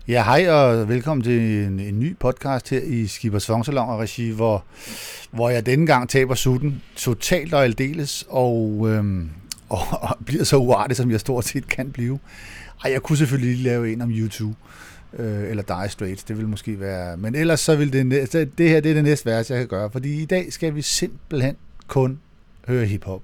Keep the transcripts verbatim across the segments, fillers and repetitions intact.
Ja, hej og velkommen til en, en ny podcast her i Skibers Fongsalon og regi, hvor, hvor jeg denne gang taber sutten totalt og aldeles, og, øhm, og, og bliver så uartig, som jeg stort set kan blive. Ej, jeg kunne selvfølgelig lige lave en om YouTube, øh, eller Dire Straits, det vil måske være, men ellers så vil det, det her det er det næste værste, jeg kan gøre, fordi i dag skal vi simpelthen kun høre hiphop.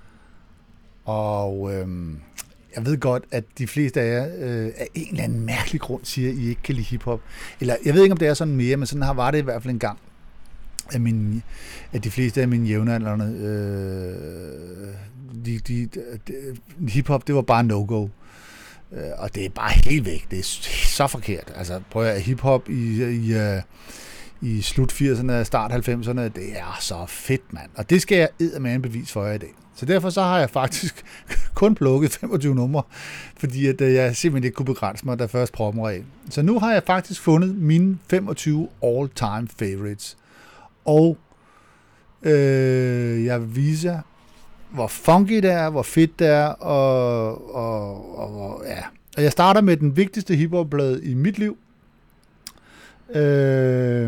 Og øhm, jeg ved godt, at de fleste af jer øh, af en eller anden mærkelig grund siger, at I ikke kan lide hiphop. Eller jeg ved ikke, om det er sådan mere, men sådan har var det i hvert fald en gang, at, min, at de fleste af mine jævnaldrende, øh, de, de, de, hiphop, det var bare no-go. Øh, og det er bare helt væk. Det er så forkert. Altså prøv at hiphop i, i, i, i slut firserne, start halvfemserne, det er så fedt, mand. Og det skal jeg eddermame bevis for jer i dag. Så derfor så har jeg faktisk kun plukket femogtyve numre, fordi at jeg simpelthen ikke kunne begrænse mig, da først proppen var af. Så nu har jeg faktisk fundet mine femogtyve all-time favorites. Og øh, jeg vil vise jer, hvor funky det er, hvor fedt det er, og, og, og, ja. Og jeg starter med den vigtigste hiphop-blad i mit liv. Øh,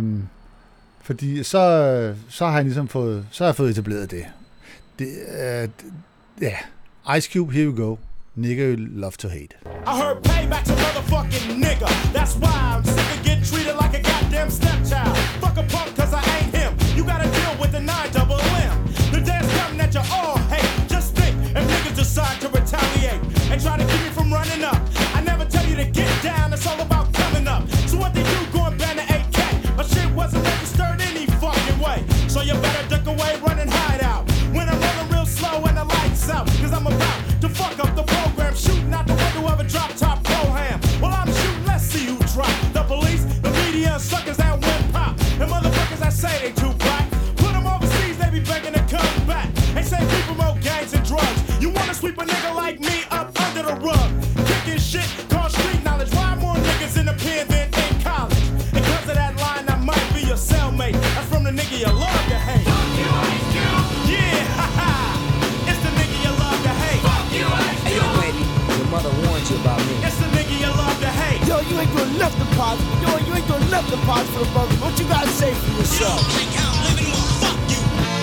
fordi så, så har jeg ligesom fået, så har jeg fået etableret det. Det, uh, yeah. Ice Cube, here we go. Nigga you love to hate. I heard payback's a motherfucking nigga. That's why I'm sick of getting treated like a goddamn stepchild. Fuck a punk cause I ain't him. You gotta deal with the nine double M. The day's coming that you all hate. Just think if niggas decide to retaliate and try to keep me from running up. I never tell you to get down, it's all about coming up. So what they do, go and ban the A K. My shit wasn't registered any fucking way. So you better duck away, run and hide out. When I'm rolling real slow and the lights out, cause I'm about to fuck up the program, shooting out the window of a drop top pro-ham. Well, I'm shooting, let's see who drop. The police, the media, and suckers that win pop. And motherfuckers that say they too black. Put them overseas, they be begging to come back. They say we promote gangs and drugs. You wanna sweep a nigga like me up under the rug. Kicking shit, called street knowledge. Why more niggas in the pen than in college? And cause of that line, I might be your cellmate. That's from the nigga you love to hate. Fuck you, Ice Cube. Yeah, haha. It's the nigga you love to hate. Fuck you, Ice Cube. Hey, yo, baby, your mother warned you about me. It's the nigga you love to hate. Yo, you ain't doing nothing positive. Yo, you ain't doing nothing positive for the brother. What you gotta say for yourself? You think I'm living, well, fuck you.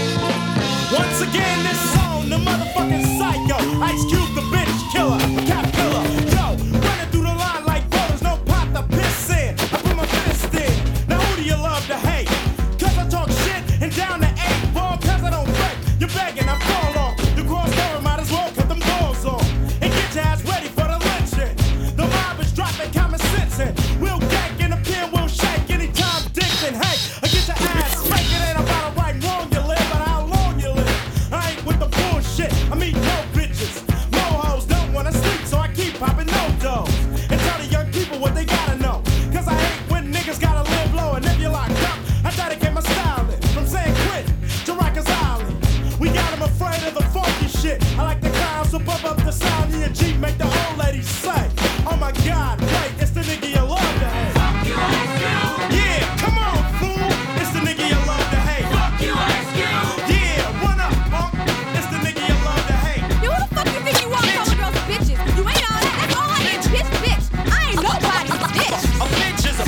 Once again, this song, the motherfucking psycho. Ice Cube, the bitch killer, cap killer. Yo, running through the line like voters, no pot to piss in. I put my fist in. Now who do you love to hate? Cause I talk shit and down the eight ball, cause I don't break. You're begging, I'm fall off. The cross cover might as well cut them doors off. And get your ass ready for the lynching. The mob is dropping common sense in. We'll gank and the pen will shake anytime dicks and hate. I get your ass spank. It ain't about how right and wrong you live, but how long you live. I ain't with the bullshit. I mean no bitches. No hoes don't wanna sleep, so I keep popping no dough. And tell the young people what they gotta know. Cause I hate when niggas gotta live low. And if you're locked up, I dedicate my style in. From saying quit to Rikers Island. We got them afraid of the funky shit. I like the clowns, so bump up the sound in your Jeep, make the old ladies say, oh my God, wait, it's the nigga you love to hate. Fuck you, Ice Cube. Yeah, come on, fool. It's the nigga you love to hate. Fuck you, Ice Cube. Yeah, run up, punk. It's the nigga you love to hate. Yo, who the fuck you think you are calling girls bitches? You ain't all that. That's all I am, bitch, bitch. I ain't nobody's bitch. A bitch is a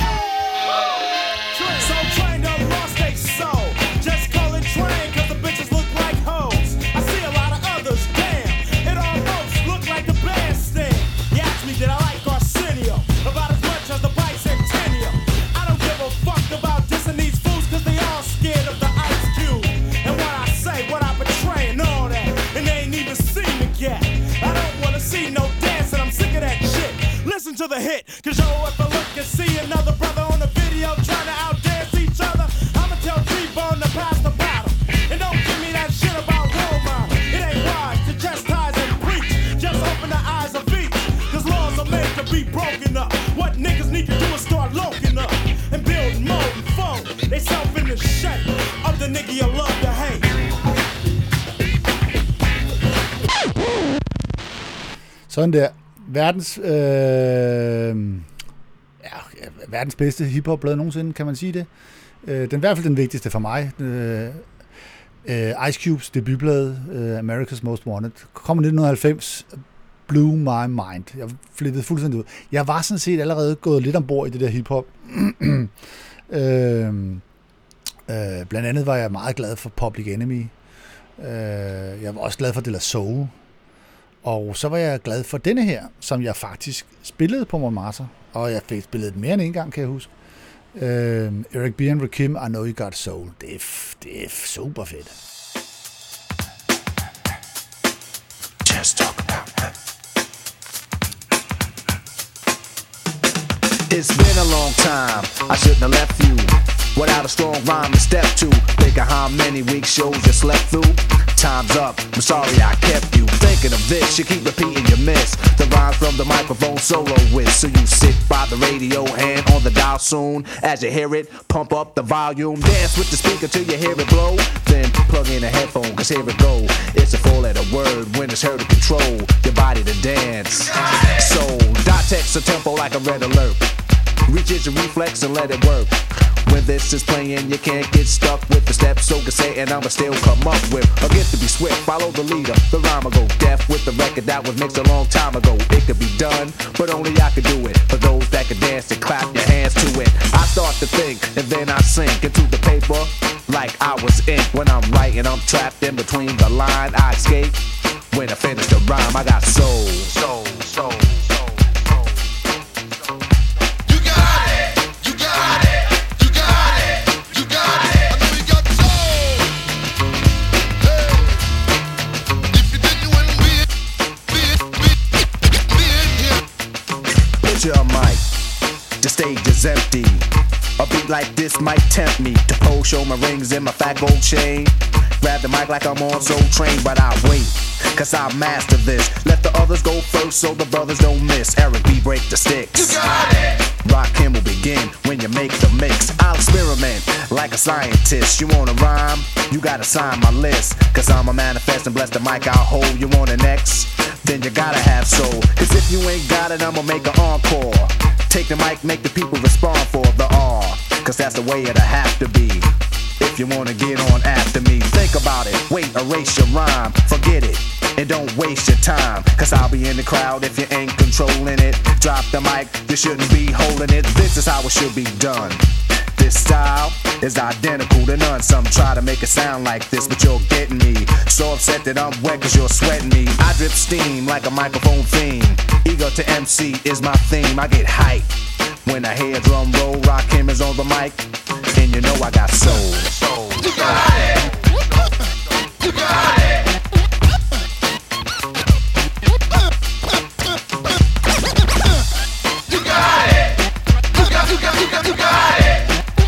so trained up, lost they soul. Just call it train, cause the bitches look like hoes. I see a lot of others, damn. It almost look like the bandstand. You asked me, did I like Arsenio? About as much as the bicentennial. I don't give a fuck about dissing these fools, cause they all scared of the Ice Cube. And what I say, what I betray, and all that. And they ain't even seen me yet. I don't wanna see no dancing, I'm sick of that shit. Listen to the hit, cause yo, if I look and see another brother on the video trying to outdance each other, I'ma tell T-Bone to pass the battle. And don't give me that shit about role model. It ain't wise to chastise and preach. Just open the eyes of each, cause laws are made to be broken up. What niggas need to do is start loking up and build more and foe. They self in the shape of the nigga you love to hate. Sådan der. Verdens, øh, ja, verdens bedste hiphop-blad nogensinde, kan man sige det. Øh, den er i hvert fald den vigtigste for mig. Øh, øh, Ice Cubes debutblad, øh, America's Most Wanted, kom i nitten halvfems. blew my mind. Jeg flippede fuldstændig ud. Jeg var sådan set allerede gået lidt ombord i det der hiphop. øh, øh, blandt andet var jeg meget glad for Public Enemy. Øh, jeg var også glad for De La Soul. Og så var jeg glad for denne her, som jeg faktisk spillede på Montmartre. Og jeg fik spillet det mere end en gang, kan jeg huske. Øh, Eric B. and Rakim, I Know You Got Soul. Det er, det er super fedt. Just talk about that. It's been a long time, I shouldn't have left you without a strong rhyme to step to. Think of how many week shows you slept through. Time's up, I'm sorry I kept you thinking of this. You keep repeating your miss the rhymes from the microphone solo with. So you sit by the radio, hand on the dial soon. As you hear it, pump up the volume. Dance with the speaker till you hear it blow. Then plug in a headphone, cause here it go. It's a four letter word when it's heard to control your body to dance. So dot text a tempo like a red alert. Reaches your reflex and let it work. When this is playing, you can't get stuck with the steps. So can say, and I'ma still come up with a gift to be swift. Follow the leader, the rhyme will go deaf with the record that was mixed a long time ago. It could be done, but only I could do it. For those that can dance and clap your hands to it. I start to think, and then I sink into the paper like I was ink. When I'm writing, I'm trapped in between the line. I escape when I finish the rhyme. I got soul, soul, soul. Your mic, the stage is empty. A beat like this might tempt me to pose, show my rings and my fat gold chain. Grab the mic like I'm on Soul Train, but I wait, cause I master this. Let the others go first so the brothers don't miss. Eric B, break the sticks. You got it. Rakim will begin when you make the mix. I'll experiment like a scientist. You wanna rhyme? You gotta sign my list. Cause I'm a manifest and bless the mic I'll hold. You want an X? Then you gotta have soul. Cause if you ain't got it, I'ma make an encore. Take the mic, make the people respond for the R. Cause that's the way it'll have to be. If you wanna get on after me, think about it. Wait, erase your rhyme, forget it. And don't waste your time, cause I'll be in the crowd if you ain't controlling it. Drop the mic, you shouldn't be holding it. This is how it should be done. This style is identical to none. Some try to make it sound like this, but you're getting me so upset that I'm wet cause you're sweating me. I drip steam like a microphone theme. Ego to M C is my theme. I get hype when I hear drum roll. Rakim is on the mic, and you know I got soul. Soul. You got it. You got it. You got it. You got, you got, you got, you got it.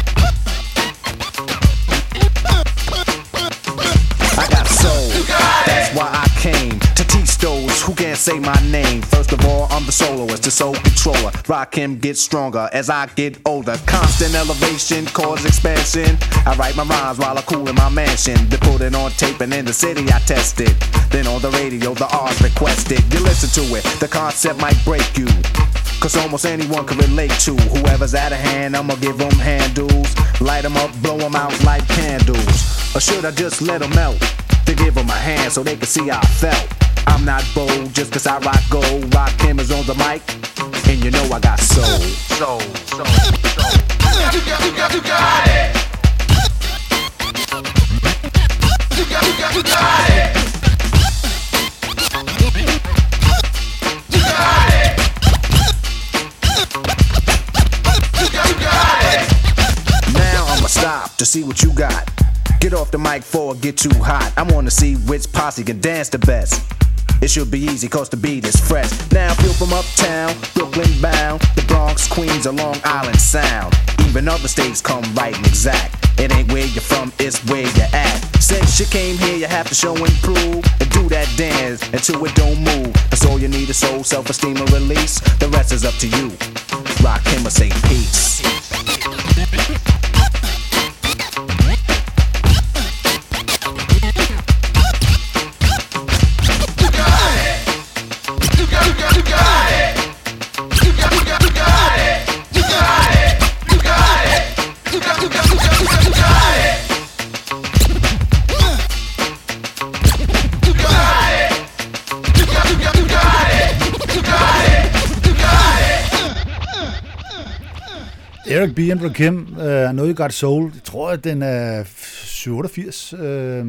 I got soul. That's why I came to teach those who can't say my name. First of all, I'm the soloist, the soul controller. Rakim gets stronger as I get older. Constant elevation, cause expansion. I write my rhymes while I cool in my mansion. They put it on tape and in the city I test it. Then on the radio, the R's requested. You listen to it, the concept might break you. Cause almost anyone can relate to whoever's out of hand, I'ma give them handles. Light them up, blow them out like candles. Or should I just let them melt? To give them a hand so they can see how I felt. I'm not bold just cause I rock gold. Rakim is on the mic, and you know I got soul. Soul, soul, soul. You got, you got, you got it. You got, you got, you got it. You got it. You got, you got it. Now I'ma stop to see what you got. Get off the mic before it get too hot. I wanna see which posse can dance the best. It should be easy cause the beat is fresh. Now feel from uptown, Brooklyn bound, the Bronx, Queens, or Long Island Sound. Even other states come right and exact. It ain't where you're from, it's where you're at. Since you came here, you have to show and prove. And do that dance until it don't move. That's all you need is soul, self-esteem, and release. The rest is up to you. Rakim or say peace. You got it. Eric B. and Rakim, uh, I Know You Got Soul. Jeg tror, at den er syv otteogfirs. Uh,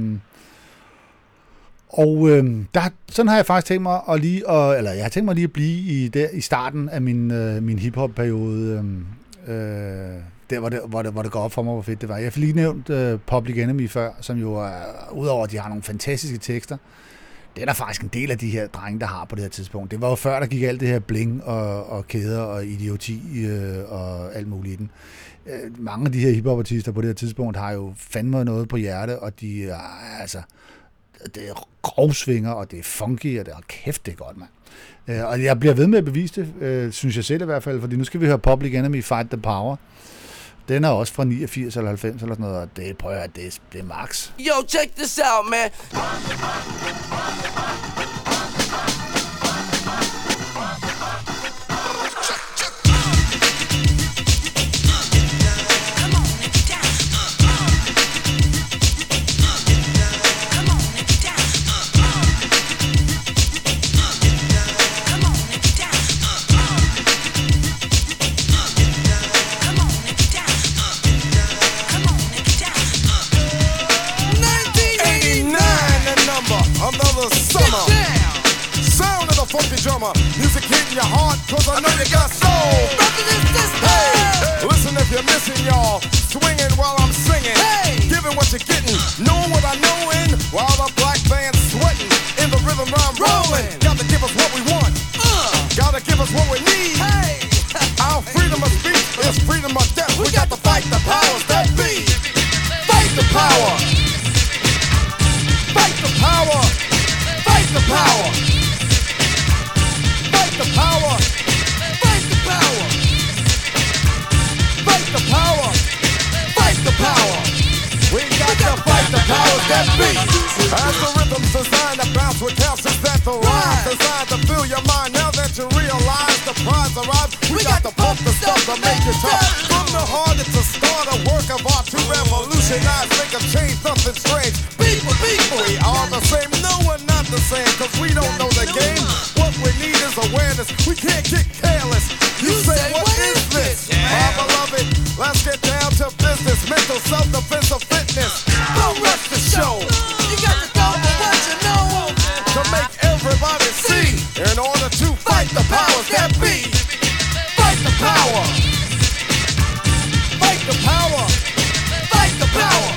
og uh, der, sådan har jeg faktisk tænkt mig at lige, at, eller jeg har tænkt mig lige at blive i, der, i starten af min, uh, min hiphop-periode. Uh, der, hvor det, hvor, det, hvor det går op for mig, hvor fedt det var. Jeg har lige nævnt uh, Public Enemy før, som jo er, udover at de har nogle fantastiske tekster, det er der faktisk en del af de her drenge, der har på det her tidspunkt. Det var jo før, der gik alt det her bling og, og kæder og idioti øh, og alt muligt i den. Øh, mange af de her hiphopartister på det her tidspunkt har jo fandme noget på hjerte, og de er altså, det er grovsvinger, og det er funky, og det er kæft, det er godt, mand. Øh, og jeg bliver ved med at bevise det, øh, synes jeg selv i hvert fald, fordi nu skal vi høre Public Enemy Fight the Power. Den er også fra niogfirs eller halvfems eller sådan noget, og det, prøv at høre, det er, det er max. Yo, check this out, man. Funky drummer, music hitting your heart, cause I know you got soul. Hey, listen if you're missing, y'all. Swinging while I'm singing, hey, giving what you're getting, knowing what I know in, while the black band's sweating, in the rhythm I'm rolling. Gotta give us what we want, uh, gotta give us what we need. Hey, our freedom of speech is freedom of death. We got to fight the powers that be. Fight the power. Fight the power. Fight the power. Fight the power! Fight the power! Fight the power! Fight the power! We got to fight the powers that be! As the rhythm's designed to bounce with calcium that the rhymes designed to fill your mind. Now that you realize the prize arrives, we got to pump the stuff to make it tough. From the heart it's a start, a work of art to revolutionize, make a change, nothing strange. People, people, we are the same. No, we're not the same, cause we don't know the game. What we need is awareness. We can't get careless. You, you say, say, what, what is this? Yeah. My beloved, let's get down to business. Mental self-defense of fitness. Don't rush the show. You got to go for what you know. To make everybody see. In order to fight the powers that be. Fight the power. Fight the power. Fight the power.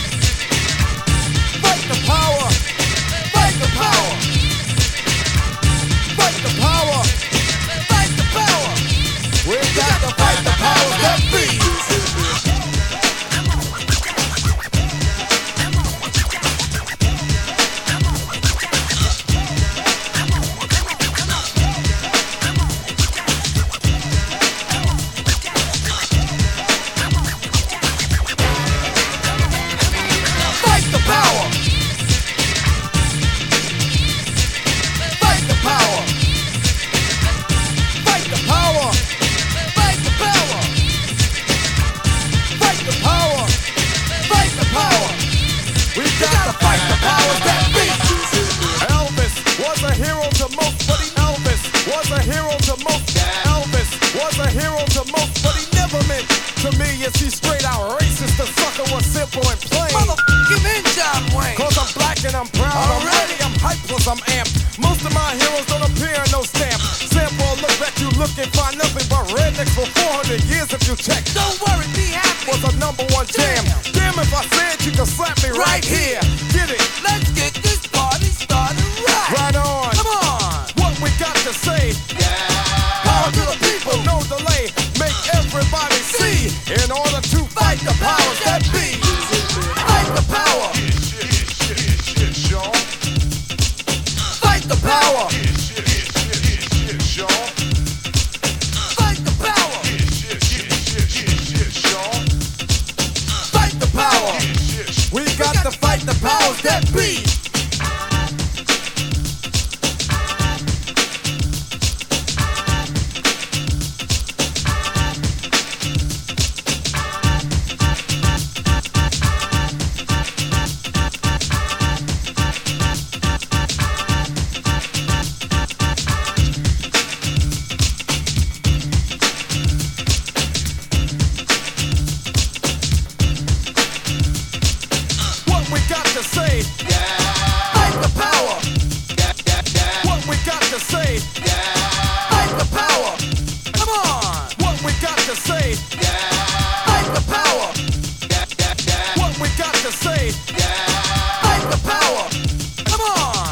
Fight the power. Fight the power. Fight the power! Fight the power! We got to fight the powers that be! Fight the power! Fight the power! Fight the power! Fight the power! Fight the power! Fight the power! We got to fight the powers that be! Elvis was a hero to most, but he Elvis was a hero to most. Elvis was a hero to most, but he never meant to me. Is he straight out racist? The sucker was simple and plain. Motherfucking in John Wayne. Cause I'm black and I'm proud. I'm ready, I'm hyped, plus I'm amped. Most of my heroes don't appear in no stamp. Sample look back, you look and find nothing but rednecks for four hundred years if you check. Don't worry, be happy. Was a number one jam. Damn, if I said you could slap me right, right here. Get it? Let's get this party started right. Right on. Come on. What we got to say? Yeah. Power to the people, no delay. Make everybody see. In order to fight the powers that be. Fight the power. Fight the power. Fight the power. Fight the power. We got to fight to say, yeah. Fight the power. Yeah, yeah, yeah. What we got to say, yeah. Fight the power. Come on.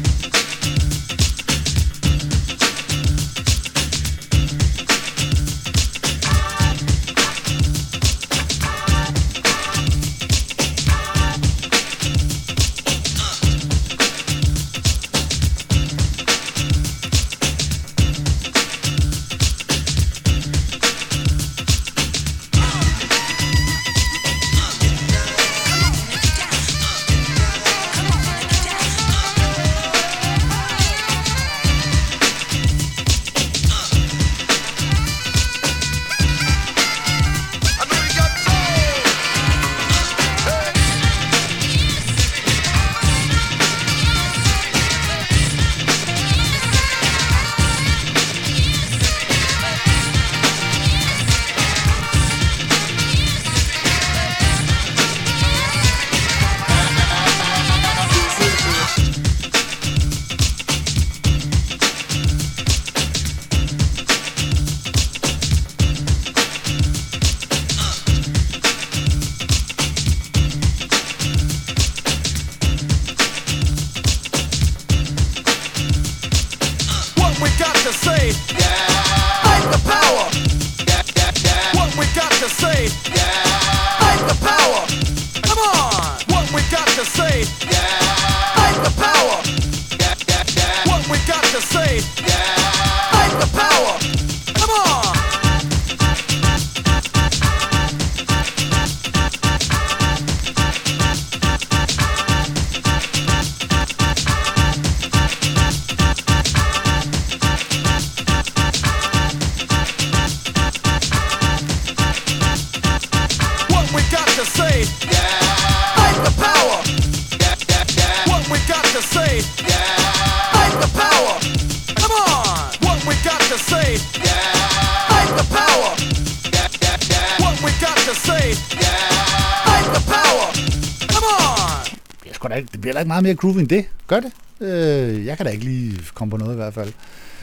Det bliver da ikke meget mere groovy end det. Gør det? Øh, jeg kan da ikke lige komme på noget i hvert fald.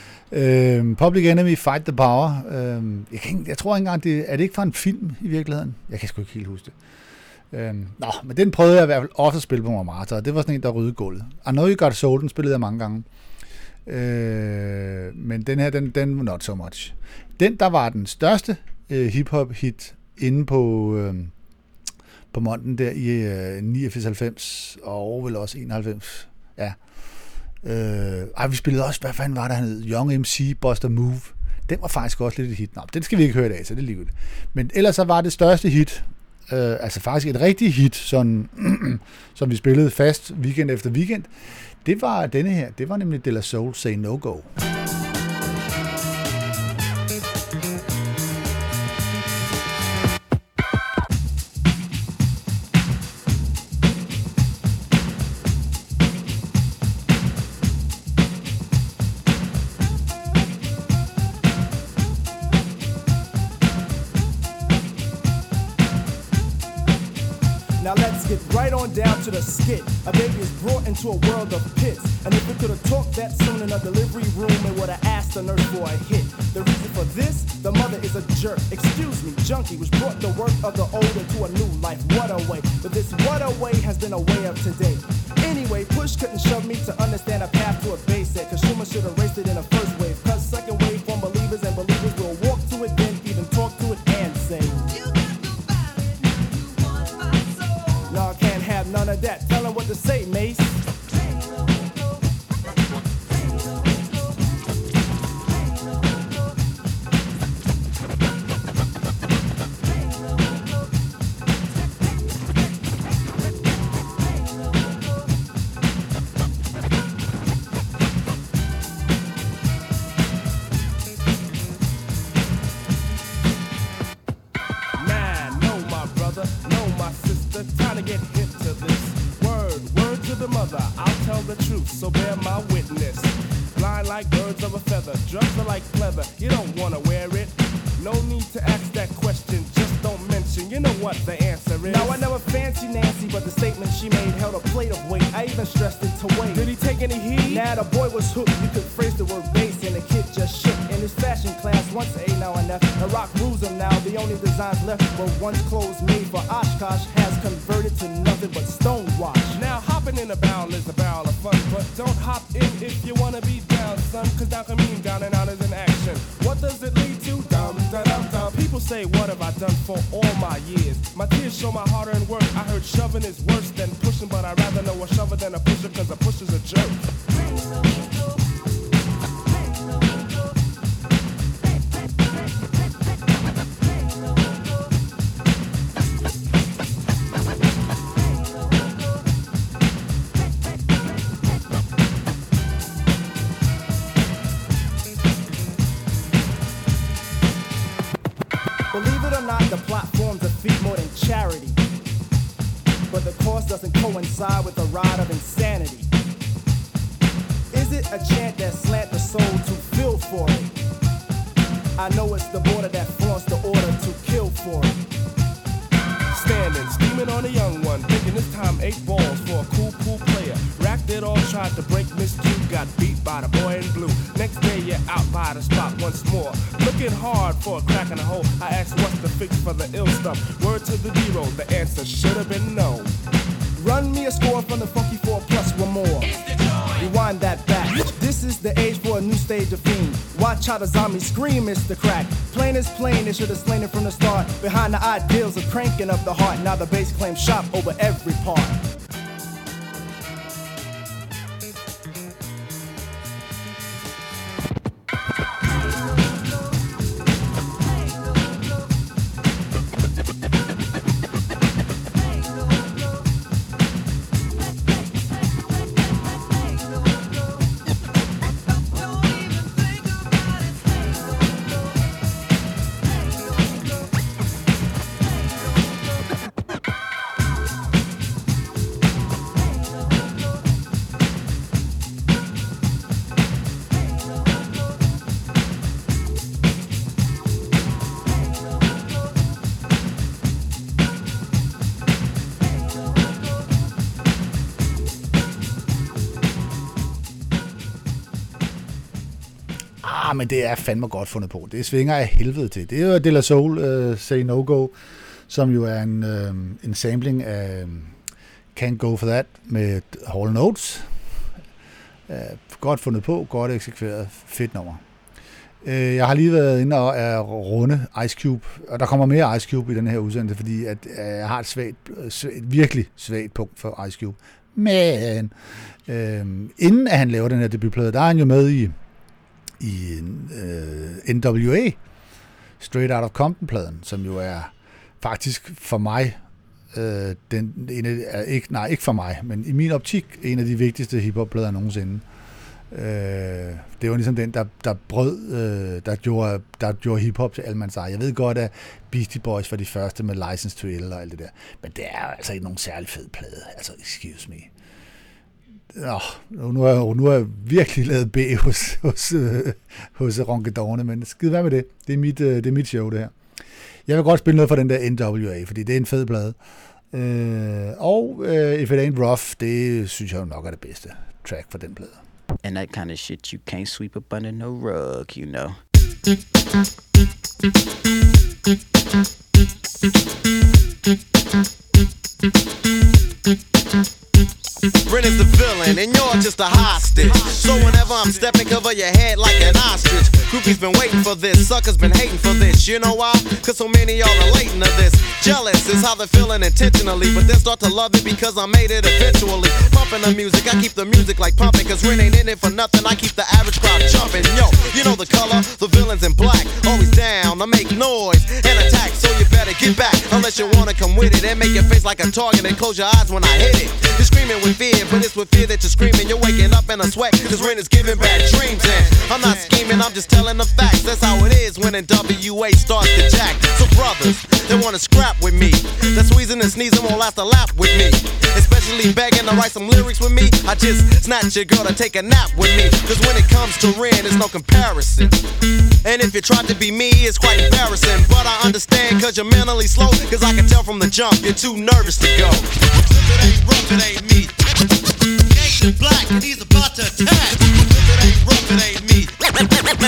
Øh, Public Enemy, Fight the Power. Øh, jeg, kan ikke, jeg tror ikke engang, det er det ikke fra en film i virkeligheden? Jeg kan sgu ikke helt huske det. Øh, nå, men den prøvede jeg i hvert fald også at spille på Montmartre, og det var sådan en, der ryddede gulvet. I Know You Got Soul, den spillede jeg mange gange. Øh, men den her, den, den not so much. Den, der var den største øh, hip-hop-hit inde på... Øh, på Monten der i øh, niogfirs halvfems og vel også enoghalvfems. Ja. Øh, ej, vi spillede også, hvad fanden var der, han hed? Young M C, Buster Move. Den var faktisk også lidt et hit. Nå, den skal vi ikke høre i dag, så det er lige godt. Men ellers så var det største hit, øh, altså faktisk et rigtigt hit, sådan, som vi spillede fast weekend efter weekend, det var denne her. Det var nemlig De La Soul, Say No Go. Down to the skit. A baby is brought into a world of pits. And if we could have talked that soon in a delivery room, it would have asked the nurse for a hit. The reason for this, the mother is a jerk. Excuse me, junkie, which brought the work of the old into a new life. What a way. But this what a way has been a way of today. Anyway, push couldn't shove me to understand a path to a basic. Consumer should have raced it in a first wave. Cause second wave from believers and believers will walk to it, then even talk to it and say, y'all can't have none of that. Tell them what to say, Mace. So bear my witness. Blind like birds of a feather, drugs are like pleather. You don't wanna wear it. No need to ask that question, just don't mention. You know what the answer is. Now I never fancy Nancy, but the statement she made held a plate of weight. I even stressed it to weight. Did he take any heed? Nah, the boy was hooked. You could phrase the word bass, and the kid just shook. In his fashion class, once A, now an F. rock rules them now. The only designs left were once clothes made for Oshkosh has converted to nothing but stonewash. Now hopping in a barrel is a barrel of fun, but don't hop in if you wanna be down, son, cause down can mean down and out is an action. What does it lead to? Dum da dum dum. People say, what have I done for all my years? My tears show my hard-earned work. I heard shoving is worse than pushing, but I'd rather know a shover than a pusher, cause a pusher's a jerk. Believe it or not, the platform's a feat more than charity. But the cost doesn't coincide with the ride of insanity. Is it a chant that slant the soul to feel for it? I know it's the border that flaunts the order to kill for it. Standing, steaming on a young one, thinking this time eight balls for a cool, cool player. Racked it all, tried to break Miss Two, got beat by the boy in blue. Next day you're out by the spot once more, looking hard for a crack in the hole. I asked what's the fix for the ill stuff. Word to the D-roll, the answer should have been no. Run me a score from the funky four plus one more. Rewind that back. This is the age for a new stage of fiend. Watch how the zombies scream, it's the crack. Plain is plain, they should have slain it from the start. Behind the ideals of cranking up the heart. Now the bass claims shop over every part. Ah, men det er fandme godt fundet på. Det svinger af helvede til. Det er jo De La Soul, uh, Say No Go, som jo er en, uh, en sampling af Can't Go For That med Hall and Oates. Uh, godt fundet på, godt eksekveret, fedt nummer. Uh, jeg har lige været inde og er runde Ice Cube, og der kommer mere Ice Cube i den her udsendelse, fordi at, uh, jeg har et, svagt, svagt, virkelig svagt punkt for Ice Cube. Men uh, inden at han laver den her debutplade, der er han jo med i i uh, N W A, Straight Out of Compton-pladen, som jo er faktisk for mig, uh, den, en af, ikke, nej, ikke for mig, men i min optik, en af de vigtigste hiphop-plader nogensinde. Uh, det var ligesom den, der, der brød, uh, der gjorde, der gjorde hiphop til almandseje. Jeg ved godt, at Beastie Boys var de første med License to Ill og alt det der, men det er altså ikke nogen særlig fed plade. Altså, excuse me. Nå, nu har nu jeg virkelig lavet B hos, hos, øh, hos Ronkedorne, men skid hvad med det. Det er, mit, øh, det er mit show, det her. Jeg vil godt spille noget fra den der N W A, fordi det er en fed plade. Øh, og øh, If It Ain't Rough, det synes jeg jo nok er det bedste track for den plade. And that kind of shit you can't sweep up under no rug, you know. Brent is the villain and you're just a hostage. So whenever I'm stepping, cover your head like an ostrich. Groupies been waiting for this, suckers been hating for this. You know why? Cause so many y'all relating to this. Jealous is how they're feeling intentionally, but then start to love it because I made it eventually. Pumping the music, I keep the music like pumping, cause Ren ain't in it for nothing. I keep the average crowd jumping. Yo, you know the color, the villain's in black. Always down, I make noise and attack, so you better get back. Unless you wanna come with it and make your face like a target and close your eyes when I hit it. You're screaming with fear, but it's with fear that you're screaming. You're waking up in a sweat, cause Ren is giving bad dreams. And I'm not scheming, I'm just telling the facts. That's how it is when N W A starts to jack. So brothers, they wanna scrap with me. That squeezing and sneezing won't last a lap with me. Especially begging to write some lyrics with me. I just snatch your girl to take a nap with me. Cause when it comes to Ren, there's no comparison. And if you try to be me, it's quite embarrassing. But I understand cause you're mentally slow. Cause I can tell from the jump, you're too nervous to go. If it ain't rough, it ain't me. Gangsta black and he's about to attack. If it ain't rough, it ain't me. Let me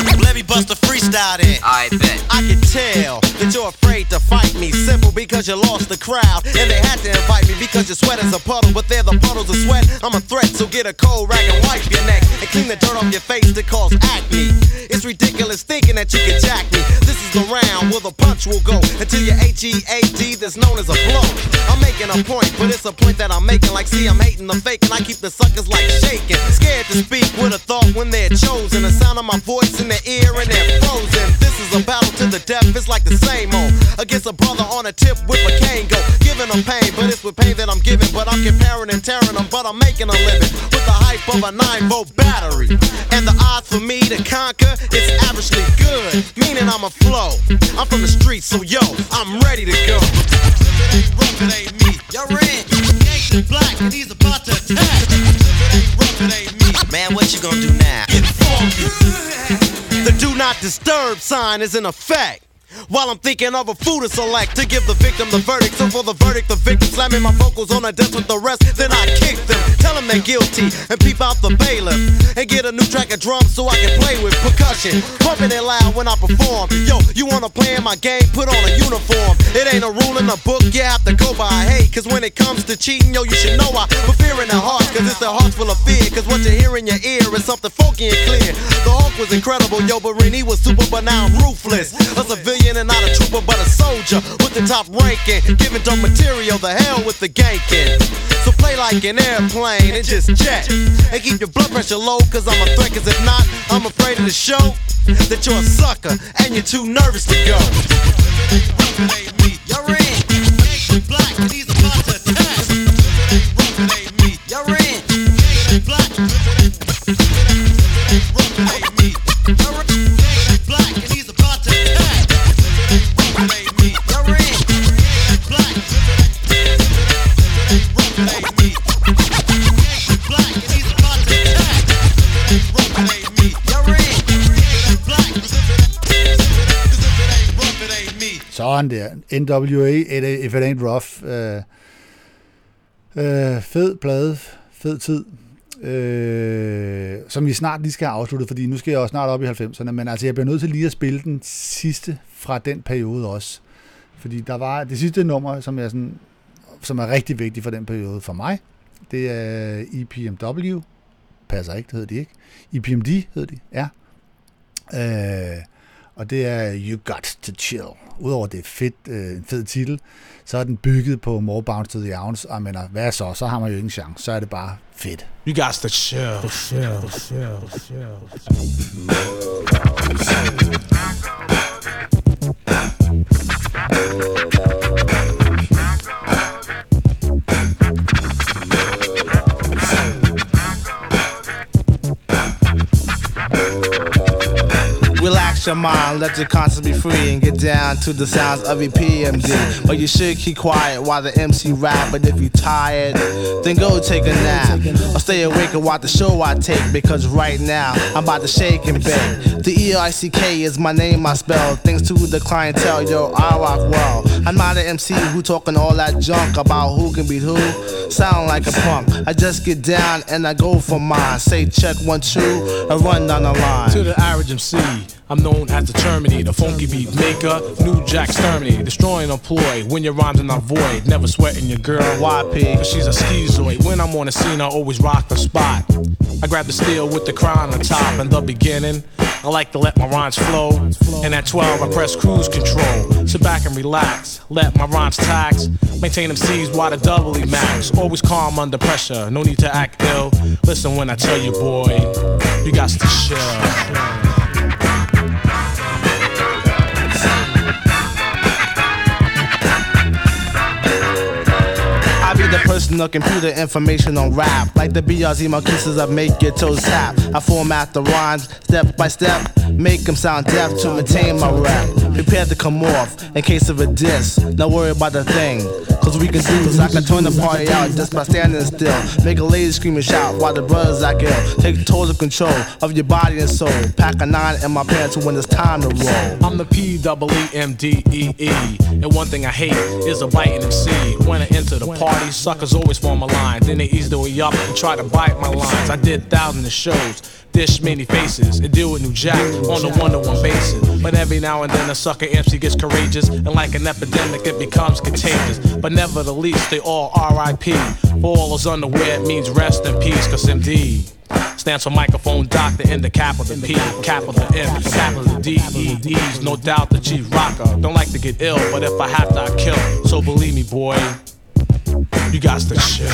bust a freestyle then. I bet. I can tell that you're afraid to fight me. Simple because you lost the crowd. And they had to invite me because your sweat is a puddle. But they're the puddles of sweat. I'm a threat, so get a cold rag and wipe your neck. And clean the dirt off your face to cause acne. It's ridiculous thinking that you can jack me. This is the round where the punch will go until your H E A D that's known as a blow. I'm making a point, but it's a point that I'm making. Like, see, I'm hating the fake, and I keep the suckers like shaking. Scared to speak with a thought when they're chosen. The sound of my voice in their ear and they're frozen. This is a battle to the death, it's like the same old. Against a brother on a tip with a cane go. Giving them pain, but it's with pain that I'm giving. But I'm comparing and tearing them, but I'm making a living. With the hype of a nine volt battery. And the odds for me to conquer, it's averagely good. Meaning I'm a flow. I'm from the streets, so yo, I'm ready to go. It ain't rough, it ain't me. You're in. Gangsta Black, and he's about to attack. It ain't rough, it ain't me. Man, what you gonna do now? Get funky. The do not disturb sign is in effect. While I'm thinking of a food to select to give the victim the verdict. So for the verdict, the victim slamming my vocals on the desk with the rest. Then I kick them, tell them they're guilty, and peep out the bailiff. And get a new track of drums so I can play with percussion. Pumping it loud when I perform. Yo, you wanna play in my game? Put on a uniform. It ain't a rule in the book, you have to go by. Hey, cause when it comes to cheating, yo, you should know I put fear in their hearts. Cause it's their hearts full of fear. Cause what you hear in your ear is something funky and clear. The Hulk was incredible, yo, but Renee was super, but now I'm ruthless. A civilian and not a trooper, but a soldier with the top ranking. Giving dope material, the hell with the ganking. So play like an airplane and just jet. And keep your blood pressure low, cause I'm a threat. Cause if not, I'm afraid of the show that you're a sucker and you're too nervous to go. It ain't me, you're in. Gangsta Black, and he's about to attack. It ain't me, you're in. Gangsta Black, it ain't me, you're in. Gangsta Black, and he's about to attack. It ain't me, you're in. Gangsta Black, it ain't me. Gangsta Black, and he's about to attack. It ain't me, you're in. Gangsta Black, it ain't me. Sådan der. N W A, If It Ain't Rough. Øh, øh, fed plade, fed tid. Øh, som vi snart lige skal have afsluttet, fordi nu skal jeg også snart op i halvfemserne, men altså jeg bliver nødt til lige at spille den sidste fra den periode også. Fordi der var det sidste nummer, som er, sådan, som er rigtig vigtigt for den periode for mig. Det er E P M W. Passer ikke, det hedder de ikke. E P M D hedder de, ja. Øh, og det er You Got To Chill. Udover det er fedt, øh, en fed titel, så er den bygget på More Bounce to the Ounce, og mener, hvad så? Så har man jo ingen chance. Så er det bare fedt. You got to chill, chill, chill, chill. Relax your mind, let your conscience be free, and get down to the sounds of E P M D. But you should keep quiet while the M C rap. But if you tired, then go take a nap, or stay awake and watch the show I take. Because right now I'm about to shake and bake. The E I C K is my name I spell. Thanks to the clientele, yo, I rock well. I'm not an M C who talking all that junk about who can beat who. Sound like a punk. I just get down and I go for mine. Say check one two and run down the line. To the average M C, I'm known as the Terminator, the funky beat maker, New Jack Exterminator, destroying a ploy when your rhymes are not void. Never sweating your girl Y P, cause she's a schizoid. When I'm on the scene, I always rock the spot. I grab the steel with the crown on top. In the beginning, I like to let my rhymes flow. And at twelve, I press cruise control. Sit back and relax, let my rhymes tax. Maintain them C's while the doubly max. Always calm under pressure, no need to act ill. Listen when I tell you, boy, you got to chill. The personal computer information on rap, like the B R Z Marquises that make your toes tap. I format the rhymes step by step, make them sound deaf to maintain my rap. Prepare to come off in case of a diss. Don't worry about the thing, cause we can do is I can turn the party out just by standing still. Make a lady scream and shout while the brothers act ill. Take total control of your body and soul. Pack a nine in my pants when it's time to roll. I'm the P E E M D E E, and one thing I hate is a biting M C. When I enter the party, suckers always form a line. Then they ease their way up and try to bite my lines. I did thousands of shows, dish many faces, and deal with New Jack on a one-to-one basis. But every now and then a sucker M C gets courageous, and like an epidemic it becomes contagious. But never the least, they all R I P. For all those unaware, it means rest in peace, cause M D stands for microphone doctor in the capital P, capital M, capital D, E, E's. No doubt the chief rocker. Don't like to get ill, but if I have to, I kill. So believe me, boy, you got to chill.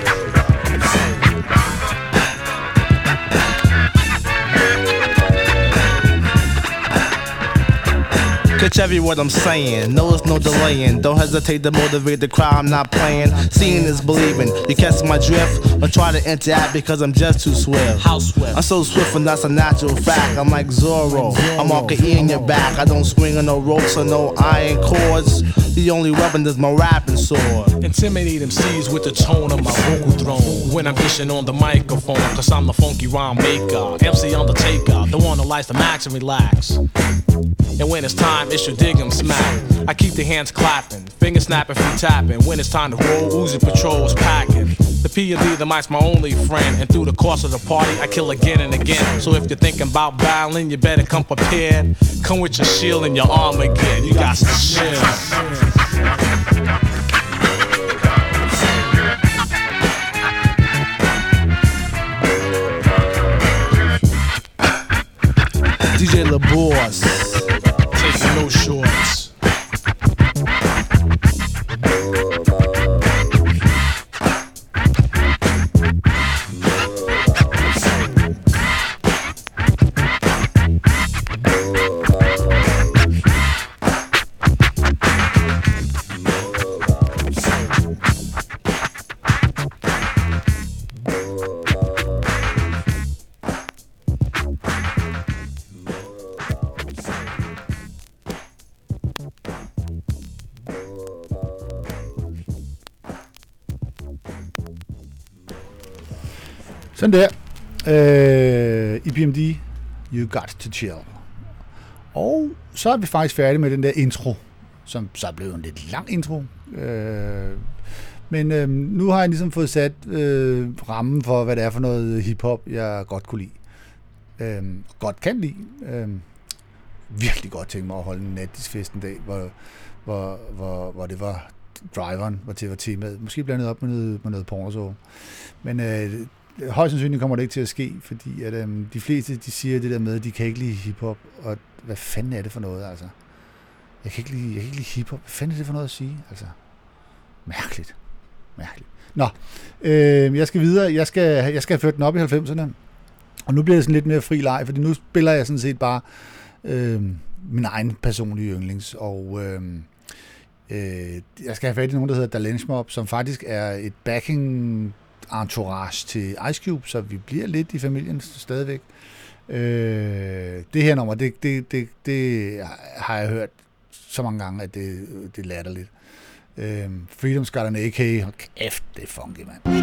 Catch every word I'm saying, no it's no delaying. Don't hesitate to motivate the crowd, I'm not playing. Seeing is believing, you catch my drift. Don't try to interact because I'm just too swift. How swift? I'm so swift and that's a natural fact. I'm like Zorro, I'm all E in your back. I don't swing on no ropes or no iron cords. The only weapon is my rapping sword. Intimidate M Cs with the tone of my vocal throne. When I'm dishing on the microphone, cause I'm the funky rhyme maker. M C Undertaker, the one who likes to max and relax. And when it's time, it's your dig 'em smack. I keep the hands clapping, finger snapping, feet tapping. When it's time to roll, Uzi Patrol's packing. The P and D, the mic's my only friend. And through the course of the party, I kill again and again. So if you're thinking about battling, you better come prepared. Come with your shield and your armor again. You got to chill. D J LaBoss, taking no shorts. Sådan der. Øh, E P M D, You Got To Chill. Og så er vi faktisk færdige med den der intro, som så er blevet en lidt lang intro. Øh, men øh, nu har jeg ligesom fået sat øh, rammen for, hvad det er for noget hiphop, jeg godt kunne lide. Øh, godt kan lide. Øh, virkelig godt tænke mig at holde en nattisfest en dag, hvor, hvor, hvor, hvor det var driveren, hvor det var temaet. Måske blandet op med noget, med noget pornoså. Men øh, højst sandsynligt kommer det ikke til at ske, fordi at, øhm, de fleste de siger det der med, at de kan ikke lide hiphop, og hvad fanden er det for noget, altså? Jeg kan ikke lide, jeg kan ikke lide hiphop. Hvad fanden er det for noget at sige, altså? Mærkeligt. Mærkeligt. Nå, øh, jeg skal videre. Jeg skal, jeg skal have ført den op i halvfemserne, og nu bliver det sådan lidt mere fri leg, fordi nu spiller jeg sådan set bare øh, min egen personlige yndlings, og øh, øh, jeg skal have fat i nogen, der hedder Dalench Mob, som faktisk er et backing entourage til Ice Cube, så vi bliver lidt i familien stadigvæk. Øh, det her nummer, det, det, det, det har jeg hørt så mange gange, at det, det er latterligt. Øh, Freedom's got an A K. Hold kæft, det er funky, mand. A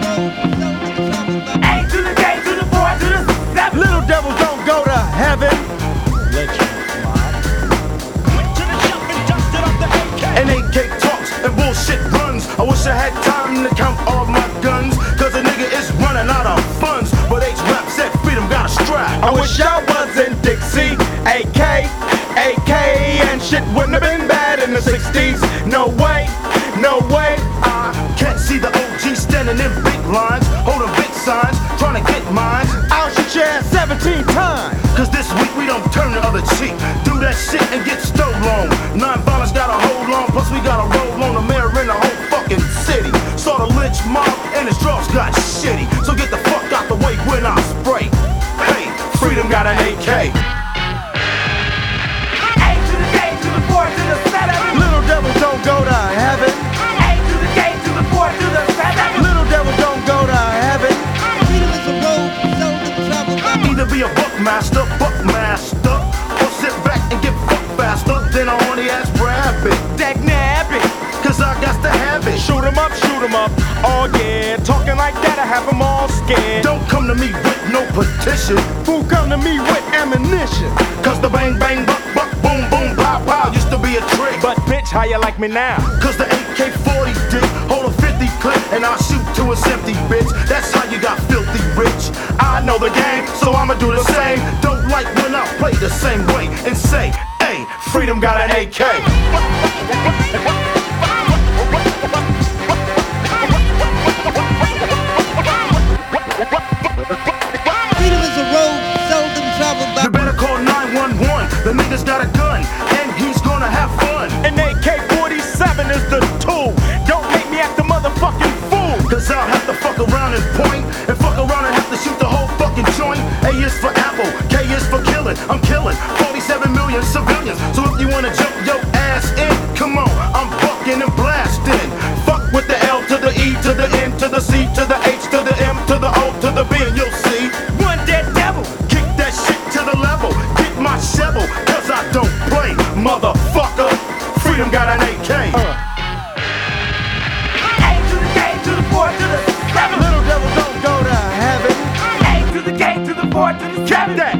to the K to the boy to the seven. Little devils don't go to heaven. Let you went to the shop and dusted up the A K. And A K talks and bullshit runs. I wish I had time to count all my guns, cause a nigga is running out of funds. But H-Rap said freedom got a strap. I wish I was in Dixie. A K, A K, and shit wouldn't have been bad in the sixties. No way, no way. I can't see the O G standing in big lines, holding big signs, trying to get mine. I'll shoot your ass seventeen times, cause this week we don't turn the other cheek. Do that shit and get stole on. Non-violence got a hold on, plus we got a roll on the mayor in the whole fucking city. Saw the lynch mob and his drugs got shitty, so get the fuck out the way when I spray. Hey, freedom got an A K. A to the K to the four to the seven. Little devils don't go to heaven. A to the K to the four to the seven. Little devils don't go to heaven. Freedom is a road, so the trouble. Either be a buckmaster, buckmaster, or sit back and get fucked faster than a horny ass rabbit. Dag nabbit, cause I got to have it. Shoot 'em up, shoot 'em up, oh yeah. Talking like that, I have 'em all scared. Don't come to me with no petition. Who come to me with ammunition? Cause the bang bang buck buck boom boom pow pow used to be a trick. But bitch, how you like me now? Cause the A K forty dick hold a fifty clip and I'll shoot to its empty, bitch. That's how you got filthy rich. I know the game, so I'ma do the same. Don't like when I play play the same way and say, hey, freedom got an A K. Freedom is a road seldom traveled by. You better call nine one one. The nigga's got a gun and he's gonna have fun. An A K forty-seven is the tool. Don't make me act a motherfucking fool. Cause I'll have to fuck around and point, and fuck around and have to shoot the whole fucking joint. A is for apple, K is for killing. I'm killing forty-seven million civilians. So if you wanna jump your ass in, come on, I'm bucking and blasting. Fuck with the L to the E to the N to the C to the H to the M to the O to the B, and you'll see one dead devil. Kick that shit to the level. Get my shovel, cause I don't play, motherfucker. Freedom got an A K. Uh. A to the K to the four to the seven. Little devil don't go to heaven. A to the K to the four to the seven. That.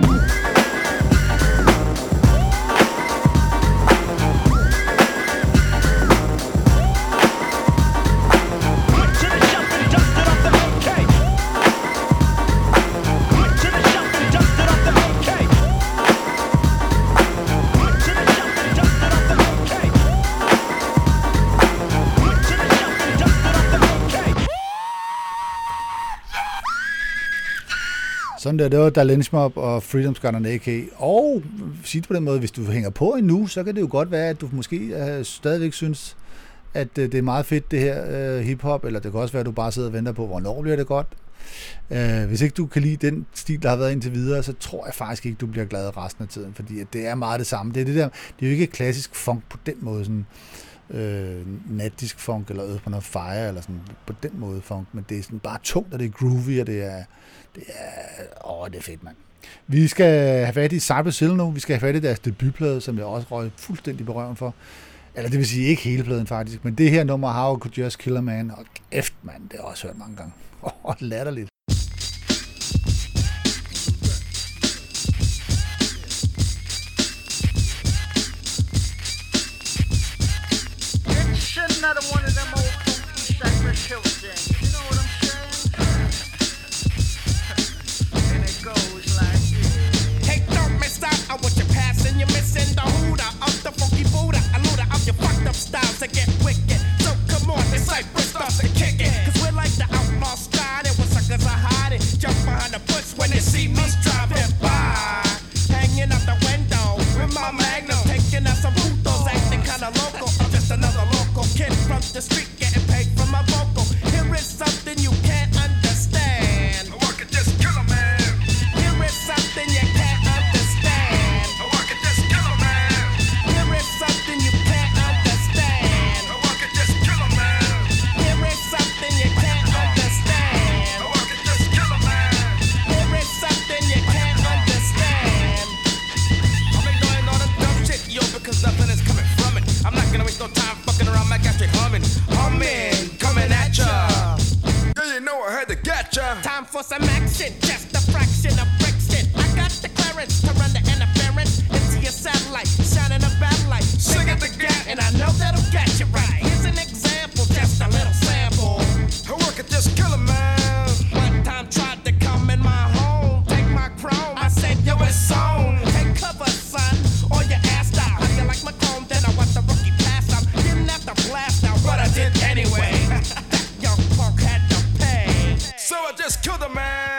Sådan der, det var Da Lynch Mob og Freedom's Got an A K. Og sige det på den måde, hvis du hænger på endnu, så kan det jo godt være, at du måske uh, stadigvæk synes, at uh, det er meget fedt det her uh, hiphop, eller det kan også være, at du bare sidder og venter på, hvornår bliver det godt. Uh, hvis ikke du kan lide den stil, der har været indtil videre, så tror jeg faktisk ikke, du bliver glad resten af tiden, fordi at det er meget det samme. Det er, det der, det er jo ikke klassisk funk på den måde, sådan øh, natdisk funk, eller Earth, Wind and Fire, eller sådan på den måde funk, men det er sådan bare tungt, og det er groovy, og det er Det er, åh, det er fedt, mand. Vi skal have fat i Cypress Hill nu. Vi skal have fat i deres debutplade, som jeg også røg fuldstændig berøven for. Eller det vil sige, ikke hele pladen faktisk, men det her nummer, How I Could Just Kill a Man, og kæft, mand, det har jeg også hørt mange gange. Åh, latterligt. It's another one of them old funky Cypress Hill things. You know what I'm saying? And it goes like this. Hey, don't miss out on what you're passing. You're missing the hooter of the funky Buddha. A looter of your fucked up styles to get wicked. So come on, it's Cypress starts to kick it. Cause we're like the outlaw sky. There where suckers are hiding. Jump behind the bush when they see me driving by. Hanging out the window with my magnum. Taking out some putos, acting kinda local. I'm just another local kid from the street getting paid for my vocal. Here is something you can't understand. I could just kill a man. Here is something you can't understand. I could just kill a man. Here is something you can't understand. I could just kill a man. Here is something you can't understand. I could just kill a man. Here is something you can't understand. I'm ignoring all the dumb shit, yo, because nothing is coming from it. I'm not gonna waste no time fucking around, my gastric humming, humming, coming at ya. Yeah, you know I had to get ya. Time for some action, just a fraction of friction. I got the clearance to run the interference into your satellite, shining a bad light. Sing it again, and I know that'll get you right. Here's an example, just a little sample. I could just kill a man. One time tried to come in my home, take my chrome. I said, yo, it's on. Take cover, son, or your ass down. How do you like my chrome? Then I watched the rookie pass out. Didn't have to blast out, but I did anyway. That young punk had to pay. So I just killed a man.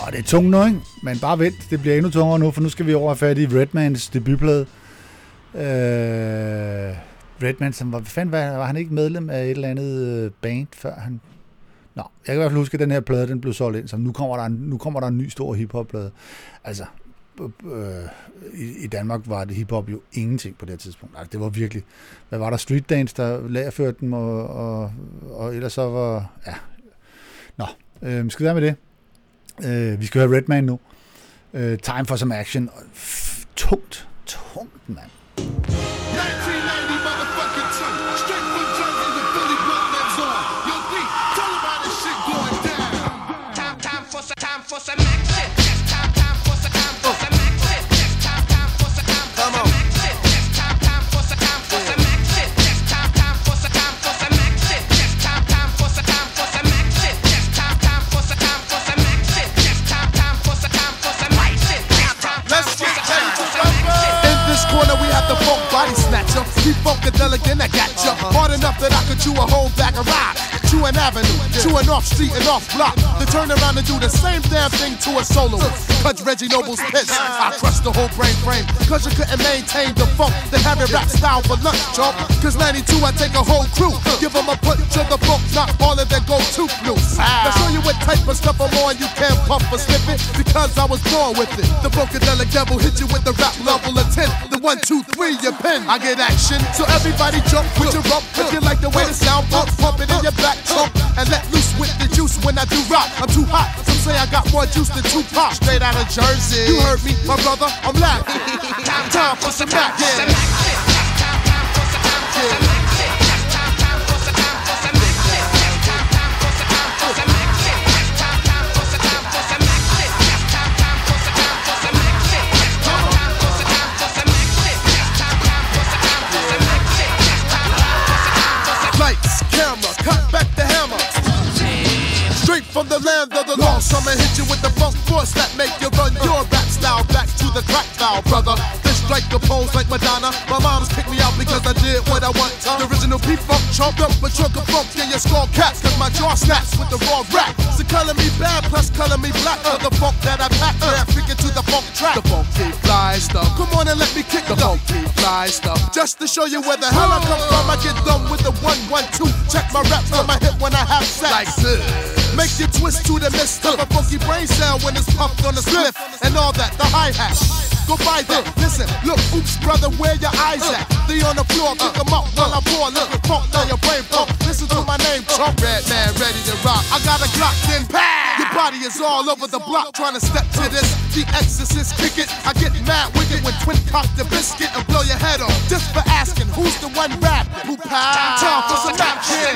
Og det er tungt nu, ikke? Men bare vent, det bliver endnu tungere nu, for nu skal vi over fat i Redmans debutplade. Øh, Redman, som var, hvad fanden var, var han ikke medlem af et eller andet band, før han... Nå, jeg kan i hvert fald huske, at den her plade, den blev solgt ind, så nu kommer der en, nu kommer der en ny stor hiphop-plade. Altså, øh, i, i Danmark var det hiphop jo ingenting på det her tidspunkt. Altså, det var virkelig... Hvad var der? Street Dance, der lagerførte dem, og, og, og ellers så var... Ja. Nå, øh, skal vi være med det? Øh, vi skal høre Redman nu. Øh, Time for some action. F- tungt, tungt, mand. nineteen ninety motherfucking two. Straight from Jersey to Philly, Brooklyn's on. Yo, D, tell them how this shit going down. Time, time for some, time for some action. Yes, time, time for some, time for some action. Yes, time, time for some, time for some action. Yes, time, time for some, time for some action. Yes, time, time for some, time for some action. Yes, time, time for some, time for some action. Yes, time, time for some, time for some action. Yes, time, time for some, time for some action. Let's get ready to rumble. In this corner, we have the funk body snatcher. Keep funkadelic and I got ya. Hard enough that I could chew a whole bag of rock. Chew an avenue, chew an off street and off block. To turn around and do the same damn thing to a soloist. Cause Reggie Noble's pissed. I crushed the whole brain frame. Cause you couldn't maintain the funk. Then have it rap style for lunch, chump. Cause ninety-two, I take a whole crew. Give them a punch to the funk, not all of them go too loose. I'll show you what type of stuff I'm on. You can't pump or slip it. Because I was born with it. The funkadelic devil hit you with the rap level of ten. The one, two, three, your pen. I get action. So everybody jump with your rump. If you like the way the sound pumps, pump it in your back trunk. And let loose with the juice when I do rock. I'm too hot. Some say I got more juice than Tupac. Straight out of Jersey. You heard me, my brother. I'm laughing. Time for some action. Lights, camera, cut back the hammer. Straight from the land of the lost, I'ma hit you with the funk force that make you run your rap style back to the crack style, brother. This strike a pose like Madonna. My mom's kicked me out because I did what I want. The original P-Funk chomped up a chunk of funk in your skull caps. Cause my jaw snaps with the raw rap. So color me bad plus color me black. For the funk that I pack, yeah, figure to the funk track. The funky fly stuff. Come on and let me kick the funky fly stuff. Just to show you where the hell I come from, I get done with the one, one, two. Check my rap from my hip when I have sex. Like this. Make you twist to the mist of a funky brain cell when it's pumped on the spliff and all that, the hi-hat. Go by that, listen, look, oops, brother, where your eyes at? They on the floor, pick them up while I pour, look, pump down your brain pump. Listen to my name, Trump, Redman, ready to rock. I got a Glock, then pow! Your body is all over the block trying to step to this. The Exorcist, kick it. I get mad wicked when twin cock the biscuit and blow your head off. Just for asking, who's the one rap? Who pow? Time for some action.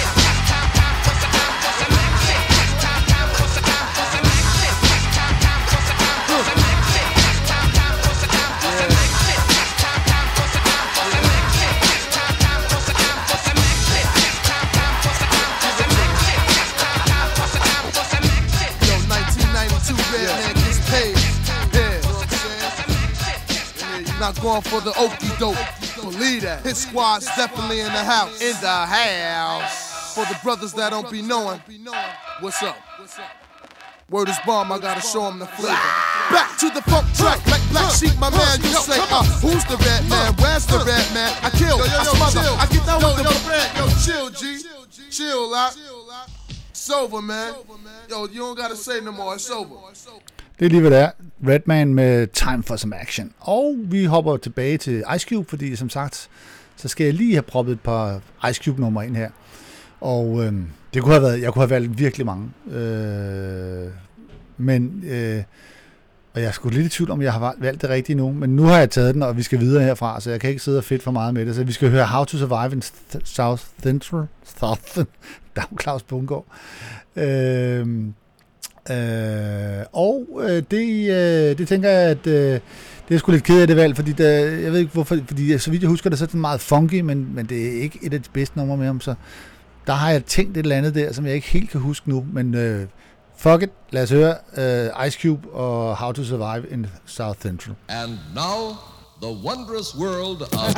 Not going for the okie doke. Believe that. His squad's definitely in the house. In the house. For the brothers that don't be knowing. What's up? Word is bomb, I gotta show them the flavor. Back to the funk track, Black Black Sheep, my man. You say, uh, who's the red man? Where's the red man? I kill, yo, yo, I smother, chill. I get down yo, with yo, the red. Yo, chill, G. Chill, out. It's over, man. Yo, you don't gotta say no more. It's over. Det er lige hvad det er. Redman med Time for some action. Og vi hopper tilbage til Ice Cube, fordi som sagt, så skal jeg lige have proppet et par Ice Cube numre ind her. Og øh, det kunne have været, jeg kunne have valgt virkelig mange. Øh, men, øh, og jeg er sgu lidt i tvivl om, jeg har valgt det rigtige nu. Men nu har jeg taget den, og vi skal videre herfra, så jeg kan ikke sidde og fedt for meget med det. Så vi skal høre How to Survive in South Central. South, der er Claus Bundgaard. Øh, Øh, og øh, det, øh, det tænker jeg, at øh, det er sgu lidt ked af det valg, fordi der, jeg ved ikke hvorfor, fordi så vidt jeg husker det, så er det meget funky, men, men det er ikke et af de bedste numre med ham, så der har jeg tænkt et eller andet der, som jeg ikke helt kan huske nu, men øh, fuck it, lad os høre øh, Ice Cube og How to Survive in South Central. And now, the wondrous world of...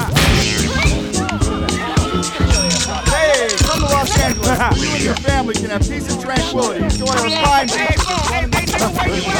Hey, come to Los Angeles. You and your family can have peace and tranquility. Enjoy a fine day.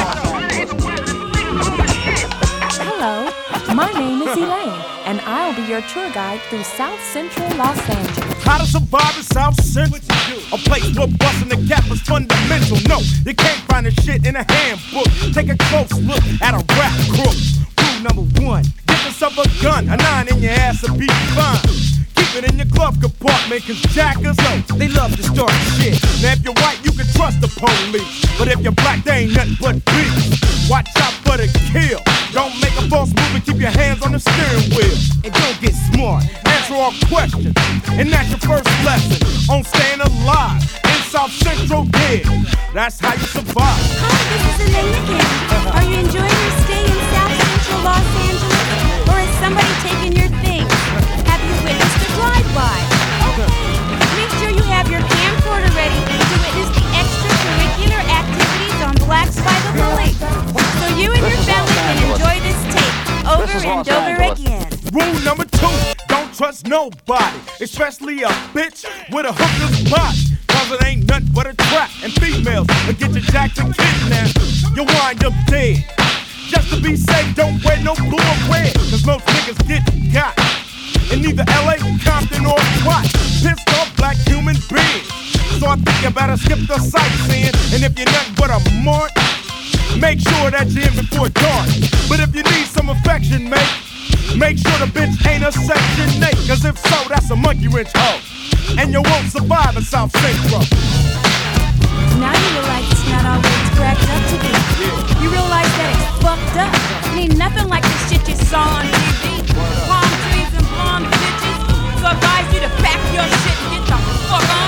Susie Lane, and I'll be your tour guide through South Central Los Angeles. How to survive in South Central? A place where busting the gap is fundamental. No, you can't find the shit in a handbook. Take a close look at a rap crook. Rule number one, get yourself a gun. A nine in your ass will be fine. Keep it in your glove compartment, cause jackers, oh, they love to start shit. Now if you're white, you can trust the police. But if you're black, they ain't nothing but beef. Watch out for the kill. Don't make a false move and keep your hands on the steering wheel. And don't get smart, answer all questions. And that's your first lesson on staying alive in South Central Dead. That's how you survive. Hi, this is Elena King. Are you enjoying your stay in South Central Los Angeles? Or is somebody taking your things? Have you witnessed a drive-by? Okay, make sure you have your camcorder ready to witness the extracurricular activities on Blacks by the Bully. So you and your family can enjoy this tape over and over again. Rule number two, don't trust nobody, especially a bitch with a hooker's body. Cause it ain't nothing but a trap, and females will get you jacked and kidnapped. You'll wind up dead. Just to be safe, don't wear no blue or red, cause most niggas get got. In either L A, Compton, or what? Pissed off black human beings. So I think you better skip the sightseeing. And if you're nothing but a mark, make sure that you're in before dark. But if you need some affection, mate, make sure the bitch ain't a section eight. Cause if so, that's a monkey wrench hoe. And you won't survive in South Central. Now you realize it's not all what it's cracked up to be. You realize that it's fucked up. It ain't nothing like the shit you saw on T V. Palm trees and blonde bitches. So I advise you to pack your shit and get the fuck on.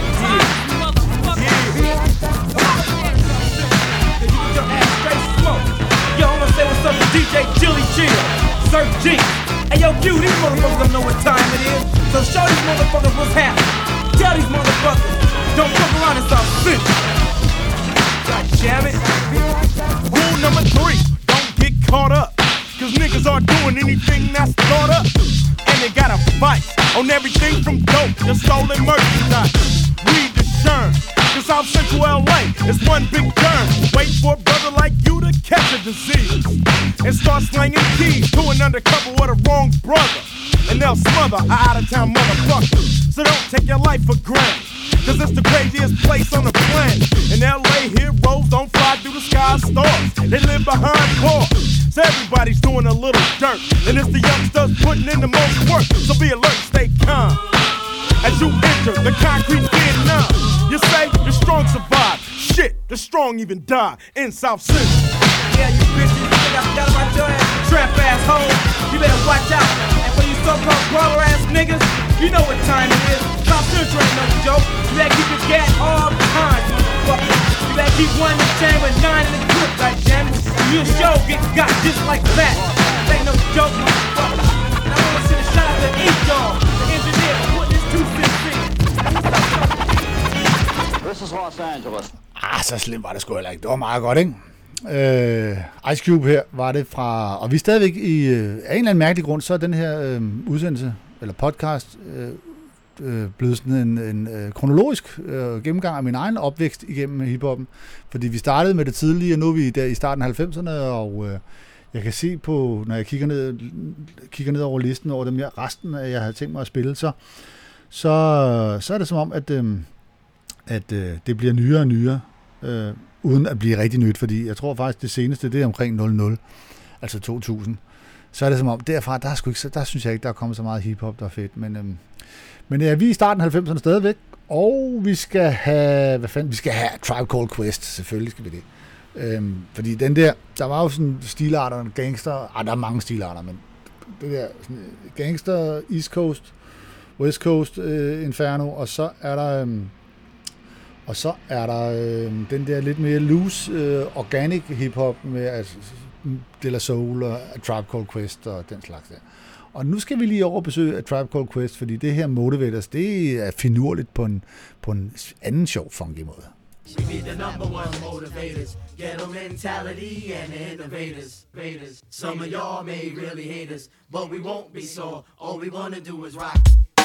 Yo, I'm gonna say what's up to D J Chili Chill, Sir G. Hey yo, Q, these motherfuckers don't know what time it is. So show these motherfuckers what's happening. Tell these motherfuckers, don't fuck around in South Central. God damn it. Rule number three, don't get caught up. Cause niggas aren't doing anything that's thought up. And they got a fight on everything from dope to stolen merchandise. Read the Sherm, cause South Central L A is one big term. Wait for a brother like you to catch a disease and start slanging keys to an undercover with a wrong brother. And they'll smother a out-of-town motherfucker. So don't take your life for granted, cause it's the craziest place on the planet. And L A heroes don't fly through the sky stars. They live behind bars. So everybody's doing a little dirt. And it's the youngsters putting in the most work. So be alert, stay calm as you enter the concrete Vietnam. You say the strong survive. Shit, the strong even die in South Central. Yeah, you bitches, you think I forgot about your ass? Trap asshole, you better watch out. And for you so-called brawler ass niggas, you know what time it is. South Central ain't no joke. You better keep your gat all the time, motherfucker. You better keep one in the chamber, nine in the clip, goddammit. You'll sure get got just like that. This ain't no joke, motherfucker. And I wanna send a shout out to E-Dog, the engineer, for putting this two cent thing. This is Los Angeles. Ah, så slemt var det sgu heller ikke. Det var meget godt, ikke? Øh, Ice Cube her var det fra, og vi er stadigvæk i, øh, af en eller anden mærkelig grund, så er den her øh, udsendelse, eller podcast, øh, øh, blevet sådan en, en øh, kronologisk øh, gennemgang af min egen opvækst igennem hiphoppen. Fordi vi startede med det tidlige, og nu er vi der i starten af halvfemserne, og øh, jeg kan se på, når jeg kigger ned, kigger ned over listen over dem, jeg, resten af jeg havde tænkt mig at spille, så, så, så er det som om, at, øh, at øh, det bliver nyere og nyere, øh, uden at blive rigtig nyt, fordi jeg tror faktisk, det seneste, det er omkring nul nul, altså to tusind. Så er det som om, derfra, der, er sgu ikke, der synes jeg ikke, der er kommet så meget hiphop, der er fedt. Men, øhm, men ja, vi er i starten af halvfemserne stadigvæk, og vi skal have, hvad fanden, vi skal have Tribe Called Quest, selvfølgelig skal vi det. Øhm, fordi den der, der var jo sådan stilarter, gangster, ah, der er mange stilarter, men det der sådan, gangster, East Coast, West Coast, øh, Inferno, og så er der... Øhm, Og så er der øh, den der lidt mere loose, øh, organic hiphop med altså, De La Soul og Tribe Called Quest og den slags der. Og nu skal vi lige over besøge af Tribe Called Quest, fordi det her Motivators, det er finurligt på en, på en anden sjov, funky måde. We be the number one motivators, ghetto mentality and innovators. Some of y'all may really hate us, but we won't be sore. All we wanna do is rock.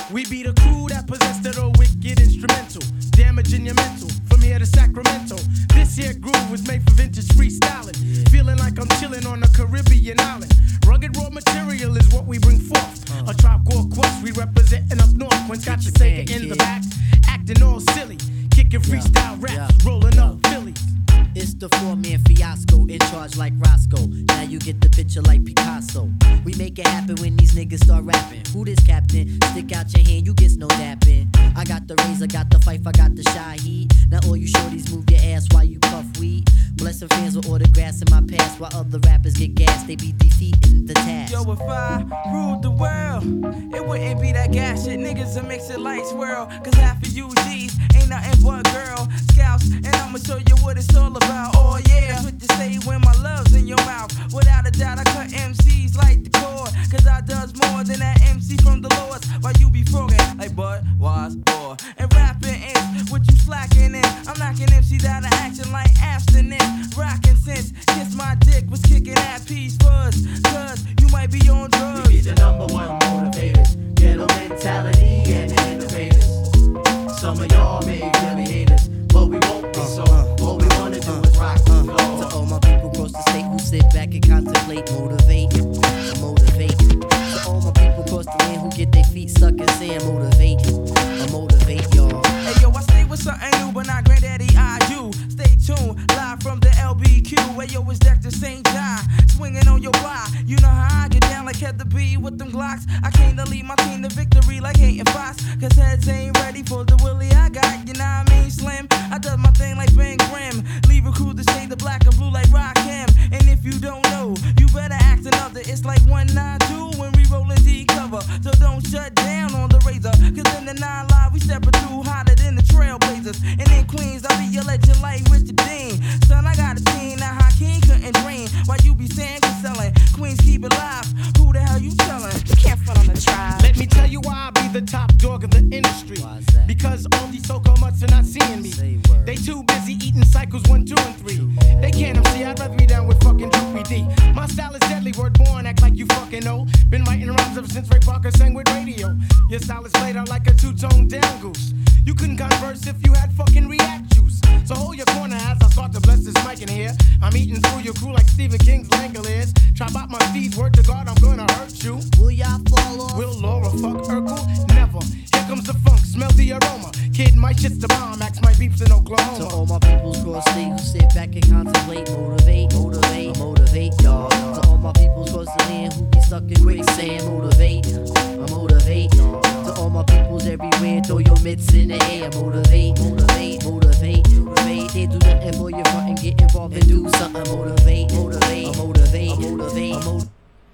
We be the crew that possessed of the wicked instrumental, damaging your mental from here to Sacramento. This here groove was made for vintage freestyling, feeling like I'm chilling on a Caribbean island. Rugged raw material is what we bring forth. A Tribe Called Quest, we representing up north. When got your Sega in the back, acting all silly, kicking freestyle raps, rolling up Philly. It's the four-man fiasco, in charge like Roscoe. Now you get the picture like Picasso. We make it happen when these niggas start rapping. Who this captain? Stick out your hand, you get no napping. I got the razor, got the fife, I got the shy heat. Now all you shorties move your ass while you puff weed. Blessing fans with autographs in my past, while other rappers get gas, they be defeating the task. Yo, if I ruled the world, it wouldn't be that gas shit. Niggas will mix it like swirl, cause half of you G's ain't nothing but girl scouts. And I'ma show you what it's all about. Oh yeah, that's what you say when my love's in your mouth. Without a doubt, I cut M Cs like the cord, cause I does more than that M C from the Lords. While you be frogging like Bud, was, or. And rapping is what you slacking in. I'm knocking M Cs out of action like abstinence. Rockin' since kiss my dick was kicking at peace fuzz, cause you might be on drugs. We be the number one motivators, ghetto mentality and innovators. Some of y'all may really hate us, but we won't be so. All we wanna do is rock the floor. To all my people across the state who sit back and contemplate, motivate, motivate. To all my people across the land who get their feet stuck in sand, motivate, motivate y'all. Hey yo, I stay with something new, but not Granddaddy I do. Stay tuned, live from the L B Q. Where yo is Doctor Saint John, swinging on your block. You know how I get down like Heather B with them Glocks. I came to lead my team to victory like Hayden Fox, cause heads ain't ready for the Willie I got. You know what I mean, Slim? I does my thing like Ben Grimm. Leave a crew to shade the black and blue like Rakim. And if you don't know, you better act another. It's like one nine two when we rollin' D cover. So don't shut down on the razor, cause in the nine live we steppin' through hotter than the Trailblazers. And in Queens I'll be your legend like Richard Dean. Son, I got a team now Hakeem couldn't dream. Why you be saying you're selling? Queens keep it live. Who the hell you tellin'? You can't front on the tribe. Let me tell you why I be the top dog of the industry. Because all these so-called mutts are not seeing me. They too busy eating cycles one, two, and three. They can't M C, I'd rather be down with fucking Droopy D. My style is deadly, word born, act like you fucking know. Been writing rhymes ever since Ray Parker sang with radio. Your style is played out like a two-tone down goose. You couldn't converse if you had fucking React juice. So hold your corner as I start to bless this mic in here. I'm eating through your crew like Stephen King's Langoliers. Chop out my Steve's, word to God, I'm gonna hurt you. Will y'all fall off? Will Laura fuck Urkel? Never. Here comes the funk, smell the aroma. Kid, my shit's the bomb, axe my beeps in Oklahoma. To all my peoples across state who sit back and contemplate, motivate, motivate, motivate y'all. To all my peoples across the land who be stuck in quicksand, motivate, motivate. To all my peoples everywhere, throw your mitts in the air, motivate, motivate, motivate, motivate. They do nothing for your front and get involved and do something, motivate, motivate, motivate, motivate, motivate.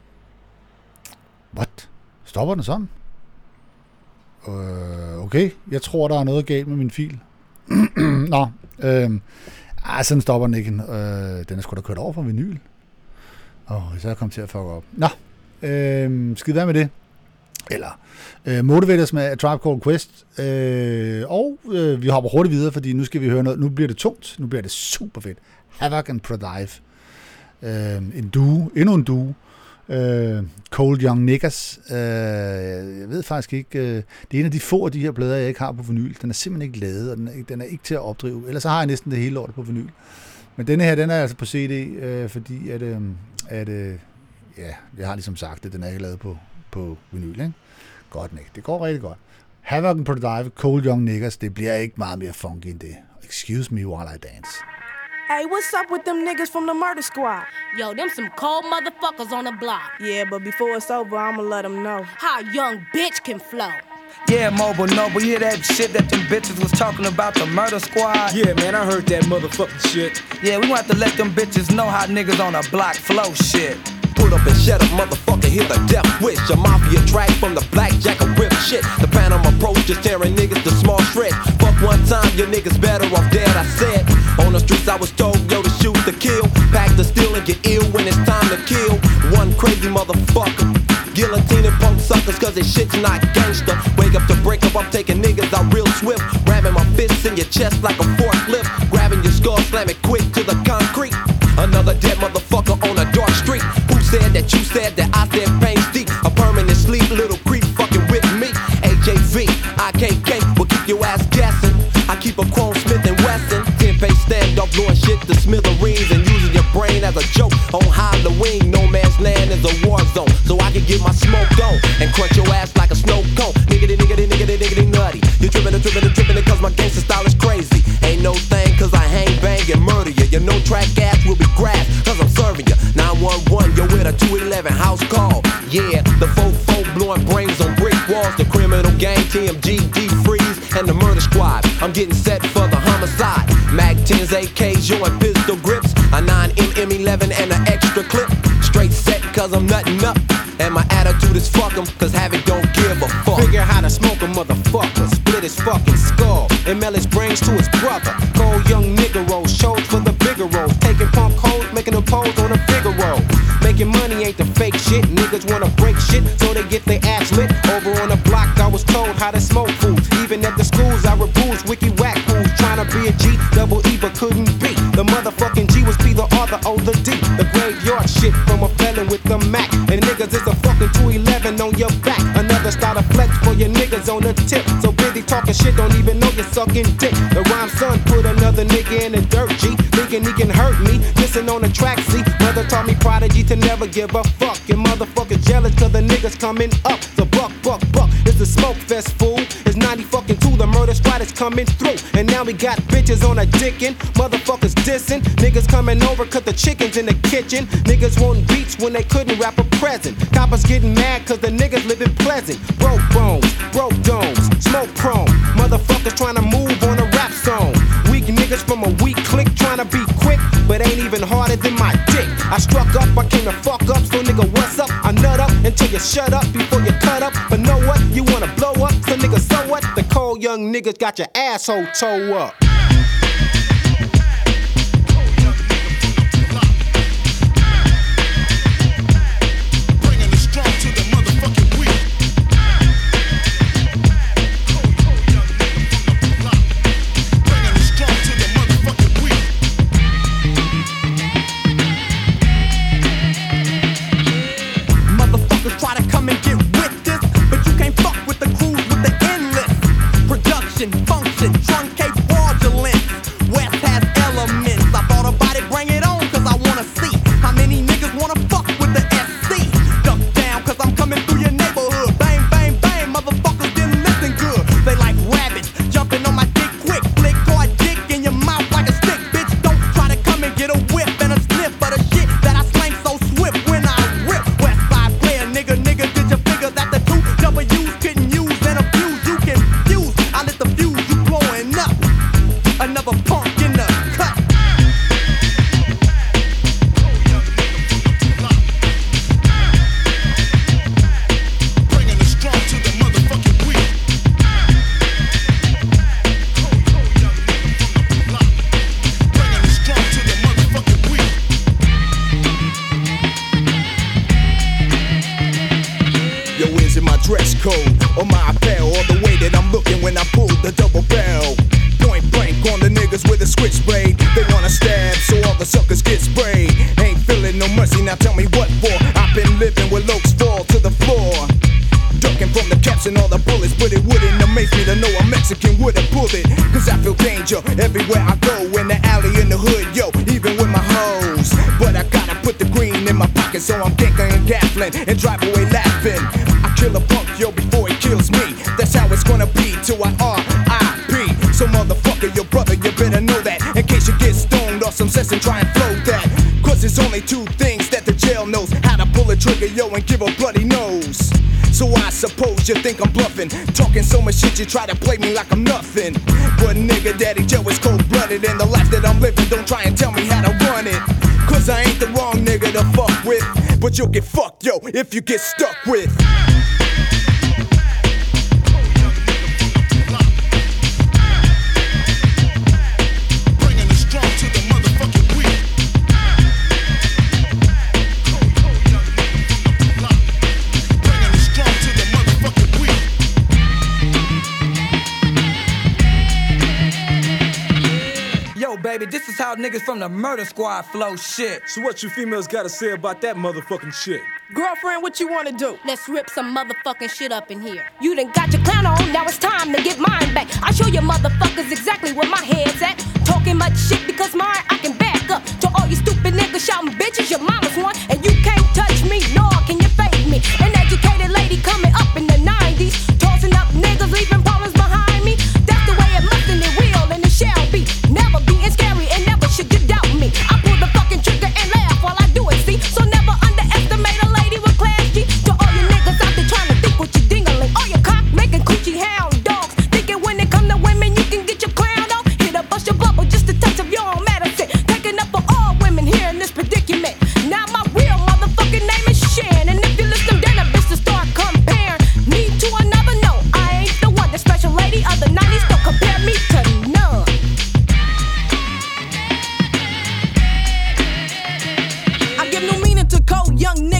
What? Stopper den sådan? Uh, okay, jeg tror, der er noget galt med min fil. Nå, øh, ah, sådan stopper den ikke. Øh, den er sgu da kørt over fra vinyl. Åh, oh, så er jeg kommet til at fuck op. Nå, øh, skid være med det. Eller øh, Motivators med A Tribe Called Quest. Øh, og øh, vi hopper hurtigt videre, fordi nu skal vi høre noget. Nu bliver det tungt. Nu bliver det super fedt. Havoc and Prodive. Øh, en duo. Endnu en duo. Uh, Cold Young Niggas. Uh, jeg ved faktisk ikke. Uh, det er en af de få af de her plader, jeg ikke har på vinyl. Den er simpelthen ikke lavet, og den er, den er ikke til at opdrive. Ellers så har jeg næsten det hele lortet på vinyl. Men denne her, den er altså på C D, uh, fordi at, uh, at uh, ja, jeg har ligesom sagt det, den er ikke lavet på, på vinyl, ikke? Godt ikke. Det går rigtig godt. Havoc and Prodive, Cold Young Niggas, det bliver ikke meget mere funky end det. Excuse me while I dance. Hey, what's up with them niggas from the murder squad? Yo, them some cold motherfuckers on the block. Yeah, but before it's over, I'ma let them know how a young bitch can flow. Yeah, Mobile Noble, you hear that shit that them bitches was talking about, the murder squad? Yeah, man, I heard that motherfucking shit. Yeah, we want to let them bitches know how niggas on a block flow shit. Put up and shut up, motherfucker, hear the death wish. A mafia track from the blackjack and rip shit. The Panama approach just tearing niggas to small shreds. Fuck one time, your niggas better off dead, I said. On the streets I was told, yo, to shoot to kill. Pack to steal and get ill when it's time to kill. One crazy motherfucker. Guillotining punk suckers cause this shit's not gangster. Wake up to break up, I'm taking niggas out real swift. Grabbing my fists in your chest like a forklift. Grabbing your skull, slam it quick to the concrete. Another dead motherfucker on a dark street. Who said that you said that I said pain's deep? A permanent sleep, little creep fucking with me. A J blowing shit to smithereens and using your brain as a joke. On Halloween, no man's land is a war zone, so I can get my smoke on and crunch your ass like a snow cone. Niggity, niggity, niggity, niggity, nutty. You trippin' and trippin' and trippin' cause my gangsta style is crazy. Ain't no thing cause I hang, bang, and murder you. Your no track ass will be grabbed cause I'm serving you. nine one one, you're with a two eleven house call. Yeah, the four four blowing brains on brick walls. The criminal gang, T M G, D-Freeze, and the murder squad. I'm getting set for the homicide. Mag tens, A Ks, joint pistol grips. A nine M M eleven and an extra clip. Straight set cause I'm nutting up. And my attitude is fuck 'em, cause Havoc don't give a fuck. Figure how to smoke a motherfucker, split his fucking skull, and mail his brains to his brother. Cold young nigga rolls, shows for the bigger roles. Taking punk hoes, making a pose on a bigger roll. Making money ain't the fake shit, niggas wanna break shit, so they get their ass lit. Over on the block, I was told how to smoke fools. Even at the schools, I rebules wiki whack fools. Trying to be a G, double E, but couldn't be. The motherfucking G was P, the R, the O, the D. The graveyard shit from a felon with the Mac. And niggas is a fucking two eleven on your back. Another style of flex for your niggas on the tip. So busy talking shit, don't even know you're sucking dick. The rhyme son put another nigga in the dirt, G. Thinking he can hurt me, listen on the track, see. Mother taught me prodigy to never give a fuck. Your motherfuckers jealous cause the niggas coming up. So buck, buck, buck, it's the smoke fest, fool. It's ninety fucking two, the murder squad is coming through. And now we got bitches on a dickin', motherfuckers dissing. Niggas coming over cause the chicken's in the kitchen. Niggas wanting beats when they couldn't rap a present. Coppers getting mad cause the niggas living pleasant. Broke bones, broke domes, smoke prone. Motherfuckers trying to move on a rap song. Weak niggas from a weak clique trying to be quick, but ain't even harder than my dick. I struck up, I came to fuck up, so nigga what's up? I nut up until you shut up before you cut up. But know what? You wanna blow up, so nigga so what? The cold young niggas got your asshole toe up. Function, truncate fraudulence. West has elements. I thought about it, bring it on, cause I wanna see how many niggas wanna fuck with the S C. Duck down, cause I'm coming through your neighborhood. Bang, bang, bang, motherfuckers didn't listen good. They like rabbits, jumping on my dick quick. Flick hard dick in your mouth like a stick, bitch. Don't try to come and get a whip and a sniff of the shit that I slang so swift when I rip. West side player, nigga, nigga, did you figure that the two W's couldn't use and abuse? You can fuse, I lit the fuse. Another punk in the cut. Bringing the strong to the motherfucking weak. Bringing the strong to the motherfucking weak. Yo, is it my dress code or my apparel or the way that I'm looking when I pull the double barrel? Point blank on the niggas with a switchblade. They wanna stab, so all the suckers get sprayed. Ain't feeling no mercy, now tell me what for. I've been living where lokes fall to the floor, ducking from the caps and all the bullets. But it wouldn't amaze me to know a Mexican with a bullet, cause I feel danger everywhere I go. In the alley, in the hood, yo, even with my hoes. But I gotta put the green in my pocket, so I'm ganking and gaffling and drive away laughing. I kill a punk, yo, before he kills me. That's how it's gonna be till I R I P. So motherfucker, your brother, you better know that, in case you get stoned off some cess and try and flow that. Cause there's only two things that the jail knows: how to pull a trigger, yo, and give a bloody nose. So I suppose you think I'm bluffing, talking so much shit you try to play me like I'm nothing. But nigga, Daddy Joe is cold-blooded, and the life that I'm living, don't try and tell me how to run it. Cause I ain't the wrong nigga to fuck with, but you'll get fucked, yo, if you get stuck with. Baby, this is how niggas from the murder squad flow shit. So what you females gotta say about that motherfucking shit? Girlfriend, what you wanna do? Let's rip some motherfucking shit up in here. You done got your clown on, now it's time to get mine back. I show you motherfuckers exactly where my head's at. Talking much shit because my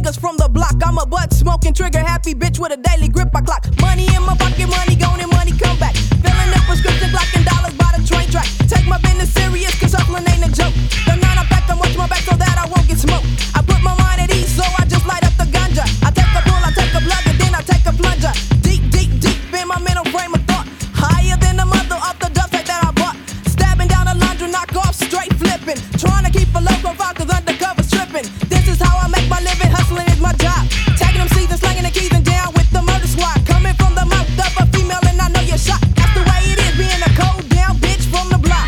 niggas from the block. I'm a butt smoking, trigger happy bitch with a daily grip I clock. Money in my pocket, money gone and money come back. Filling up prescription, clocking dollars by the train track. Take my business serious, cause hustling ain't a joke. The nine I pack, I watch my back so that I won't get smoked. I put my mind at ease, so I just light up the ganja. I take a pull, I take a plug, and then I take a plunger. Deep, deep, deep in my mental frame of thought. Higher than the mother of the dust that I bought. Stabbing down a laundry, knock off, straight flipping. Trying to keep a low profile, cause undercover stripping. This is how I make my living, hustling is my job. Tagging them seeds and slanging the keys and down with the murder squad. Coming from the mouth of a female and I know you're shocked. That's the way it is, being a cold down bitch from the block.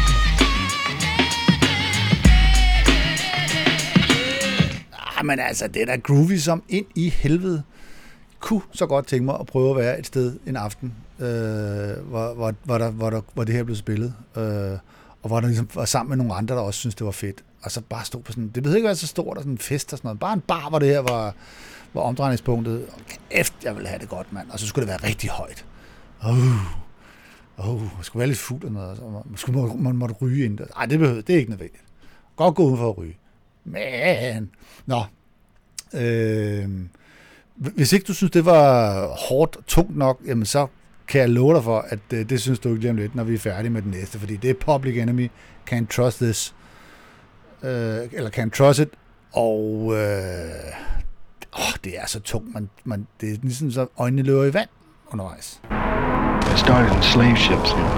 Ah, men altså, det er da groovy som ind i helvede. Kunne så godt tænke mig at prøve at være et sted en aften, øh, hvor, hvor, hvor, der, hvor, der, hvor det her blev spillet, øh, og hvor der ligesom var sammen med nogle andre, der også synes det var fedt. Og så bare stå på sådan, det behøver ikke være så stort, og sådan en fest og sådan noget. Bare en bar, hvor det her var, var omdrejningspunktet. Kæft, jeg ville have det godt, mand. Og så skulle det være rigtig højt. Åh, uh, uh, jeg skulle være lidt fuld og noget. Så man, man måtte ryge ind. Nej, det behøver, det er ikke nødvendigt. Godt gå uden for at ryge. Men, nå. Øh, hvis ikke du synes, det var hårdt og tungt nok, jamen så kan jeg love dig for, at øh, det synes du ikke lige om lidt, når vi er færdige med den næste. Fordi det er Public Enemy, Can't Trust This. Øh, eller Can't Trust It. Og øh, åh, det er så tungt. Man, man, det er ligesom så øjnene løber i vand undervejs. It started in slave ships here.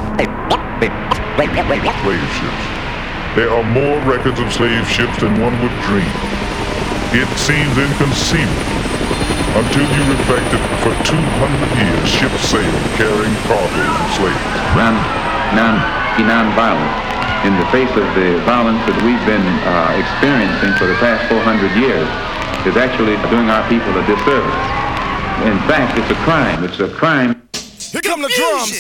Slave ships. There are more records of slave ships than one would dream. It seems inconceivable until you reflect that for two hundred years ships sailed carrying cargo of slaves. Non, non, be non-violent. In the face of the violence that we've been uh, experiencing for the past four hundred years, is actually doing our people a disservice. In fact, it's a crime. It's a crime. Here come the drums.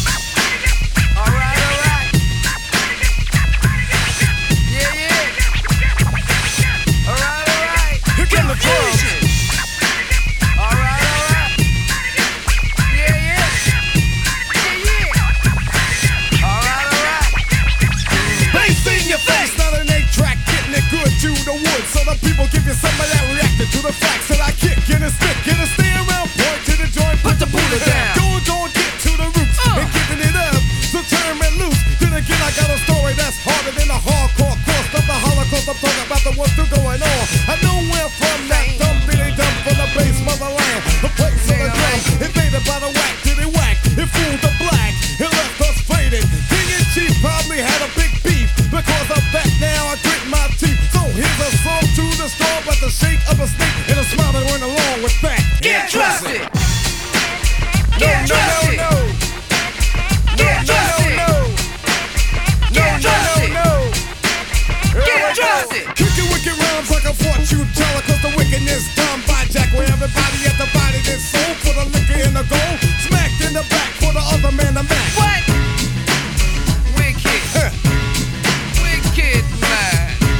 To the woods, so the people give you some of that reacting to the facts that I kick in a stick, in a stay around, point to the joint, put the Buddha down. Go and go and get to the roots uh. and giving it up, so turn and loose. Then again, I got a story that's harder than a hardcore course of the Holocaust. I'm talking about the what's still going on. I know where from that dumb billy dumb from the base motherland, the place of the drum, invaded by the whack to the whack. It fooled the black, it left us faded. King and Chief probably had a big beef because of that. Now I grit my teeth. Here's a song to the storm, but the shake of a snake and a smile that went along with that. Get trusted. No, Get no, trusted. no, no. Get trusted. No, no, Get no, trusted. no, no. Get trusted. Kicking wicked rhymes like a fortune teller, cause the wickedness done by Jack, where everybody at the body is sold for the liquor and the gold. Smacked in the back for the other man to match. What? Wicked. Huh. Wicked man.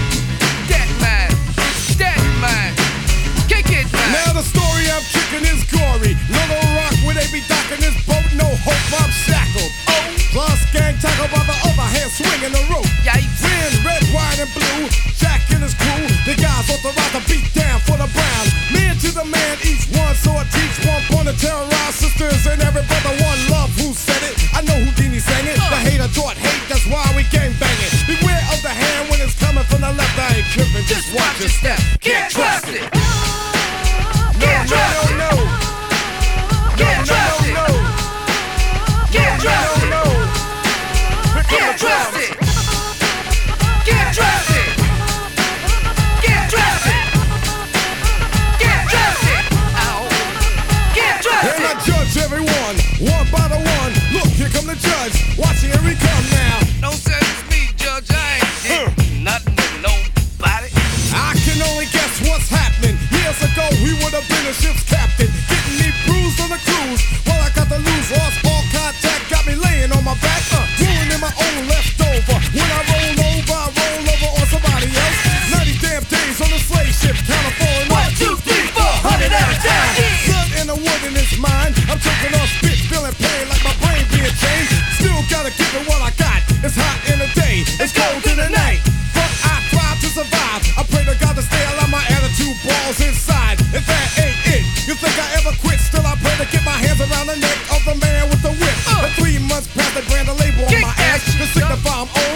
Now the story I'm kicking is gory. Little Rock where they be docking this boat, no hope I'm shackled. Oh, plus gang tackle by the other hand swinging the rope. Yikes. Red, red, white, and blue. Jack and his crew, the guys authorized to beat down for the brown. Man to the man, each one sword teach one point to terrorize sisters and every brother one love. Who said it? I know Houdini sang it. The hater taught hate, that's why we gang banging. Beware of the hand when it's coming from the left. I ain't tripping, just watch your step. Get trusted. Get trusted. No, no, no. Get trusted. No, no, no. Get trusted. No, no, no. Get trusted. Get trusted. Get trusted. Get trusted. Ow. Get trusted. And I judge everyone, one by the one. Look, here come the judge. Watching here he come now. Don't say it's me, Judge. I ain't did nothing to nobody. I can only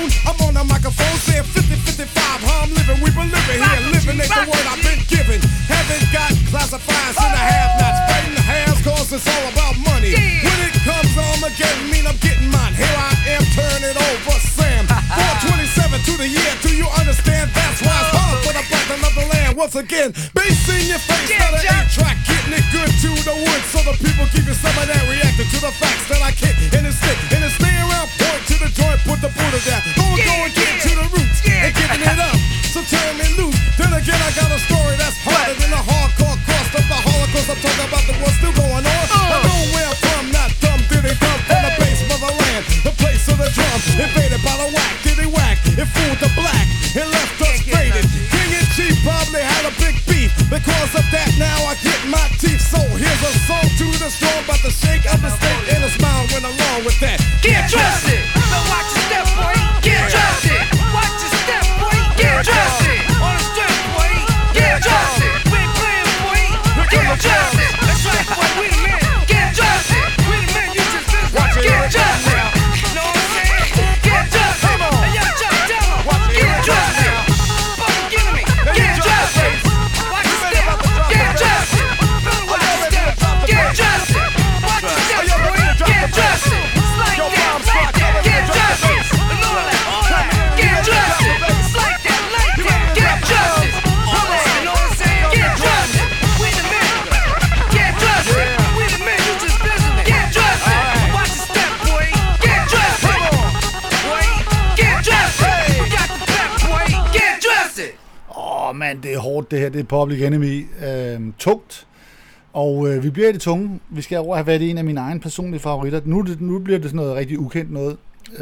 phone. I'm on the microphone saying fifty fifty-five. How I'm living, we been living here. Living ain't the word I've been given. Haven't got classifieds in the have-nots. Fighting the haves cause it's all about money. When it comes to Armageddon, mean I'm getting mine. Here I am, turn it over, Sam. four twenty-seven to the year, do you understand? That's why it's hard for the button of the land. Once again, bass in your face, not an eight-track, getting it good to the wood. So the people keep it some of that reacting to the facts that I kick in the stick. And then stay around, point to the joint, put the Buddha down. Gonna go and get to the roots and giving it up. So turn me loose. Then again, I got a story that's harder than the hardcore cost of the Holocaust. I'm talking about the what's still going on. I know where I'm from, not dumb. Did they come from the base motherland, the place of the drum, invaded by the whack? Did they whack? It fooled the black and left us faded. King and Chief probably had a big beef. Because of that, now I get my teeth. So here's a song to the storm about the shake of the state and a smile went along with that. Get dressed! So watch your step, boy. Get dressed! Watch your step, boy. Get dressed! On the step, boy. Get dressed! We ain't playing, boy. Get dressed! That's right, boy. We the men. Get dressed! We the men. You just business. Get dressed! Know what I'm saying? Get dressed! Hey, yo, Chuck, tell 'em. Get dressed! Fucking give me. Get dressed! Watch your step. Get dressed! Watch your step. Get dressed! Watch your step, boy. Get dressed! It's like that, like that. Get dressed! And all that, all that. Get dressed! It's like that, like that. Get dressed! All that, you know what I'm saying? Get dressed! We the men. Get dressed! We the men. You just business. Get dressed! Watch your step, boy. Get dressed! Boy, get dressed! We got the back, boy. Get dressed! Åh, oh, mand, det er hårdt, det her. Det er Public Enemy. Øhm, tungt. Og øh, vi bliver i det tunge. Vi skal over have været i en af mine egne personlige favoritter. Nu, det, nu bliver det sådan noget rigtig ukendt noget.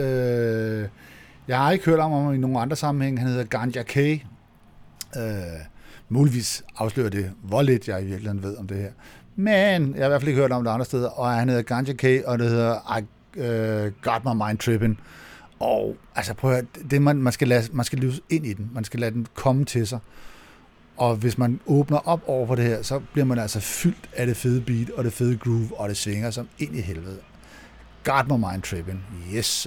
Øh, jeg har ikke hørt om ham i nogen andre sammenhæng. Han hedder Ganja K. Øh, muligvis afslører det, hvor lidt jeg i virkeligheden ved om det her. Men jeg har i hvert fald ikke hørt om det andre steder. Og han hedder Ganja K, og det hedder I uh, Got My Mind Trippin'. Og altså prøv at høre, det, man, man, skal lade, man skal løse ind i den. Man skal lade den komme til sig. Og hvis man åbner op over for det her, så bliver man altså fyldt af det fede beat, og det fede groove, og det svinger som ind i helvede. Got My Mind Trippin'. Yes, sir.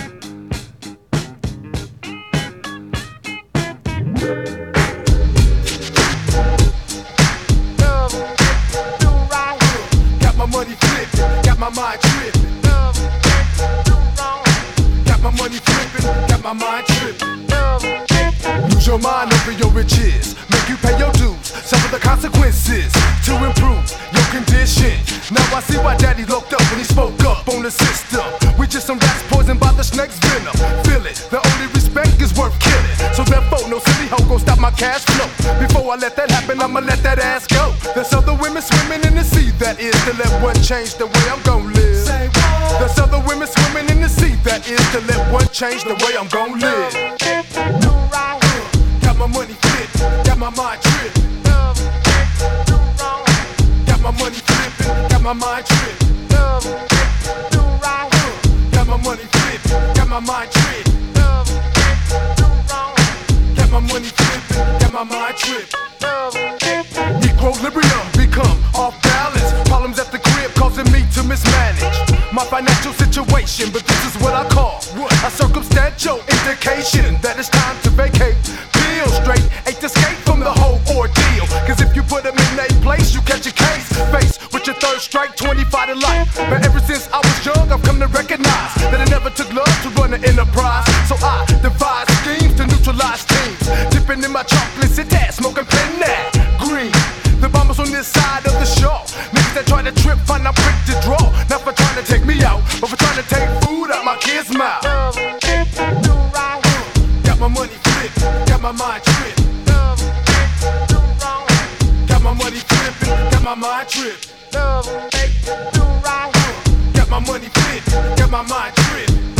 Got my money flippin', got my mind trippin'. Got my money flippin', got my mind trippin'. Lose your mind over your riches, make you pay your dues, suffer the consequences to improve your condition. Now I see why daddy looked up when he spoke up on the system. We just some rats poisoned by the snake's venom. Feel it, the only respect is worth killing. So therefore, no silly hoe gon' stop my cash flow. Before I let that happen, I'ma let that ass go. There's other women swimming in the sea, that is to let one change the way I'm gon' live. There's other women swimming in the sea, that is to let one change the way I'm gon' live. Got my money flippin', got my mind trippin'. Got my money flippin', got my mind trippin'. Got my money flippin', got my mind trippin'. Got my money flippin', got my mind trippin'. Equilibrium become off balance. Problems at the crib causing me to mismanage my financial situation, but this is what I call a circumstantial indication that it's time to vacate. Feel straight, ain't escape from the whole ordeal. Cause if you put them in a place, you catch a case. Face with your third strike, twenty-five to life. But ever since I was young, I've come to recognize that it never took love to run an enterprise. So I devise schemes to neutralize teams. Dipping in my chocolate city, smoking pennant green. The bombers on this side of the shore. Niggas that try to trip, find I'm quick to draw. Not for trying to take me out, but for trying to take food out my kids' mouth. Got my money flippin', got my mind trippin'. Got my money flippin', got my mind trippin'. Got my money flippin', got my mind trippin'.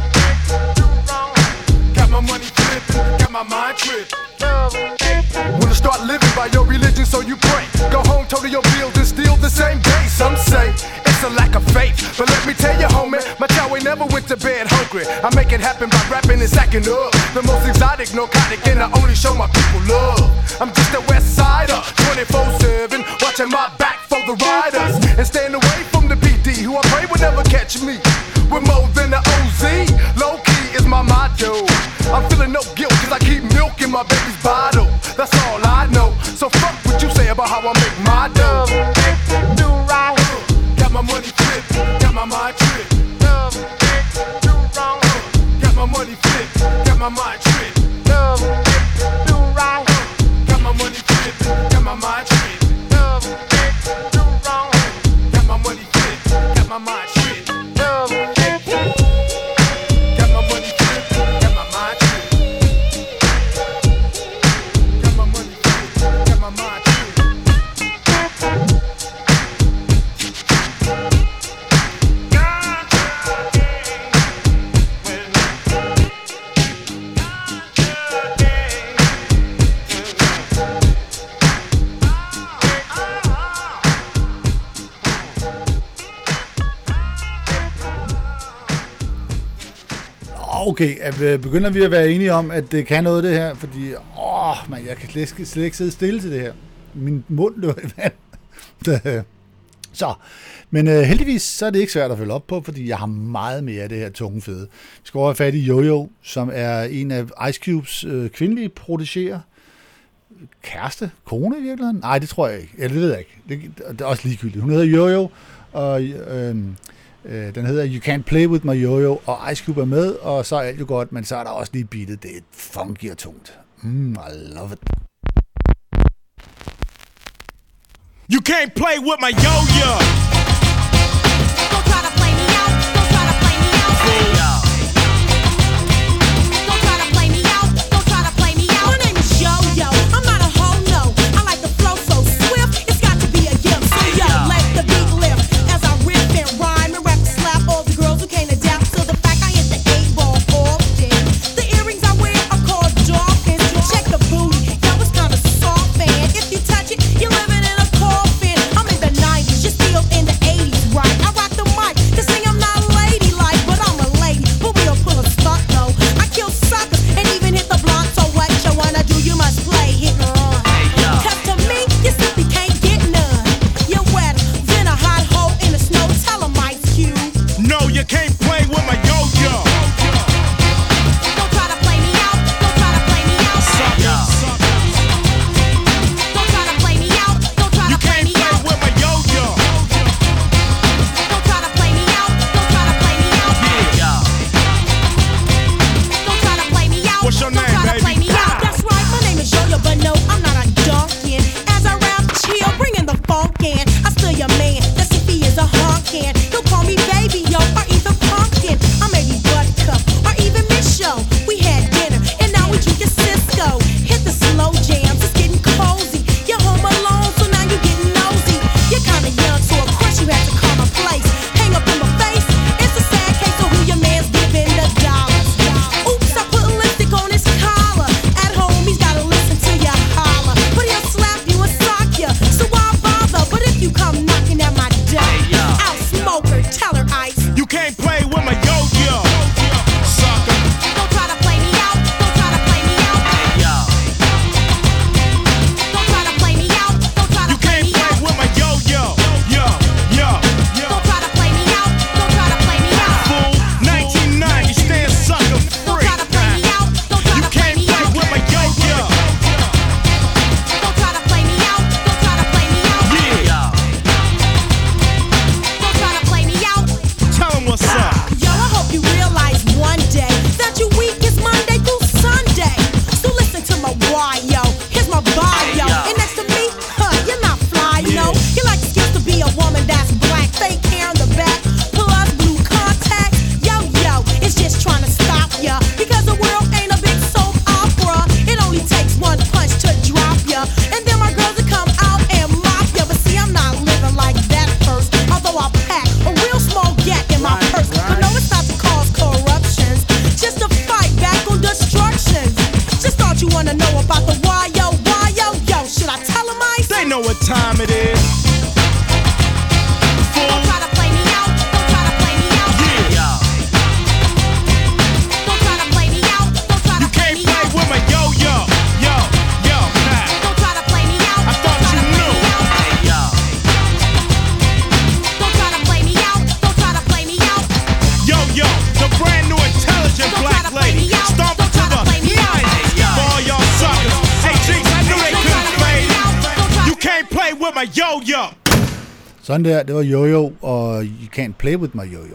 Got my money flippin', got my mind trippin'. Wanna start living by your religion, so you pray. Go home, total your bills, and steal the same day. Some say it's a lack of faith, but let me tell you, homie, my chow ain't never went to bed hungry. I make it happen by rapping and sacking up. The most exotic, narcotic, and I only show my people love. I'm just a West Sider, twenty-four seven, watching my back for the riders, and staying away from the P D, who I pray will never catch me with more than the O Z. Low key is my motto. dough. I'm feeling no guilt cause I keep milk in my baby's bottle. That's all I know. So fuck what you say about how I make my dough. Do right. Got my money flipped, got my mind tripped. Do wrong. Got my money flipped, got my mind tripped. Do right. Got my money flipped, got my mind tripped. Do wrong. Got my money flipped, got my mind tripped. Okay, begynder vi at være enige om, at det kan noget det her, fordi åh, man, jeg kan slet, slet ikke sidde stille til det her. Min mund løber i vand. Så, men øh, heldigvis så er det ikke svært at følge op på, fordi jeg har meget mere af det her tunge fede. Vi skal over have fat i Jojo, som er en af Ice Cubes øh, kvindelige protégéer. Kæreste? Kone i virkeligheden? Nej, det tror jeg ikke. Eller det ved jeg ikke. Det, det er også ligegyldigt. Hun hedder Jojo, og øh, øh, den hedder You Can't Play With My Jojo, og Ice Cube er med, og så er alt jo godt, men så er der også lige beatet. Det er funky og tungt. Mm, I love it. You can't play with my yo-yo. Don't try to play me out. Don't try to play me out. Don't try to play me out. Don't try to play me out. My name is Yo-Yo. I'm not a hoe, no. I like the flow so swift. It's got to be a gift. So yo, let the beat lift as I rip and rhyme and rap slap all the girls who can't adapt to the fact I hit the eight ball often. The earrings I wear are called dolphins. Check the booty. Yo, it's kind of soft, man. If you touch it, you're living in a coffin. I'm in the nineties, you're still in the eighties, right? I rock the mic, this thing I'm not ladylike, but I'm a lady. But we'll pull a stunt, no. I kill suckers and even hit the blunt. So what you wanna do, you must play hit and run. Cause to me, you simply can't get none. You're wetter than a hot hole in the snow. Tell 'em Ice Cube. No, you can't play with my yo-yo. Don't try to play me out. Don't try to play me out. Don't try to play me out. Don't try to play me out. With my yo-yo. Don't try to play me out. Don't try to play me out. Don't try to play me out. What's your Don't name, try to baby? play me out. That's right, my name is Yo-Yo, but no, I'm not a Dunkin'. As I rap, chill, bringing the funk in. I still your man, that's if he is a honkin'. He'll call me baby, yo, or even pumpkin. I may be Buttercup, or even Miss Show. We had dinner, and now we drinking Cisco. Hit the slow jams, it's getting cozy. You're home alone, so now you're getting nosy. You're kinda young, so of course you have to call my place. Hang up in my face, it's a sad case of who your man's giving the dollars. Oops, I put lipstick on his collar. At home, he's gotta listen to you holler. But he'll slap you and sock you, so why bother? But if you come knocking at my door, I'll smoke her, tell her Ice. You can't play with my yo-yo. Sucker. Don't try to play me out. Don't try to play me out. Don't try to play me out. Don't try to You play can't me play out. with my yo-yo. Yo, yo, yo. Don't try to play me out. Don't try to play me out. Fool, nineteen ninety, stand sucker Don't free. try to play me out. Don't try You to play can't me play out. with my yo-yo. Don't try to play me out. Don't try to play me out. Yeah, Don't try to play me out. tell 'em what's up. Yo, I hope you realize one day that your week is Monday through Sunday. So listen to my why, yo. Here's my bio. And next to me, huh, you're not fly, no. You like excuse to be a woman that's black, fake hair in the back, plus blue contacts. Yo, yo, it's just trying to stop ya. Because the world ain't a big soap opera. It only takes one punch to drop ya. And then my girls will come out and mop ya. But see, I'm not living like that first. Although I pack a real small gap in my purse. But no, it's not to cause corruptions. Just to fight back on destructions. Just thought you wanna know about the why, yo, why, yo, yo. Should I tell 'em Ice? They know what time it is. Don't try to play me out. Don't try to play me out. Yeah, Don't try to play me out. Don't try to you play can't me play out. with my yo-yo. Yo, yo, nah. Don't try to play me out. I thought Don't try you to play knew. me out. Don't try to play me out. Don't try to play me out. Yo-yo, the brand new intelligent Don't try black to play lady. me out. my yo-yo. Sådan der, det var Yo-Yo, og You Can't Play With My Yo-Yo.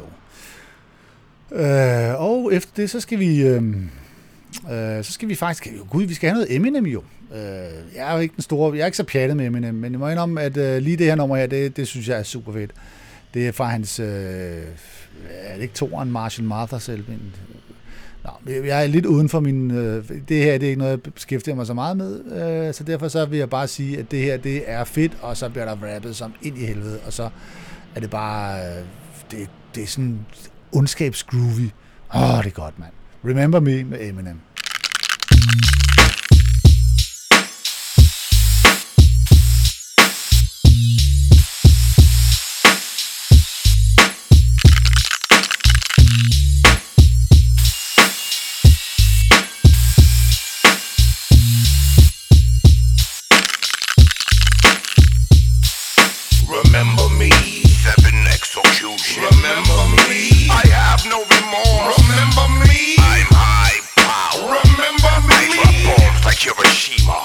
Øh, og efter det, så skal vi... Øh, øh, så skal vi faktisk... Gud, vi skal have noget Eminem jo. Øh, jeg er jo ikke den store... Jeg er ikke så pjattet med Eminem, men jeg må indrømme, at øh, lige det her nummer her, det, det synes jeg er super fedt. Det er fra hans... Øh, er det ikke toeren, Marshall Mathers selv? Nå, jeg er lidt uden for min... Øh, det her, det er ikke noget, jeg beskæftiger mig så meget med, øh, så derfor så vil jeg bare sige, at det her, det er fedt, og så bliver der rappet som ind i helvede, og så er det bare... Øh, det, det er sådan ondskabsgroovy. Åh, oh, det er godt, mand. Remember Me med Eminem. Remember me, seven execution. Remember me, I have no remorse. Remember me, I'm high power. Remember me, I drop bombs like Hiroshima.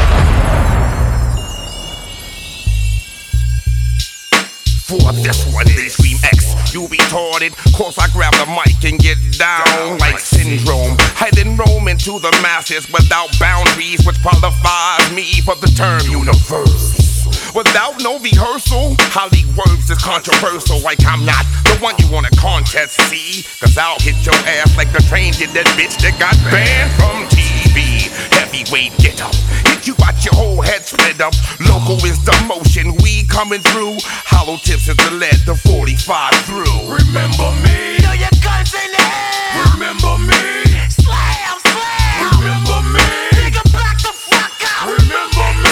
For this one, they scream X, you retarded. Cause I grab the mic and get down like syndrome. Hiding roam into the masses without boundaries, which qualifies me for the term universe. Without no rehearsal, Hollywood is controversial. Like I'm not the one you want to contest, see? Cause I'll hit your ass like the train did that bitch that got banned from T V. Heavyweight get up, hit you got your whole head split up. Local is the motion, we coming through. Hollow tips is the lead, the forty-five through. Remember me, throw your guns in the air. Remember me, slam, slam. Remember me, nigga back the fuck out. Remember me.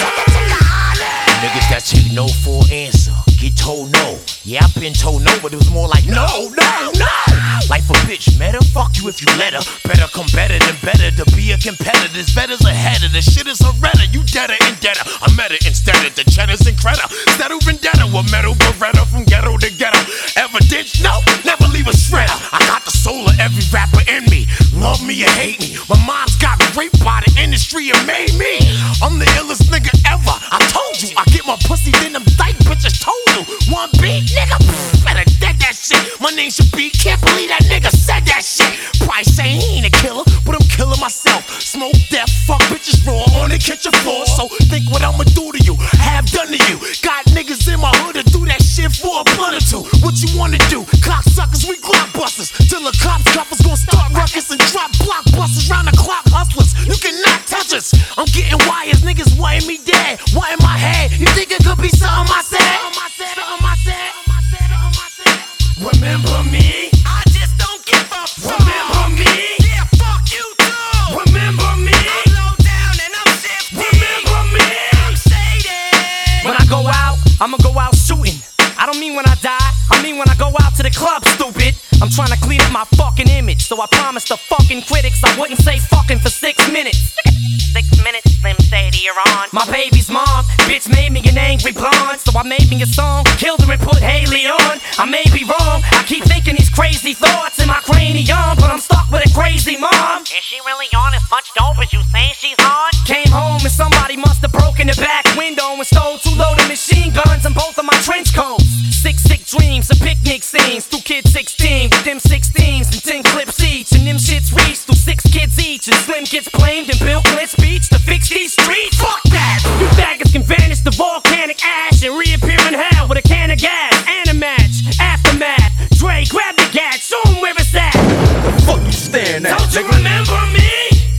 Niggas that take no for answer, get told no. Yeah, I've been told no, but it was more like no, no, no. Life a bitch, matter, fuck you if you let her. Better come better than better to be a competitor. This better's ahead of the shit is a redder. You deader and deader. I met it instead of the cheddars and credit. Settle vendetta with metal beretta from ghetto to ghetto. Evidence, no, never leave a shredder. I got the soul of every rapper in me. Love me or hate me. My mom's got raped by the industry and made me. I'm the illest nigga ever. I told you, I get my pussy, then them dyke bitches told you. One beat, nigga, pff, better dead that shit. My name should be, can't believe that nigga said that shit. Price say he ain't a killer, but I'm killing myself. Smoke death, fuck bitches raw on the kitchen floor. So think what I'ma do to you, have done to you. Got niggas in my hood to do that shit for a blunt or two. What you wanna do? Cocksuckers, we blockbusters. Till the cops cuffers gon' start ruckus and drop blockbusters round the clock hustlers. You cannot touch us. I'm getting wires, niggas wanting me dead. What in my head? You think it could be something I said? Something I said, something I said, something I said. Remember me? I just don't give a fuck. Remember me? Yeah, fuck you too. Remember me? I'm low down and I'm shifty. Remember me? I'm shaded. When I go out, I'ma go out shooting. I don't mean when I die, I mean when I go out to the club, stupid. I'm trying to clean up my fucking image, so I promised the fucking critics I wouldn't say fucking for six minutes. Six minutes, Slim Shady, you're on. My baby's mom, bitch made me an angry blonde, so I made me a song, killed her and put Haley on. I may be wrong, I keep thinking these crazy thoughts in my cranium, but I'm stuck with a crazy mom. Is she really on as much dope as you say she's on? Came home and somebody must have broken the back window and stole two loaded machine guns and both of my trench coats. Six sick dreams and picnic scenes, two kids sixteen with them sixteens and ten clips each, and them shits reached through six kids each, and Slim gets blamed and Bill Clinton speech to fix these streets. Fuck that! You faggots can vanish to volcanic ash and reappear in hell with a can of gas and a match. Aftermath, Dre, grab the gat, show him where it's at. The fuck you staring at? Don't you remember me?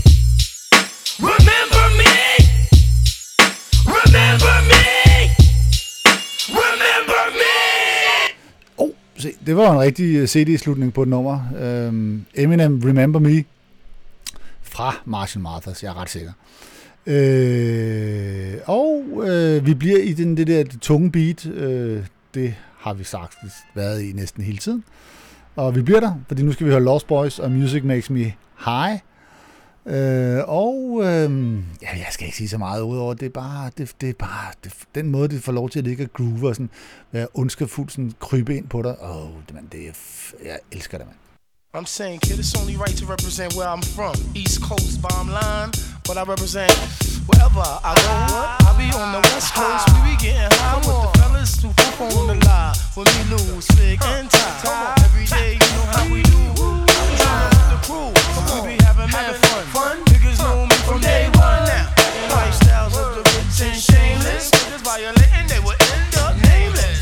Remember me? Remember me? Remember me? Oh, se, det var en rigtig C D-slutning på et nummer. Um, Eminem, Remember Me, fra Marshall Mathers, jeg er ret sikker. Uh, og uh, vi bliver i den, det der det tunge beat. Uh, det har vi sagt været i næsten hele tiden. Og vi bliver der, fordi nu skal vi høre Lost Boys og Music Makes Me High. Øh, og øh, ja, jeg skal ikke sige så meget udover, det er bare, det, det er bare det, den måde, det får lov til at ligge og groove og sådan, være ondskabfuldt, sådan krybe ind på dig. Åh, oh, man, det er, jeg elsker det, mand. I'm saying, kid, it's only right to represent where I'm from. East Coast, bottom line. But I represent Wherever I go, I be on the West Coast. We be getting high with the fellas who fuck on the line. With me, Lou, Fig, and Ty. Every day, you know how we do. I'm trying with the crew. We be having mad fun. Niggas know me from day one now. Lifestyles of the rich and shameless. Niggas violating, they will end up nameless.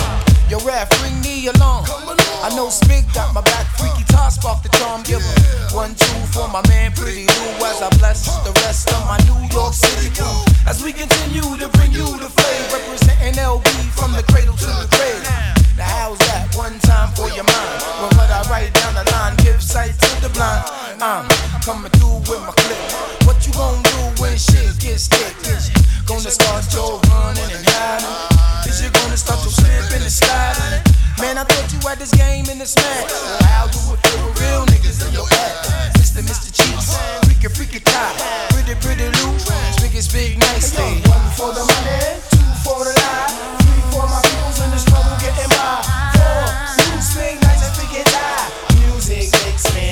Yo, rap, bring me along. I know Spig got my back, freaky toss, spark the charm giver. One, two for my man, Pretty Lou, as I bless the rest of my New York City crew. As we continue to bring you the flame, representing L B from the cradle to the grave. Now how's that? One time for your mind. When what I write down the line, give sight to the blind. I'm coming through with my clip. What you gon' do when shit gets thick? Is you gonna start your running and hiding? Is you gonna start your slipping and sliding? Man, I thought you had this game in this match. How do it feel with real niggas in your ass? Mister Mister Cheeks, freaky freaky tie, pretty pretty Lou, biggest big nice thing. One for the money, two for the lie, three for my peoples in the struggle getting by. Four, you swing nice and freaky tie. Music makes me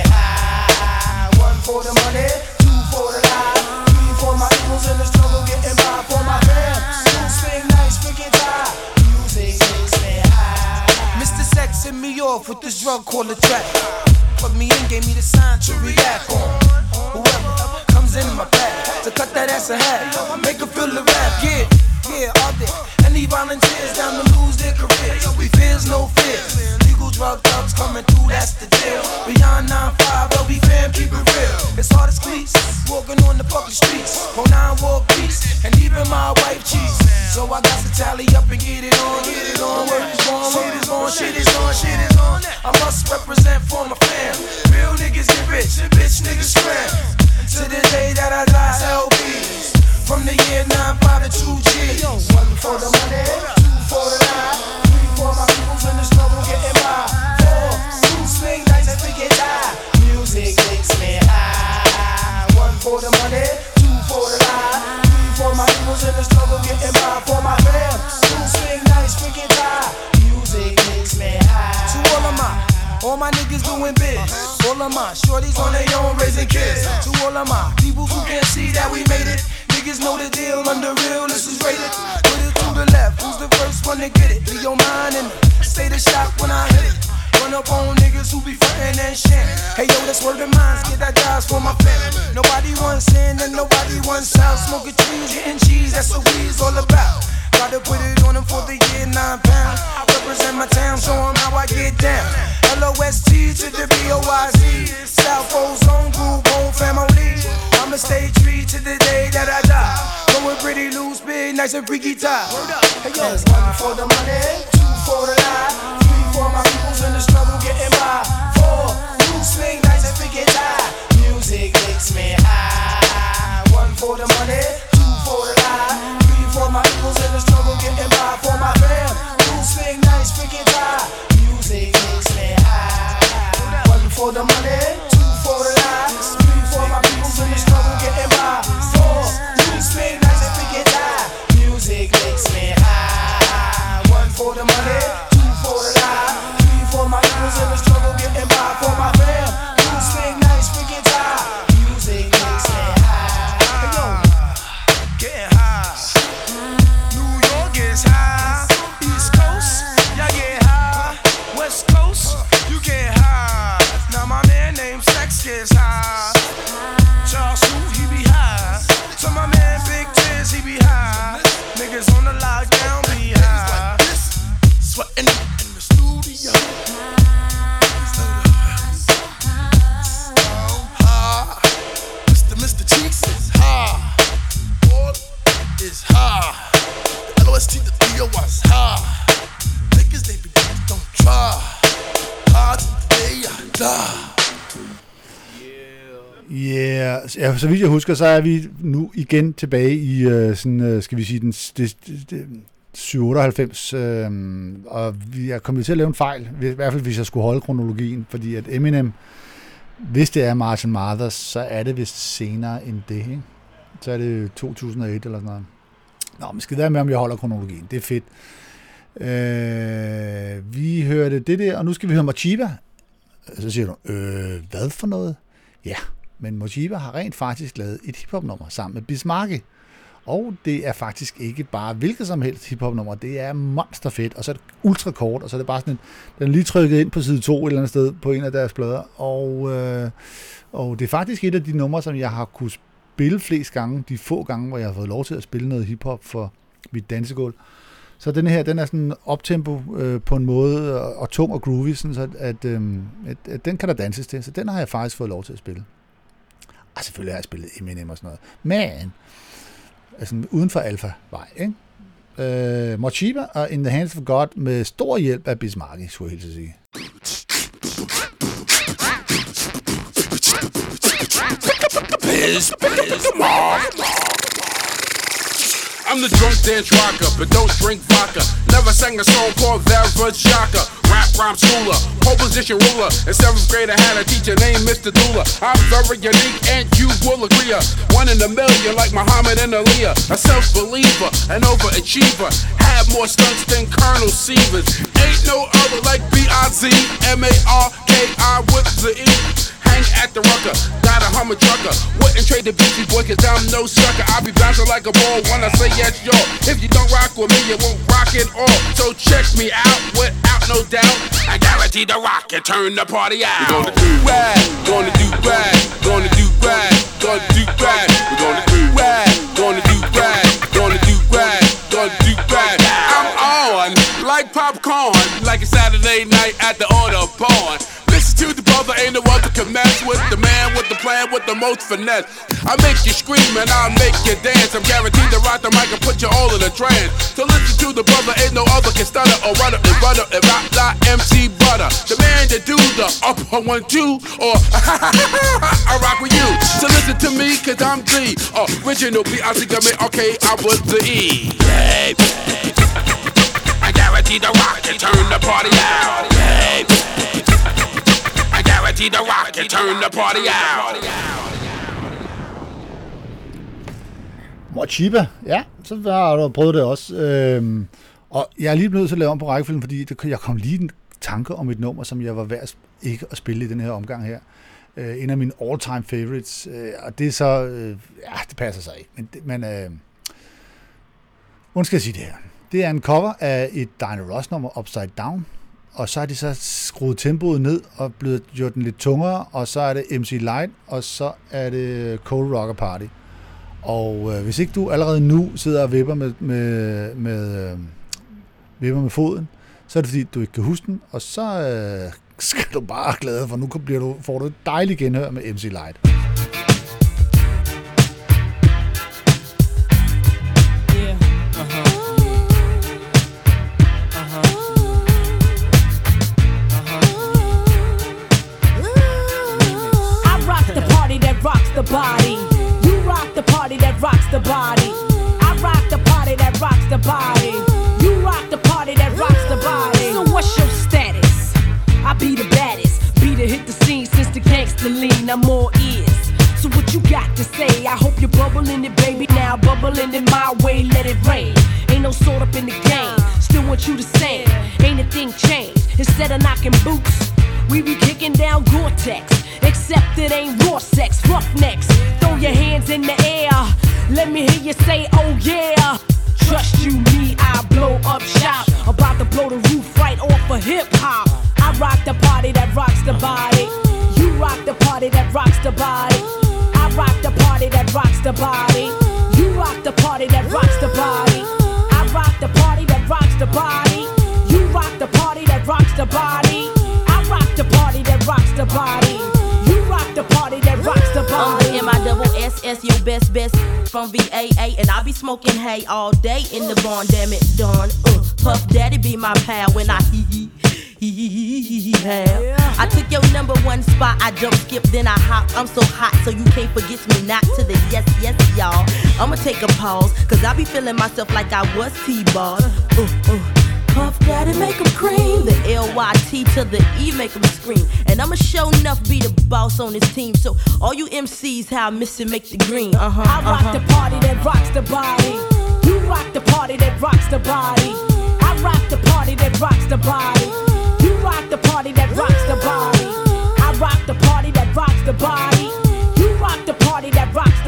high. One for the money, two for the lie, three for my peoples in the struggle getting by. For my fam, you swing nice freaky tie. Music makes me high. Mister Sex hit me off with this drug called a track. Put me in, gave me the sign to react on. Whoever comes in my path to cut that ass a hat, make her feel the rap. Yeah, yeah, all there. Any volunteers down to lose their careers? We fears, no fears. Legal drug thugs coming through, that's the deal. Beyond nine five, L B fam, keep it real. It's hard as cleats, walking on the fucking streets. Oh nine war beats, and even my wife cheats. So I got to tally up and get it on, get it on. Work is on, shit is on, shit is on, shit is on. I must represent for my fam. Real niggas get rich, bitch niggas scram. To the day that I die, L B's. From the year nine five to two G's. One for the money, two for the lie, three for my peoples in the struggle getting by. Four, two swing nights and forget die. Music makes me high. One for the money, two for the lie, three for my peoples in the struggle getting by. For my fam, two swing nights forget die. Music makes me high. To all of my all my niggas doing biz. All of my shorties on their own raising kids. To all of my people who can't see that we made it. Niggas know the deal, under real, this is rated. Put it to the left, who's the first one to get it? Be your mind in the state of shock when I hit it. Run up on niggas who be frontin' and shit. Hey yo, that's word of mine, get that jobs for my family. Nobody wants in and nobody wants out. Smoking trees, getting cheese, that's what we's all about. Gotta put it on them for the year nine pound. I represent my town, show them how I get down. L O S T to the B O Y Z. South Ozone Group, whole family. I'ma stay true to the day that I die. Going pretty loose, big, nice and freaky tie. Hey yo, one for the money, two for the lie, three for my peoples in the struggle getting by. Four, you swing nice and freaky tie. Music makes me high. One for the money, two for the lie, three for my peoples in the struggle getting by. For my fam, you swing nice freaky tie. Music makes me high. One for the money, two for the lie, three for my peoples in the struggle getting by. Four, you swing nice and freaky tie. Music makes me high. One for the money, two for the lie, three for my peoples in the struggle getting by. For my fam, you swing nice freaky tie. Music makes me high. Hey yo, getting high. New York is high. East Coast, y'all get high. West Coast, you get high. Now my man named Sex gets high. Charles Sue, he be high. So my man Big Tiz, he be high. Niggas on the lockdown be high. Sweating in the studio. So high. Mister Mister Cheeks is high. All is high. The L O S T, the B O was high. Niggas, they be don't try. Hard day I die. Yeah, ja, så vidt jeg husker, så er vi nu igen tilbage i uh, sådan, uh, skal vi sige, den det, det, syv otteoghalvfems, øh, og vi er kommet til at lave en fejl, i hvert fald hvis jeg skulle holde kronologien, fordi at Eminem, hvis det er Marshall Mathers, så er det vist senere end det, ikke? Så er det to tusind og et eller sådan noget. Nå, men skal det være med, om jeg holder kronologien, det er fedt. Øh, vi hørte det der, og nu skal vi høre Machiba. Så siger du, øh, hvad for noget? Ja, Men Mochiba har rent faktisk lavet et hiphop-nummer sammen med Bismarcky. Og det er faktisk ikke bare hvilket som helst hiphop-nummer. Det er monsterfedt, og så er det ultra kort, og så er det bare sådan en, den er lige trykket ind på side to et eller andet sted på en af deres plader. Og, øh, og det er faktisk et af de numre, som jeg har kunne spille flest gange, de få gange, hvor jeg har fået lov til at spille noget hiphop for mit dansegulv. Så den her, den er sådan optempo øh, på en måde, og, og tung og groovy, sådan så at, øh, at, at den kan der danses til. Så den har jeg faktisk fået lov til at spille. Og selvfølgelig har jeg spillet Eminem og sådan noget. Men altså uden for alfa-vej, ikke? Øh, Mochiba og In the Hands of God med stor hjælp af Bismarcky, skulle jeg helt sige. Biz, biz, I'm the drunk dance rocker, but don't drink vodka. Never sang a song called Shaka. Rap rhyme schooler, pole position ruler. In seventh grade I had a teacher named Mister Dula. I'm very unique and you will agree. One in a million like Muhammad and Aaliyah. A self-believer, an overachiever. Had more stunts than Colonel Sievers. Ain't no other like B I Z M A R K I with the E. Hang at the rucker, got a Hummer trucker. Wouldn't trade the Beastie Boy cause I'm no sucker. I be bouncing like a ball when I say yes, yo. If you don't rock with me, you won't rock it all. So check me out without no doubt. I guarantee the rock and turn the party out. We're gonna do rag, gonna do rag, gonna do rag, gonna do rag. We're gonna do rag, gonna do rag, gonna do rag, gonna do rag. I'm on like popcorn, like a Saturday night at the auto pawn. Listen to the brother, ain't no other can mess with the man with the plan with the most finesse. I make you scream and I make you dance. I'm guaranteed to rock the mic and put you all in a trance. So listen to the brother, ain't no other can stutter or run up and run up and rock like M C Butter. The man that do the up on one two or I rock with you. So listen to me cause I'm the original B I C coming, okay, I was the E. Hey, I guarantee the rock and turn the party out. Hey, I guarantee the rock and turn the party out. Mochiba, ja, så har du prøvet det også. Øhm, og jeg er lige nødt til at lave om på rækkefølgen, fordi det, jeg kom lige en tanke om et nummer, som jeg var værd ikke at spille i den her omgang her. Øh, en af mine all-time favorites, øh, og det er så, øh, ja, det passer sig ikke, men, men øh, hvordan skal jeg sige det her? Det er en cover af et Diana Ross nummer, Upside Down, og så har de så skruet tempoet ned og blevet gjort den lidt tungere, og så er det M C Light, og så er det Cold Rocker Party. Og øh, hvis ikke du allerede nu sidder og vipper med, med, med, øh, vipper med foden, så er det fordi, du ikke kan huske den, og så øh, skal du bare glade, for nu bliver du, får du et dejligt genhør med M C Light. The body, you rock the party that rocks the body. I rock the party that rocks the body. You rock the party that rocks the body. So what's your status? I be the baddest, be the hit the scene since the gangster lean. I'm all ears. So what you got to say? I hope you're bubbling it, baby. Now bubbling it my way, let it rain. Ain't no sort up in the game. Still want you to sing. Ain't a thing changed. Instead of knocking boots, we be kicking down Gore-Tex. Except it ain't raw sex, roughnecks. Throw your hands in the air. Let me hear you say, oh yeah. Trust you, me, I blow up shop. About to blow the roof right off of hip-hop. I rock the party that rocks the body. You rock the party that rocks the body. I rock the party that rocks the body. You rock the party that rocks the body. I rock the party that rocks the body. You rock the party that rocks the body. I rock the party that rocks the body. The party that rocks the body. I'm the M I double S S, your best best from V A A, and I be smoking hay all day in the barn. Damn it, Dawn. Uh, Puff Daddy be my pal when I hee hee hee hee hee hee have. I took your number one spot. I jump, skip, then I hop. I'm so hot, so you can't forget me not to the yes, yes, y'all. I'ma take a pause, cause I be feeling myself like I was T-ball. Uh, uh. Puff Daddy make 'em cream. The L Y T to the E make 'em scream. And I'ma show enough be the boss on this team. So all you M Cs, how I miss it, make the green. Uh-huh, I rock uh-huh. the party that rocks the body. You rock the party that rocks the body. I rock the party that rocks the body. You rock the party that rocks the body. I rock the party that rocks the body. You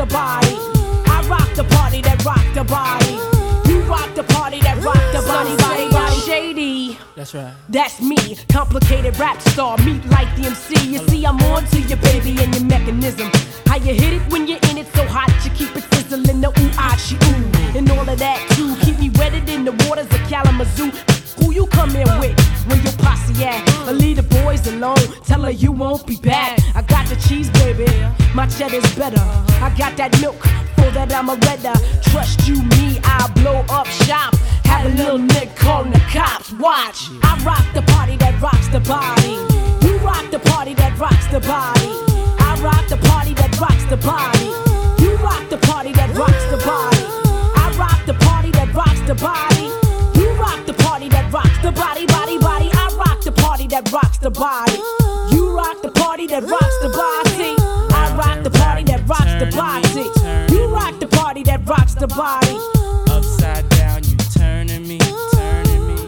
body. I rock the party that rock the body. You rock the party that rock the body, body, body. Shady. That's right. That's me, complicated rap star, meet like the M C. You see, I'm on to your baby and your mechanism. How you hit it when you're in it so hot, you keep it sizzling, the ooh, ah, she, ooh. And all of that too, keep me wetted in the waters of Kalamazoo. Who you come in with when your posse at? But leave the boys alone, tell her you won't be back. I got the cheese, baby, my cheddar's better. I got that milk, for that I'm a redder. Trust you, me, I'll blow up shop. Have a little nigga calling the cops, watch. I rock the party that rocks the body. You rock the party that rocks the body. I rock the party that rocks the body. You rock the party that rocks the body. I rock the party that rocks the body. You rock the party that rocks the body, body, body. I rock the party that rocks the body. You rock the party that rocks the body. I rock the party that rocks the body. You rock the party that rocks the body. Upside down, you turning me, turning me.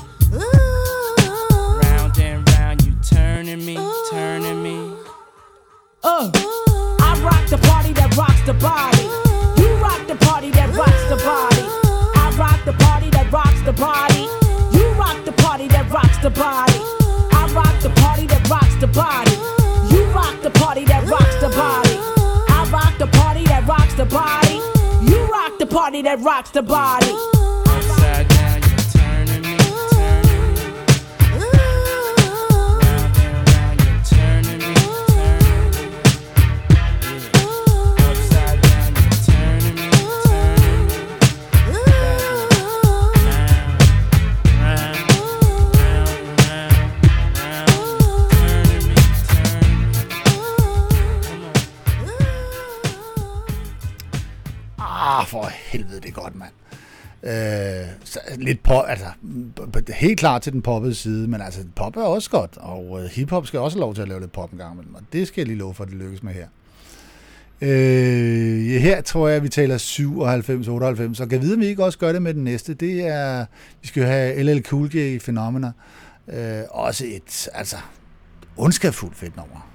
Round and round, you turning me, turning me. Uh, I rock the party that rocks the body. You rock the party that rocks the body. I rock the party that rocks the body. You rock the party that rocks the body. I rock the party that rocks the body. You rock the party that rocks the body. I rock the party that rocks the body. You rock the party that rocks the body. Upside down, you turning me, turning me. Round and round, you turning me, turning me. Yeah. Upside down, you turning me, turning me. Round, round, round, round, round, turning me, turning me. Ah, for helvede, det er godt, mand. Øh, så lidt pop, altså, helt klart til den poppede side, men altså, pop er også godt, og øh, hiphop skal også have lov til at lave lidt pop en gang imellem, og det skal jeg lige love for, at det lykkes med her. Øh, ja, her tror jeg, at vi taler syvoghalvfems otteoghalvfems, og kan vide, om vi ikke også gør det med den næste. Det er, vi skal jo have L L Cool J i Phenomena. Øh, også et, altså, ondskabsfuldt fedt nummer.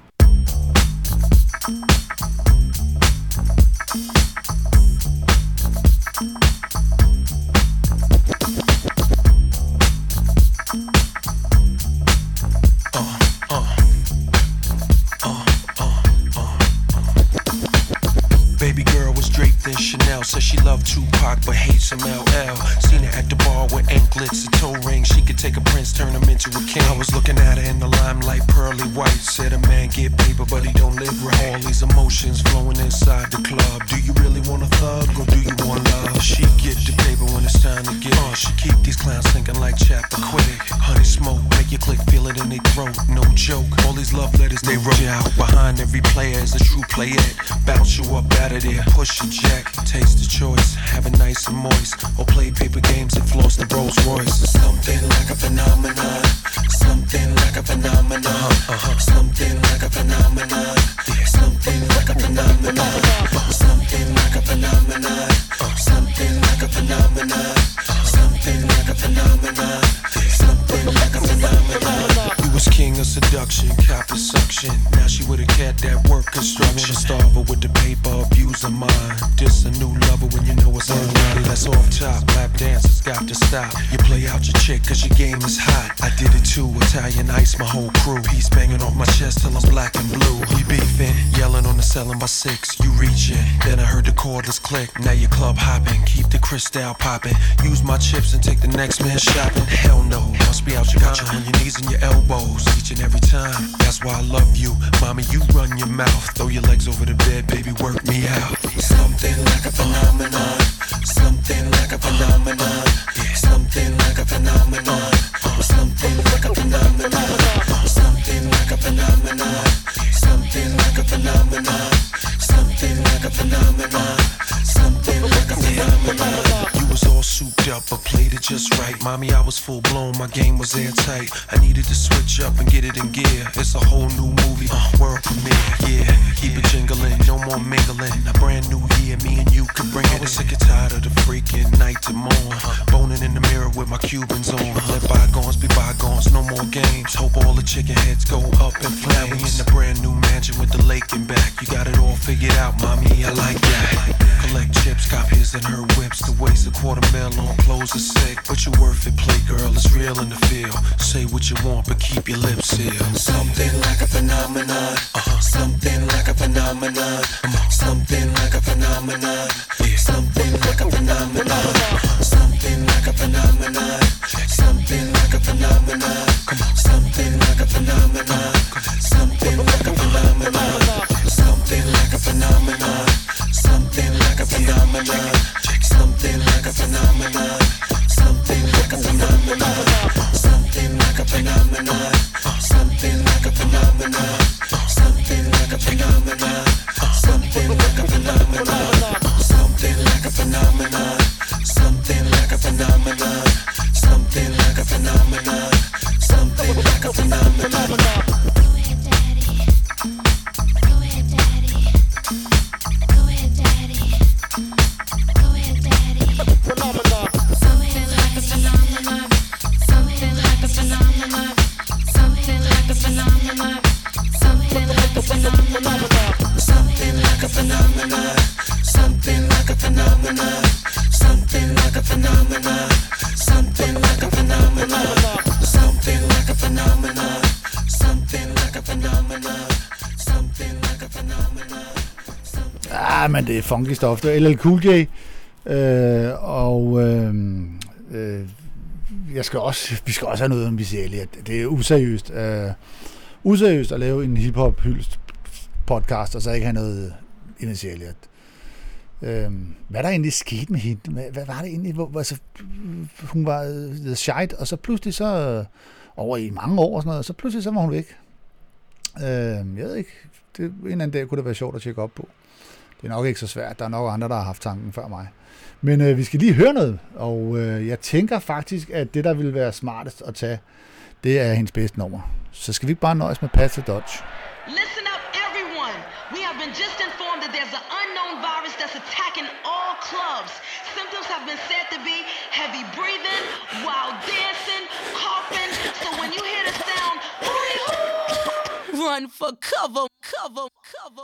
Baby girl was draped in Chanel, said she loved Tupac but hates some L L. Seen her at the bar with anklets and toe rings. She could take a prince, turn him into a king. I was looking at her in the limelight, pearly white. Said a man get paper but he don't live right. All these emotions flowing inside the club. Do you really want a thug or do you want love? She get the paper when it's time to get uh, She keep these clowns thinking like Chappaquiddick. Honey smoke, make your click feel it in their throat. No joke, all these love letters they wrote out. Behind every player is a true playette. Bounce you up out of there, push your jack. Taste the choice, have it nice and moist. Or play paper games and floss the Rolls Royce. Something like a phenomenon. Something like a phenomenon. Uh-huh. Something like a phenomenon. Something like a phenomenon. Something like a phenomenon. Something like a phenomenon. Something like a phenomenon. Something like a phenomenon. You was king of seduction, copper suction. Now she with a cat that work construction. Starve her with the paper, abuse her mind. This a new lover when you know it's unready. That's off top, lap dancers got to stop. You play out your chick cause your game is hot. I did it too, Italian ice, my whole crew. He's banging off my chest till I'm black and blue. We beefing, yelling on the ceiling by six. You reaching, then I heard the cordless click. Now you club hopping, keep the crystal popping. Use my chips and take the next man shopping. Hell no, must be out your got you on your knees and your elbows each and every time. That's why I love you, mommy. You run your mouth, throw your legs over the bed, baby. Work me out. Something like a phenomenon. Something like a phenomenon. Something like a phenomenon. Something like a phenomenon. Something like a phenomenon. Something like a phenomenon. Something like a phenomenon. Something like a phenomenon. You was all souped up, but played it just right. Mommy, I was full blown, my game was airtight. I needed to switch up and get it in gear. It's a whole new movie, uh, world premiere. Yeah, keep it jingling, no more mingling. A brand new year, me and you can bring it was sick and tired of the freaking night to morn. Boning in the mirror with my Cubans on. Let bygones be bygones, no more games. Hope all the chicken heads go up in flames. We in the brand new mansion with the lake in back. You got it all figured out, mommy, I like that. Collect chips, cop his and her whips. To waste a quarter mil on clothes is sick. But you worth it, play girl, it's real in the field. Say what you want, but keep your lips sealed. Something like a phenomenon. Uh-huh. Something like a phenomenon. Something like a phenomenon. Yeah. Something like a phenomenon. Something like a phenomenon. Something like a phenomenon. Something like a phenomenon. Something like a phenomenon. Something like a phenomenon. Something like a phenomenon. Something like a phenomenon. Something like a phenomenon. Something like a phenomenon. Something like a phenomenon. Something like a phenomenon. Something like a phenomenon. Something like a phenomenon. Something like a phenomenon. Something like a phenomenon. Something like a phenomenon. Ah, men det er funky stof. Det er L L Cool J. Øh, og øh, øh, jeg skal også, vi skal også have noget om Missy Elliott. Det er useriøst. Øh, useriøst at lave en hiphop hyldest podcast, og så ikke have noget i Missy Elliott. Øh, hvad der egentlig skete med hende? Hvad, hvad var det egentlig? Hvor, altså, hun var the shite, og så pludselig så over i mange år og sådan noget, og så pludselig så var hun væk. Øh, jeg ved ikke. Det, en eller anden dag kunne det være sjovt at tjekke op på. Det er nok ikke så svært. Der er nok andre, der har haft tanken før mig. Men øh, vi skal lige høre noget, og øh, jeg tænker faktisk, at det, der ville være smartest at tage, det er hendes bedste nummer. Så skal vi ikke bare nøjes med Pass the Dutch. Listen up, everyone. We have been just informed that there's an unknown virus that's attacking all clubs. Symptoms have been said to be heavy breathing, wild dancing, coughing. So when you hear the sound, run for cover, cover, cover.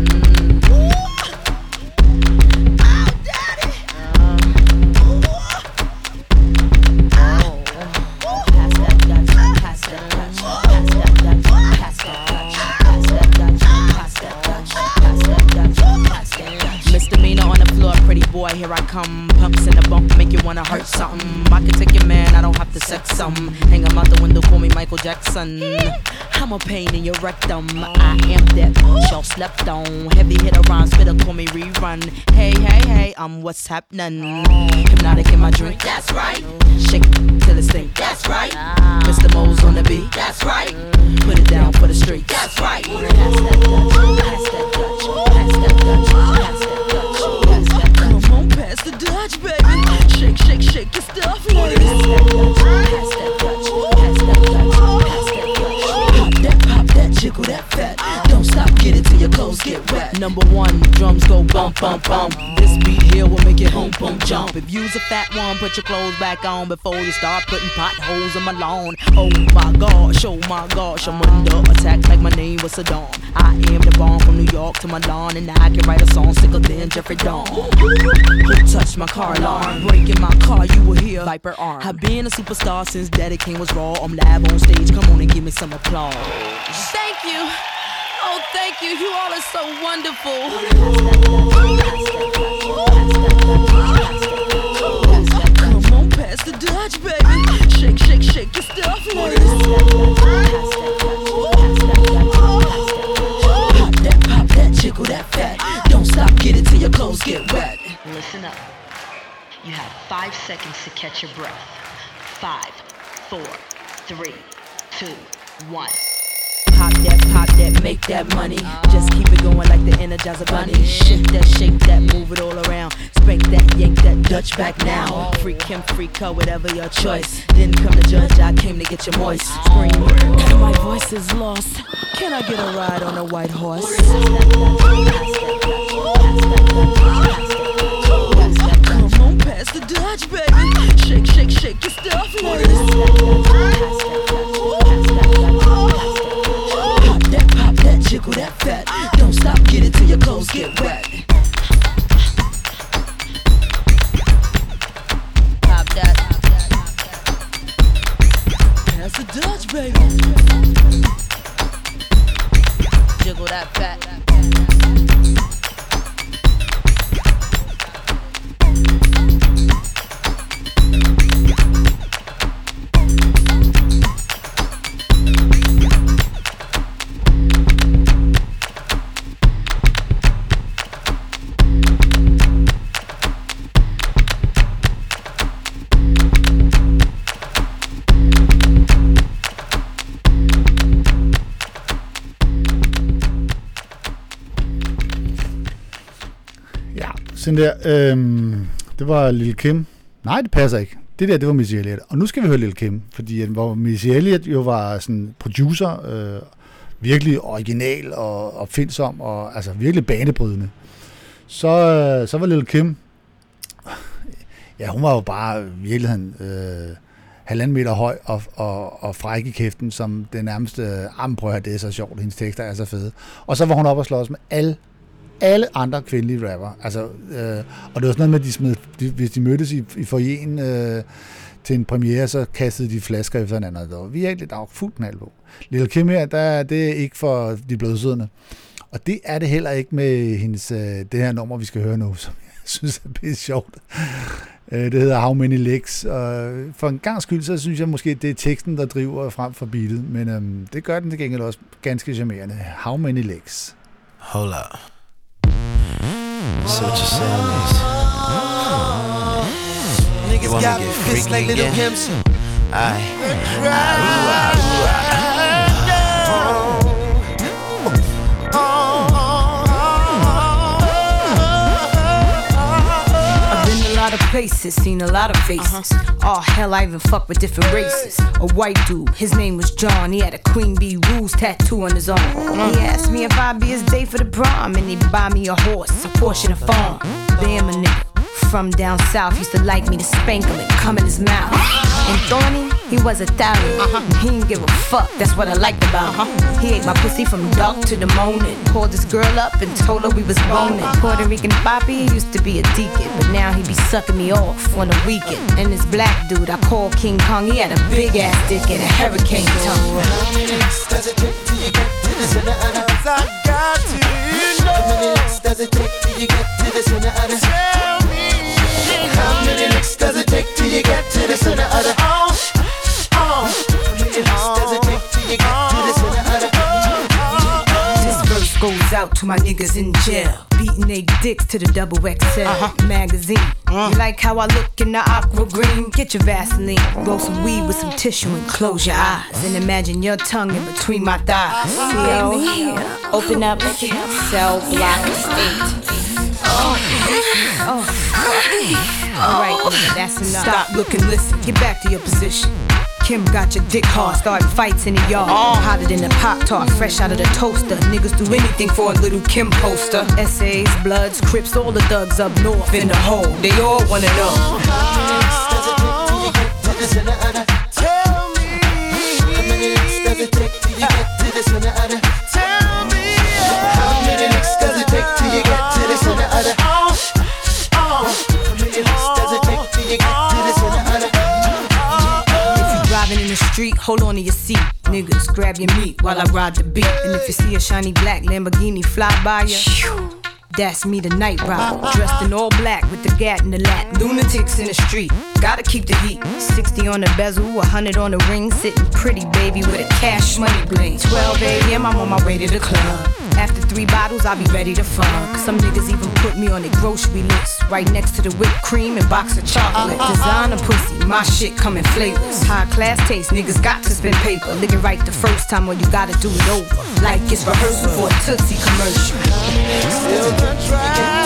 Misdemeanor on the floor, pretty boy, here I come. Pumps in the bump, make you wanna hurt something. I can take your man, I don't have to sex some. Hang him out the window, call me Michael Jackson. I'm a pain in your rectum. I am that bitch y'all slept on. Heavy hitter rhymes, spitter, call me rerun. Hey, hey, hey, I'm what's happening. Hypnotic in my drink, that's right. Shake it till it's stink, that's right. Mister Mo's on the beat, that's right. Put it down for the street, that's right. Pass that Dutch, pass that Dutch, pass that Dutch, pass that Dutch, pass that Dutch. Come on, pass the Dutch, baby. Shake, shake, shake your stuff, ladies. Pass that Dutch, pass that Dutch, pass that Dutch, pass that Dutch. Pop that, pop that, jiggle that fat. Don't stop, get it till your clothes get wet. Number one, drums go bump, bump, bump. This beat here will make it boom, boom, jump. If you's a fat one, put your clothes back on before you start putting potholes in my lawn. Oh my gosh, oh my gosh, I'm under attack like my name was Saddam. I am the bomb from New York to Milan, and I can write a song sicker than Jeffrey Dawn. Who touched my car alarm? Breaking my car, you will hear Viper arm. I've been a superstar since Daddy King was raw. I'm live on stage, come on and give me some applause. Thank you. Oh, thank you. You all are so wonderful. Come on, pass the Dutch, baby. Shake, shake, shake your stuff, ladies. Pop that, pop that, jiggle that fat. Don't stop, get it till your clothes get wet. Listen up. You have five seconds to catch your breath. Five, four, three, two, one. Pop that, pop that, make that money. Just keep it going like the Energizer Bunny. Shake that, shake that, move it all around. Spank that, yank that Dutch back now. Freak him, freak her, whatever your choice. Didn't come to judge, I came to get you moist. Scream, my voice is lost. Can I get a ride on a white horse? baby. Jiggle that fat. Sådan der, øhm, det var Lil Kim. Nej, det passer ikke. Det der, det var Missy Elliott. Og nu skal vi høre Lil Kim, fordi hvor Missy Elliott jo var sådan producer, øh, virkelig original og opfindsom, og altså virkelig banebrydende. Så, øh, så var Lil Kim, ja, hun var jo bare i virkeligheden øh, halvanden meter høj og, og, og fræk i kæften, som det nærmeste, ah, prøv at høre, det er så sjovt, hendes tekster er så fede. Og så var hun op og slås med alle alle andre kvindelige rapper. Altså, øh, og det var sådan noget med, at de smed, de, hvis de mødtes i, i foyeren øh, til en premiere, så kastede de flasker efter hinanden. Og der var virkelig, der var fuldt knald på. Lil Kim her, der, det er ikke for de blødsødende. Og det er det heller ikke med hendes, øh, det her nummer, vi skal høre nu, som jeg synes er pisse sjovt. Øh, det hedder How Many Legs. Og for en gang skyld, så synes jeg måske, det er teksten, der driver frem for beatet. Men øh, det gør den til gengæld også ganske charmerende. How Many Legs. Hold up. So what you're saying is, niggas got me pissed like Little Kim's. Aye. I've been a lot of places, seen a lot of faces. Oh hell, I even fuck with different races. A white dude, his name was John. He had a Queen Bee Rules tattoo on his arm. He asked me if I'd be his date for the prom, and he'd buy me a horse, a Porsche, and a farm. Damn, a nigga from down south used to like me to spank him and come in his mouth. And Thorny, he was Italian. He didn't give a fuck, that's what I liked about him. He ate my pussy from dark to the morning. Called this girl up and told her we was boning. Puerto Rican Papi used to be a deacon, but now he be sucking me off on the weekend. And this black dude I call King Kong, he had a big ass dick and a hurricane tongue. How many licks does it take till you get to the center of the? I got to know. How many licks does it take till you get to the center of the? Tell me. How many licks does it take till you get to the center of the? Oh, oh. How many licks does it take till you get to the center of the? This verse goes out to my niggas in jail, beating they dicks to the double X L uh-huh. magazine. Uh. You like how I look in the aqua green? Get your Vaseline, roll some weed with some tissue and close your eyes and imagine your tongue in between my thighs. Yo, open up cell block eight. Oh. Oh. Alright, that's enough. Stop, look, and listen. Get back to your position. Kim got your dick hard, starting fights in the yard. Oh. Hotter than a Pop-Tart, fresh out of the toaster. Niggas do anything for a little Kim poster. S A's, Bloods, Crips, all the thugs up north in the hole. They all wanna know. How many licks does it take till you get to the center of the? Tell me. How many licks does it take till you get to the center of the? Tell me. How many licks does it take till you get to the center of the? Oh, oh. How many licks does it take till you get to the center of the? Driving in the street, hold on to your seat. Niggas, grab your meat while I ride the beat. And if you see a shiny black Lamborghini fly by ya, that's me, the night rider, dressed in all black with the gat in the lap. Lunatics in the street, gotta keep the heat. Sixty on the bezel, a hundred on the ring. Sitting pretty, baby, with a cash money bling. Twelve a.m., I'm on my way to the club. After three bottles, I'll be ready to fuck. Some niggas even put me on their grocery list, right next to the whipped cream and box of chocolate. Designer pussy, my shit come in flavors. High class taste, niggas got to spend paper. Lick it right the first time, or you gotta do it over, like it's rehearsal for a Tootsie commercial. Still can try.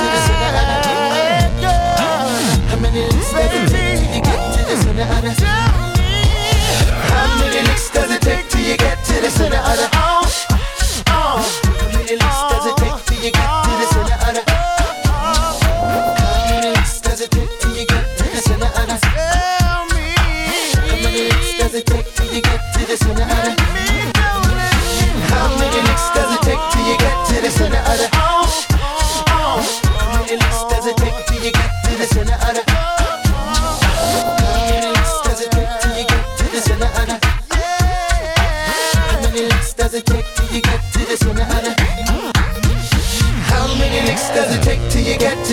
How many licks does it take till you get to the center of the? How many licks does it take till you get to the center of the? Oh, oh. How many licks does it take till you get to the center of the? How many licks does it take till you get to the center of the? Tell me. How many licks does it take till you get to the center of the? How many licks does it take till you get to the center of the? Oh, oh. How many licks does it take till you get to the center of the? How many licks does it take till you get to the center of the?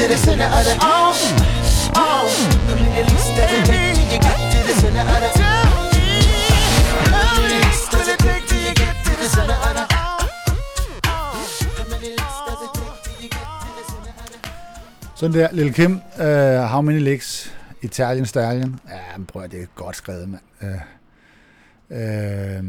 to the center of the oh, oh. Come in the least does it take till you get to the center of the How many leaks does it take till you get to the center of the How many leaks does it take till you get to the center of the Sådan der, Lil Kim, uh, How Many Legs, Italian Stallion. Ja, men prøv at det er godt skrevet, mand. Uh, uh,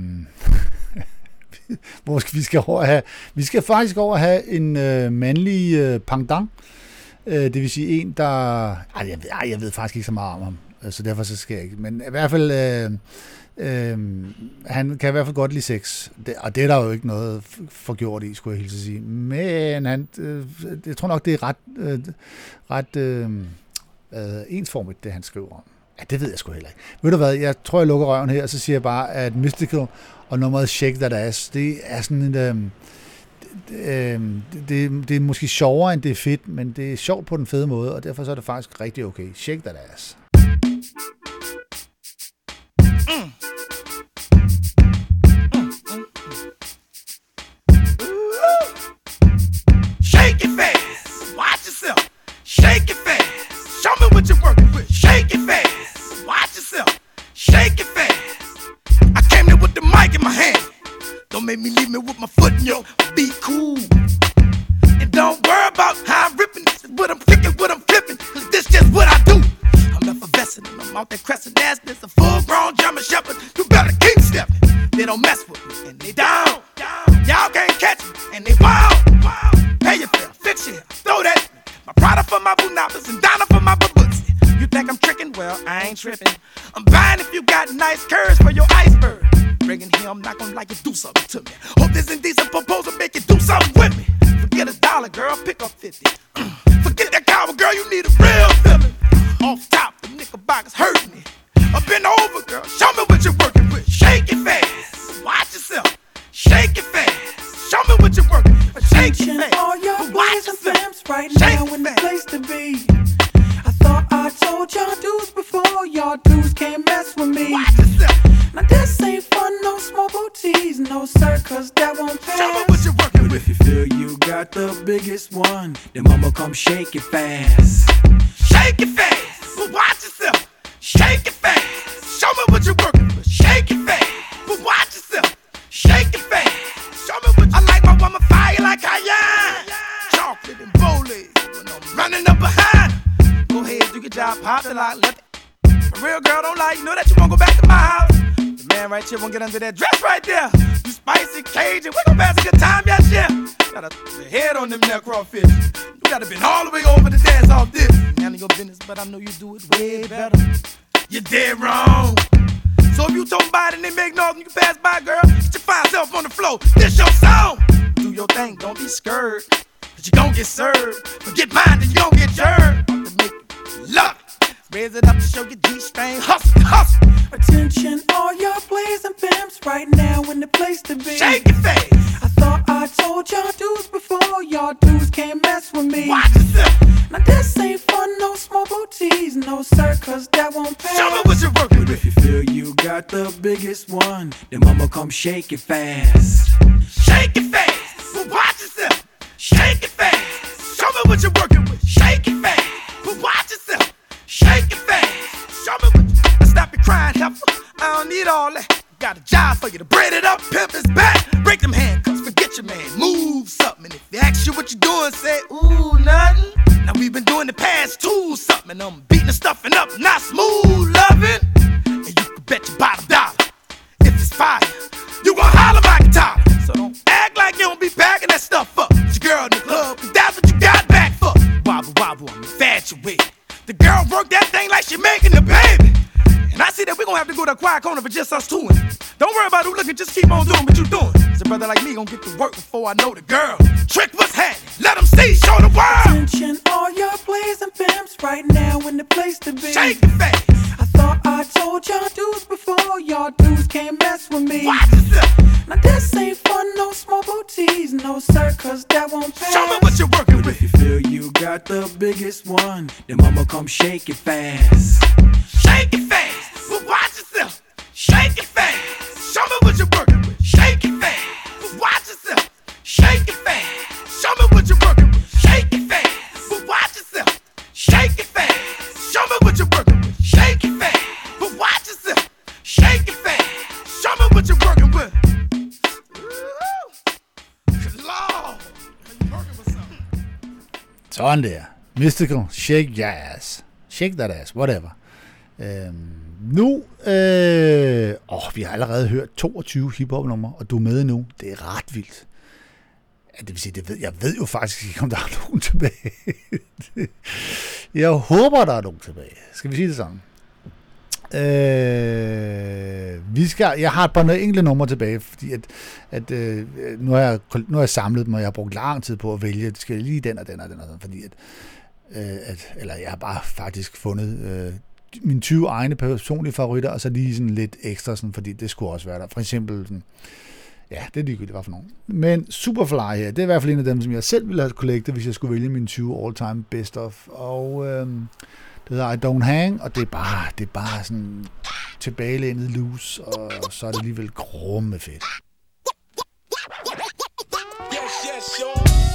hvor skal vi skal over have? Vi skal faktisk over have en uh, mandlig uh, pendant. Uh, det vil sige en, der... Ej, jeg ved, ej, jeg ved faktisk ikke så meget om ham, uh, så derfor så skal jeg ikke. Men i hvert fald... Uh, Øhm, han kan i hvert fald godt lide sex, det, og det er der jo ikke noget forgjort i, skulle jeg hilse at sige. Men han, øh, jeg tror nok, det er ret, øh, ret øh, øh, ensformigt, det han skriver om. Ja, det ved jeg sgu heller ikke. Ved du hvad, jeg tror, jeg lukker røven her, og så siger jeg bare, at Mystical og nummeret Shake That Ass, det er sådan en... Øh, øh, det, det er måske sjovere, end det er fedt, men det er sjovt på den fede måde, og derfor så er det faktisk rigtig okay. Shake That Ass. Mm. Shake it fast, watch yourself. Shake it fast, show me what you're working with. Shake it fast, watch yourself. Shake it fast. I came there with the mic in my hand. Don't make me leave me with my foot in your. Be cool. And don't worry about how I'm ripping. This is what I'm kicking, what I'm flipping. Cause this just what I do. I'm effervescent and I'm out there crescent ass. This a full grown German shepherd. You better keep stepping. They don't mess with me and they down. Y'all can't catch me and they wild. Pay your fare, fix your hair, throw that. My Prada for my Bunapas and Donna for my Baboots. You think I'm tricking? Well, I ain't tripping. I'm buying if you got nice curves for your iceberg. Bringing here, I'm not gonna like you do something to me. Hope this indecent proposal make you do something with me. Forget a dollar, girl, pick up fifty. Forget that coward, girl, you need a real feeling. Off top, the knickerbockers hurting me. Up and over, girl, show me what you're working with. Shake it fast, watch yourself. Shake it fast, show me what you're working with. Shake it fast, all your watch boys and yourself. femmes right Shake now in the place to be. I thought I told y'all dudes before, y'all dudes can't mess with me. Watch yourself. Now this ain't fun, no small booties, no sir, cause that won't pass. Show me what you're working But with. if you feel you got the biggest one, then mama come shake it fast. Shake it fast, but watch yourself. Shake it fast, show me what you're working with. Shake it fast, but watch yourself. Shake it fast, show me what you I like my woman fire like cayenne. Chocolate and bowling, when I'm running up behind. Go ahead, do your job, pop the lock, let it. A real girl don't lie, you know that you won't go back to my house. The man right here won't get under that dress right there. You spicy Cajun, we gon' pass a good time, yes, yeah. Got a the head on them neck crawfish. You gotta been all the way over to dance off this. Handle your business, but I know you do it way better. You're dead wrong. So if you told somebody and they make noise and you can pass by, girl, get your fine self on the floor. This your song. Do your thing, don't be scared. Cause you gon' get served. Forget mine, then you gon' get jerked. To make you love it. Raise it up to show your G-string. Hustle, hustle. Attention, all y'all plays and pimps right now in the place to be. Shake it fast. I thought I told y'all dudes before, y'all dudes can't mess with me. Watch yourself. Now this ain't fun, no small booties, no sir, cause that won't pass. Show me what you're working But with. if you feel you got the biggest one, then mama come shake it fast. Shake it fast. But watch yourself. Shake it fast. Show me what you're working with. Shake it fast. But watch yourself. Shake it fast. Show me what you... Stop your crying, heifer. I don't need all that. Got a job for you to braid it up, pimp his back. Break them handcuffs, forget your man. Move something. And if they ask you what you doing, say, ooh, nothing. Now we've been doing the past two something. And I'm beating the stuffing up, not smooth loving. And you can bet your bottom dollar. If it's fire, you gon' holler like a toddler. So don't act like you don't be packing that stuff up. It's your girl in the club, cause that's what you got back for. Wobble, wobble, I'm infatuated. The girl work that thing like she making the baby. And I see that we gon' have to go to a quiet corner for just us two. And don't worry about who looking, just keep on doing what you doing. Cause a brother like me gon' get to work before I know the girl. Trick what's happening, let them see, show the world. Attention, all y'all plays and pimps right now in the place to be. Shake it fast. I thought I told y'all dudes before, y'all dudes can't mess with me. Watch yourself. Now this ain't fun, no small booties, no sir, cause that won't pass. Show me what you're working But with. if you feel you got the biggest one, then mama come shake it fast. Shake it fast, but watch yourself. Shake it fast. Show me what you're working with. Shake it fast, but watch yourself. Shake it fast. Show me what you're working with. Shake it fast, but watch yourself. me what you're working with. Shake it fast, but watch yourself. Shake it fast. Show me what you're working with. Lord, you working with something. Sådan der. Mystical, shake your ass. Shake that ass, whatever. Øhm, nu, øh, åh, vi har allerede hørt toogtyve hiphop-numre, og du er med nu. Det er ret vildt. Ja, det vil sige, det ved, jeg ved jo faktisk ikke, om der er nogen tilbage. Jeg håber, der er nogen tilbage. Skal vi sige det sådan? Øh, vi skal, jeg har et par enkelte numre tilbage, fordi at, at øh, nu, har jeg, nu har jeg samlet dem, og jeg har brugt lang tid på at vælge. Det skal lige den og den og den og den, fordi at, øh, at eller jeg har bare faktisk fundet øh, mine tyve egne personlige favoritter, og så lige sådan lidt ekstra, sådan, fordi det skulle også være der. For eksempel sådan, ja, det er ligegyldigt, hvad for nogen. Men Superfly her, det er i hvert fald en af dem, som jeg selv ville have collectet, hvis jeg skulle vælge mine tyve all-time best of. Og øh, det hedder I Don't Hang, og det er bare, det er bare sådan tilbagelænet loose, og så er det alligevel grumme fedt. Yes, yes, yo.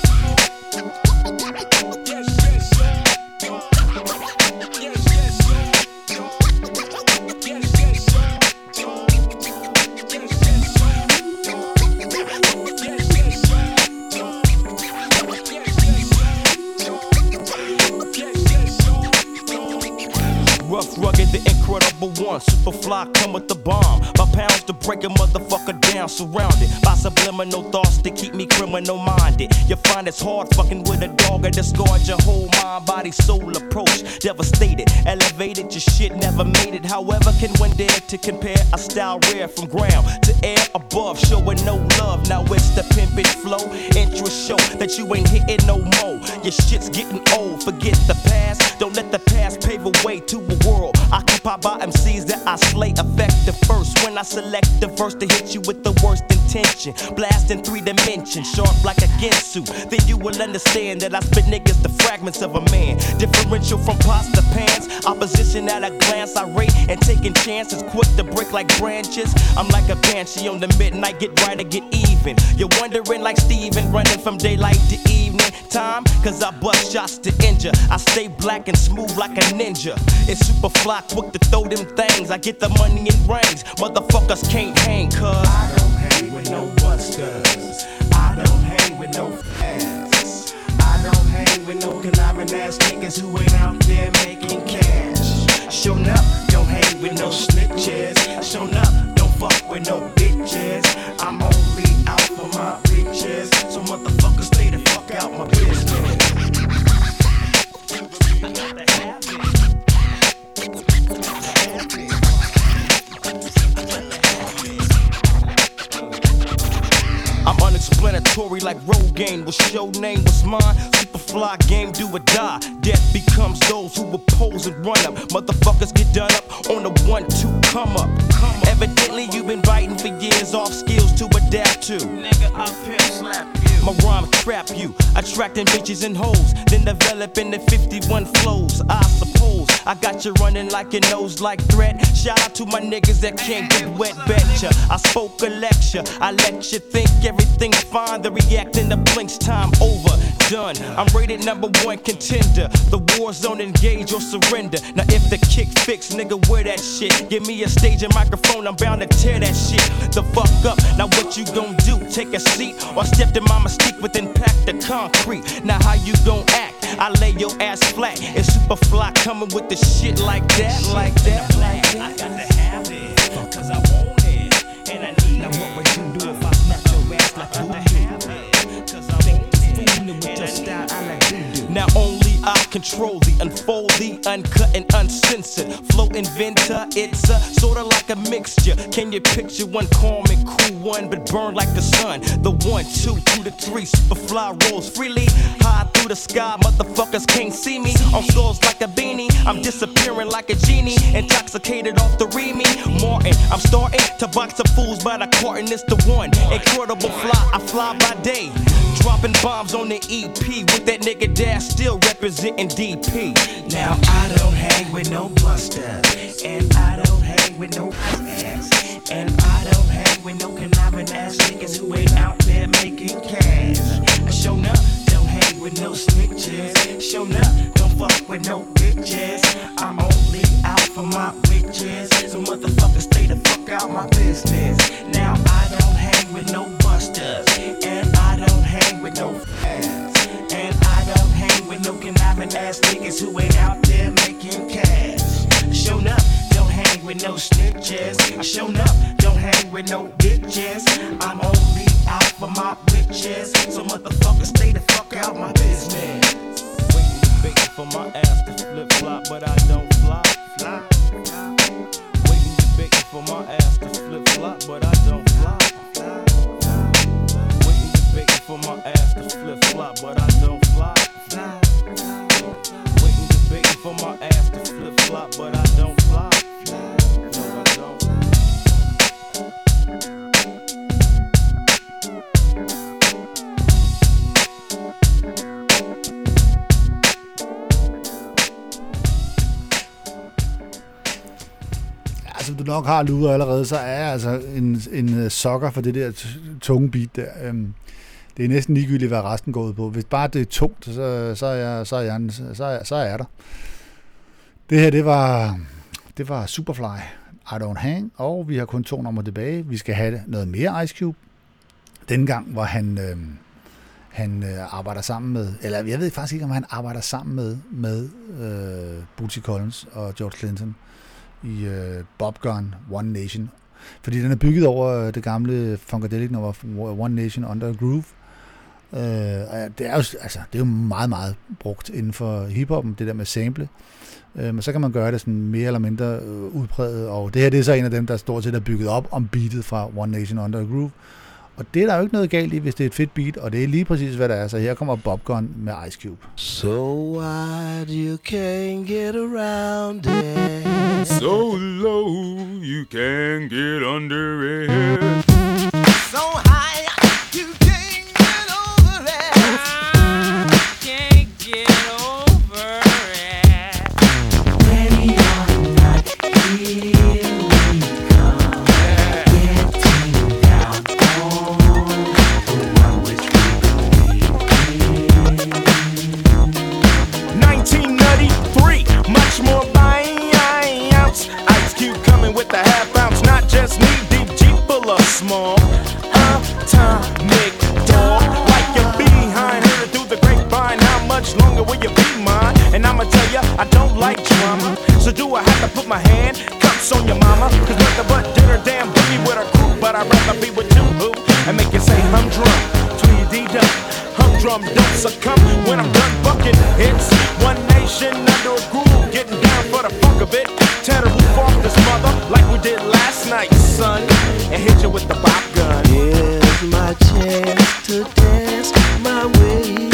Rough, rugged, the incredible one. Superfly, come with the bomb. My pounds to break a motherfucker down. Surrounded by subliminal thoughts to keep me criminal minded. You find it's hard fucking with a dog and discard your whole mind, body, soul approach. Devastated, elevated, your shit never made it. However, can one dare to compare a style rare from ground to air above, showing no love. Now it's the pimpin' flow. Interest show that you ain't hitting no more. Your shit's getting old. Forget the past. Don't let the past pave a way to a world occupied by M Cs that I slay effective first. When I select the verse to hit you with the worst intention, blast in three dimensions, sharp like a Ginsu. Then you will understand that I spit niggas the fragments of a man. Differential from pots to pans, opposition at a glance I rate, and taking chances quick to break like branches. I'm like a banshee on the midnight, get right or get even. You're wondering like Steven, running from daylight to evening time, cause I bust shots to injure. I stay black and smooth like a ninja. It's Superfly, quick to throw them things. I get the money in rings, motherfuckers can't hang, cuz I don't hang with no busters. I don't hang with no fags. I don't hang with no conniving ass niggas who ain't out there making cash. Show up, don't hang with no snitches. Show up, don't fuck with no bitches. I'm only out for my riches, so motherfuckers stay the fuck out my business. I'm unexplanatory like Rogaine. Was your name was mine. Superfly game, do or die. Death becomes those who oppose and run up. Motherfuckers get done up on the one two come up. Come up. Evidently you've been writing for years off skills to adapt to. Nigga up here slap you. My rhyme trap you, attracting bitches and hoes, then developing the fifty-one flows. I suppose I got you running like your nose like threat. Shout out to my niggas that can't get wet, betcha. I spoke a lecture, I let you think everything's fine. The reacting the blinks, time over, done. I'm rated number one contender. The war zone, engage or surrender. Now if the kick fix, nigga, wear that shit. Give me a stage and microphone, I'm bound to tear that shit the fuck up. Now what you gon' do? Take a seat or step to my mistake with impact the concrete. Now how you gon' act? I lay your ass flat. It's Superfly coming with the shit like that, like that, like that. I got to have it, cause I want it, and I need it. Now what would you do if I snap your ass like you have it? Cause I want it, fooling with your style, I like you do. Now only I control the unfold, the uncut and uncensored flow inventor. It's a sorta like a mixture. Can you picture one calm and cool one, but burn like the sun? The one, two, two to three, Superfly rolls freely high through the sky. Motherfuckers can't see me on scores like a beanie. I'm disappearing like a genie, intoxicated off the Remy Martin. I'm starting to box the fools by the carton. It's the one incredible fly. I fly by day, dropping bombs on the E P with that nigga Dash still representing D P. Now I don't hang with no busters, and I don't hang with no ass, and I don't hang with no conniving ass niggas who ain't out there making cash. Show up, don't hang with no snitches. Show up, don't fuck with no bitches. I'm on for my witches. So motherfuckers stay the fuck out my business. Now I don't hang with no busters, and I don't hang with no fans, and I don't hang with no conniving ass niggas who ain't out there making cash. Shown up, don't hang with no snitches. I shown up, don't hang with no bitches. I'm only out for my witches. So motherfuckers stay the fuck out my business. Waiting for my ass to flip flop, but I don't fly. Fly. Waiting to bait for my ass to flip flop, but I don't fly. Waiting to bait for my ass to flip flop, but I don't fly. Waiting to bait for my ass to flip flop, but I don't fly. No, I don't. Som du nok har luret allerede, så er jeg altså en, en sokker for det der tunge beat der. Øhm, det er næsten ligegyldigt, hvad resten går ud på. Hvis bare det er tungt, så, så, er, jeg, så, er, jeg, så, er, så er jeg der. Det her, det var, det var Superfly, I Don't Hang, og vi har kun to numre tilbage. Vi skal have noget mere Ice Cube. Denne gang, hvor han, øh, han øh, arbejder sammen med, eller jeg ved faktisk ikke, om han arbejder sammen med, med øh, Bootsy Collins og George Clinton i øh, Bob Gun, One Nation. Fordi den er bygget over det gamle Funkadelic nummer One Nation Under a Groove. Øh, det, er jo, altså, det er jo meget, meget brugt inden for hiphoppen, det der med sample. Øh, men så kan man gøre det sådan mere eller mindre øh, udpræget, og det her det er så en af dem, der stort set er bygget op om beatet fra One Nation Under a Groove. Og det er der jo ikke noget galt i, hvis det er et fedt beat, og det er lige præcis, hvad der er. Så her kommer Bob Gun med Ice Cube. So wide you can't get around it. So low you can't get under it. So high you can't get over it. Can't get over it. Ready or not, here we come. Getting down on the one which we believe in. nineteen ninety-three, much more by ounce. Ice Cube coming with the half ounce, not just knee deep, Jeep full of small. Atomic dog, like your behind, heard it through the grapevine. How much longer will you be mine? And I'ma tell ya, I don't like drama. So do I have to put my hand cups on your mama? Cause nothing but dinner damn boogie with a crew, but I'd rather be with you, boo, and make you say humdrum, tweedy-dum. Humdrum don't succumb when I'm done bucking hits. One nation under a groove, getting down for the funk of it. Tear the roof off this mother like we did last night, son, and hit you with the Bob Gun. Here's my chance to dance my way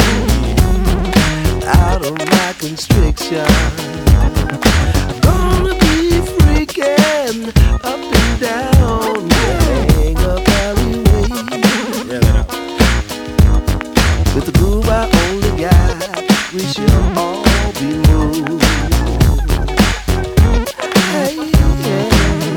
out of my constriction. Gonna be freaking up and down the hang up alleyway. With the groove I only got, we shall all be moved. Hey, yeah.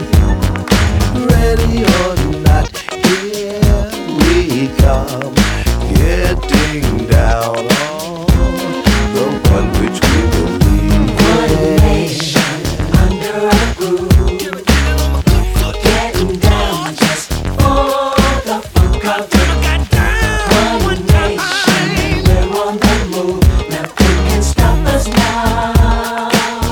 Ready or not, here we come. Getting down on the one which we believe in. One nation under a groove. Getting down just for the funk of it. One nation, we're on the move. Nothing can stop us now.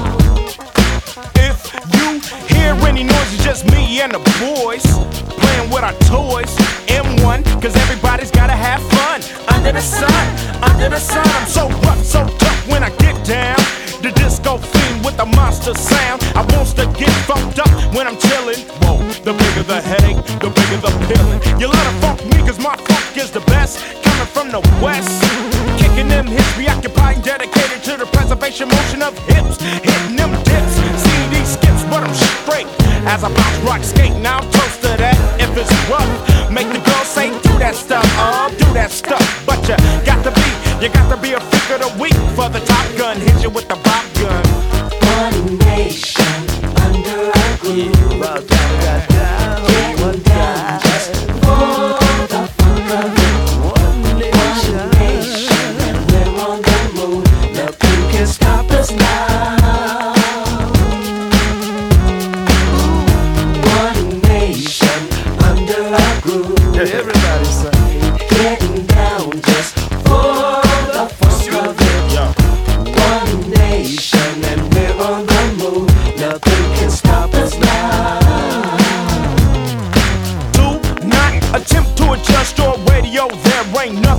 If you hear any noise, it's just me and the boys playing with our toys. M one, cause everybody's gotta have fun. Under the sun, under the sun, I'm so rough, so tough when I get down. The disco fiend with the monster sound. I wants to get funked up when I'm chillin'. Whoa, the bigger the headache, the bigger the feeling. You let it funk me cause my funk is the best. Coming from the west, kicking them hips, preoccupied, dedicated to the preservation motion of hips. Hitting them dips, C D skips, but I'm straight. As I bounce, rock, skate, now I'm toast to that. If it's rough, make the girls say do that stuff, oh, do that stuff. But you got to be, you got to be a freak of the week for the Top Gun. Hit you with the Bob Gun. One nation under a groove. Getting down just for the funk of it. One nation, we're on the move. Nothing can stop us now.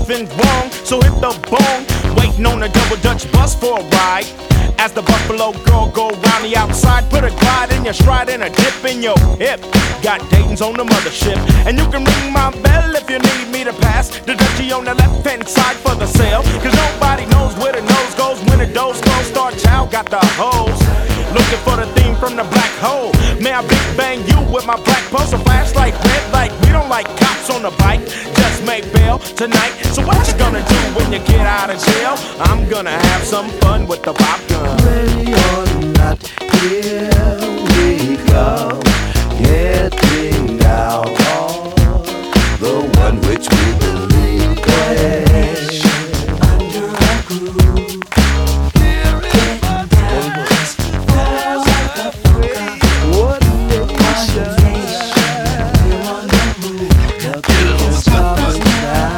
nothing wrong, so hit the bong. Waiting on a double Dutch bus for a ride. As the Buffalo girl go round the outside, put a glide in your stride and a dip in your hip. Got Dayton's on the mothership, and you can ring my bell if you need me to pass the Dutchie on the left hand side for the sale. Cause nobody knows where the nose goes when the doors close. Star Child got the hose, looking for the theme from the black hole. May I big bang you with my black pulse, a flashlight, red light. We don't like cops on the bike, just make bail tonight. So what you gonna do when you get out of jail? I'm gonna have some fun with the pop gun. Ready or not, here we go, getting out of the one which we believe is under a groove. Here it goes, falls like a free. What nation? We're on the move. Nothing can stop us now.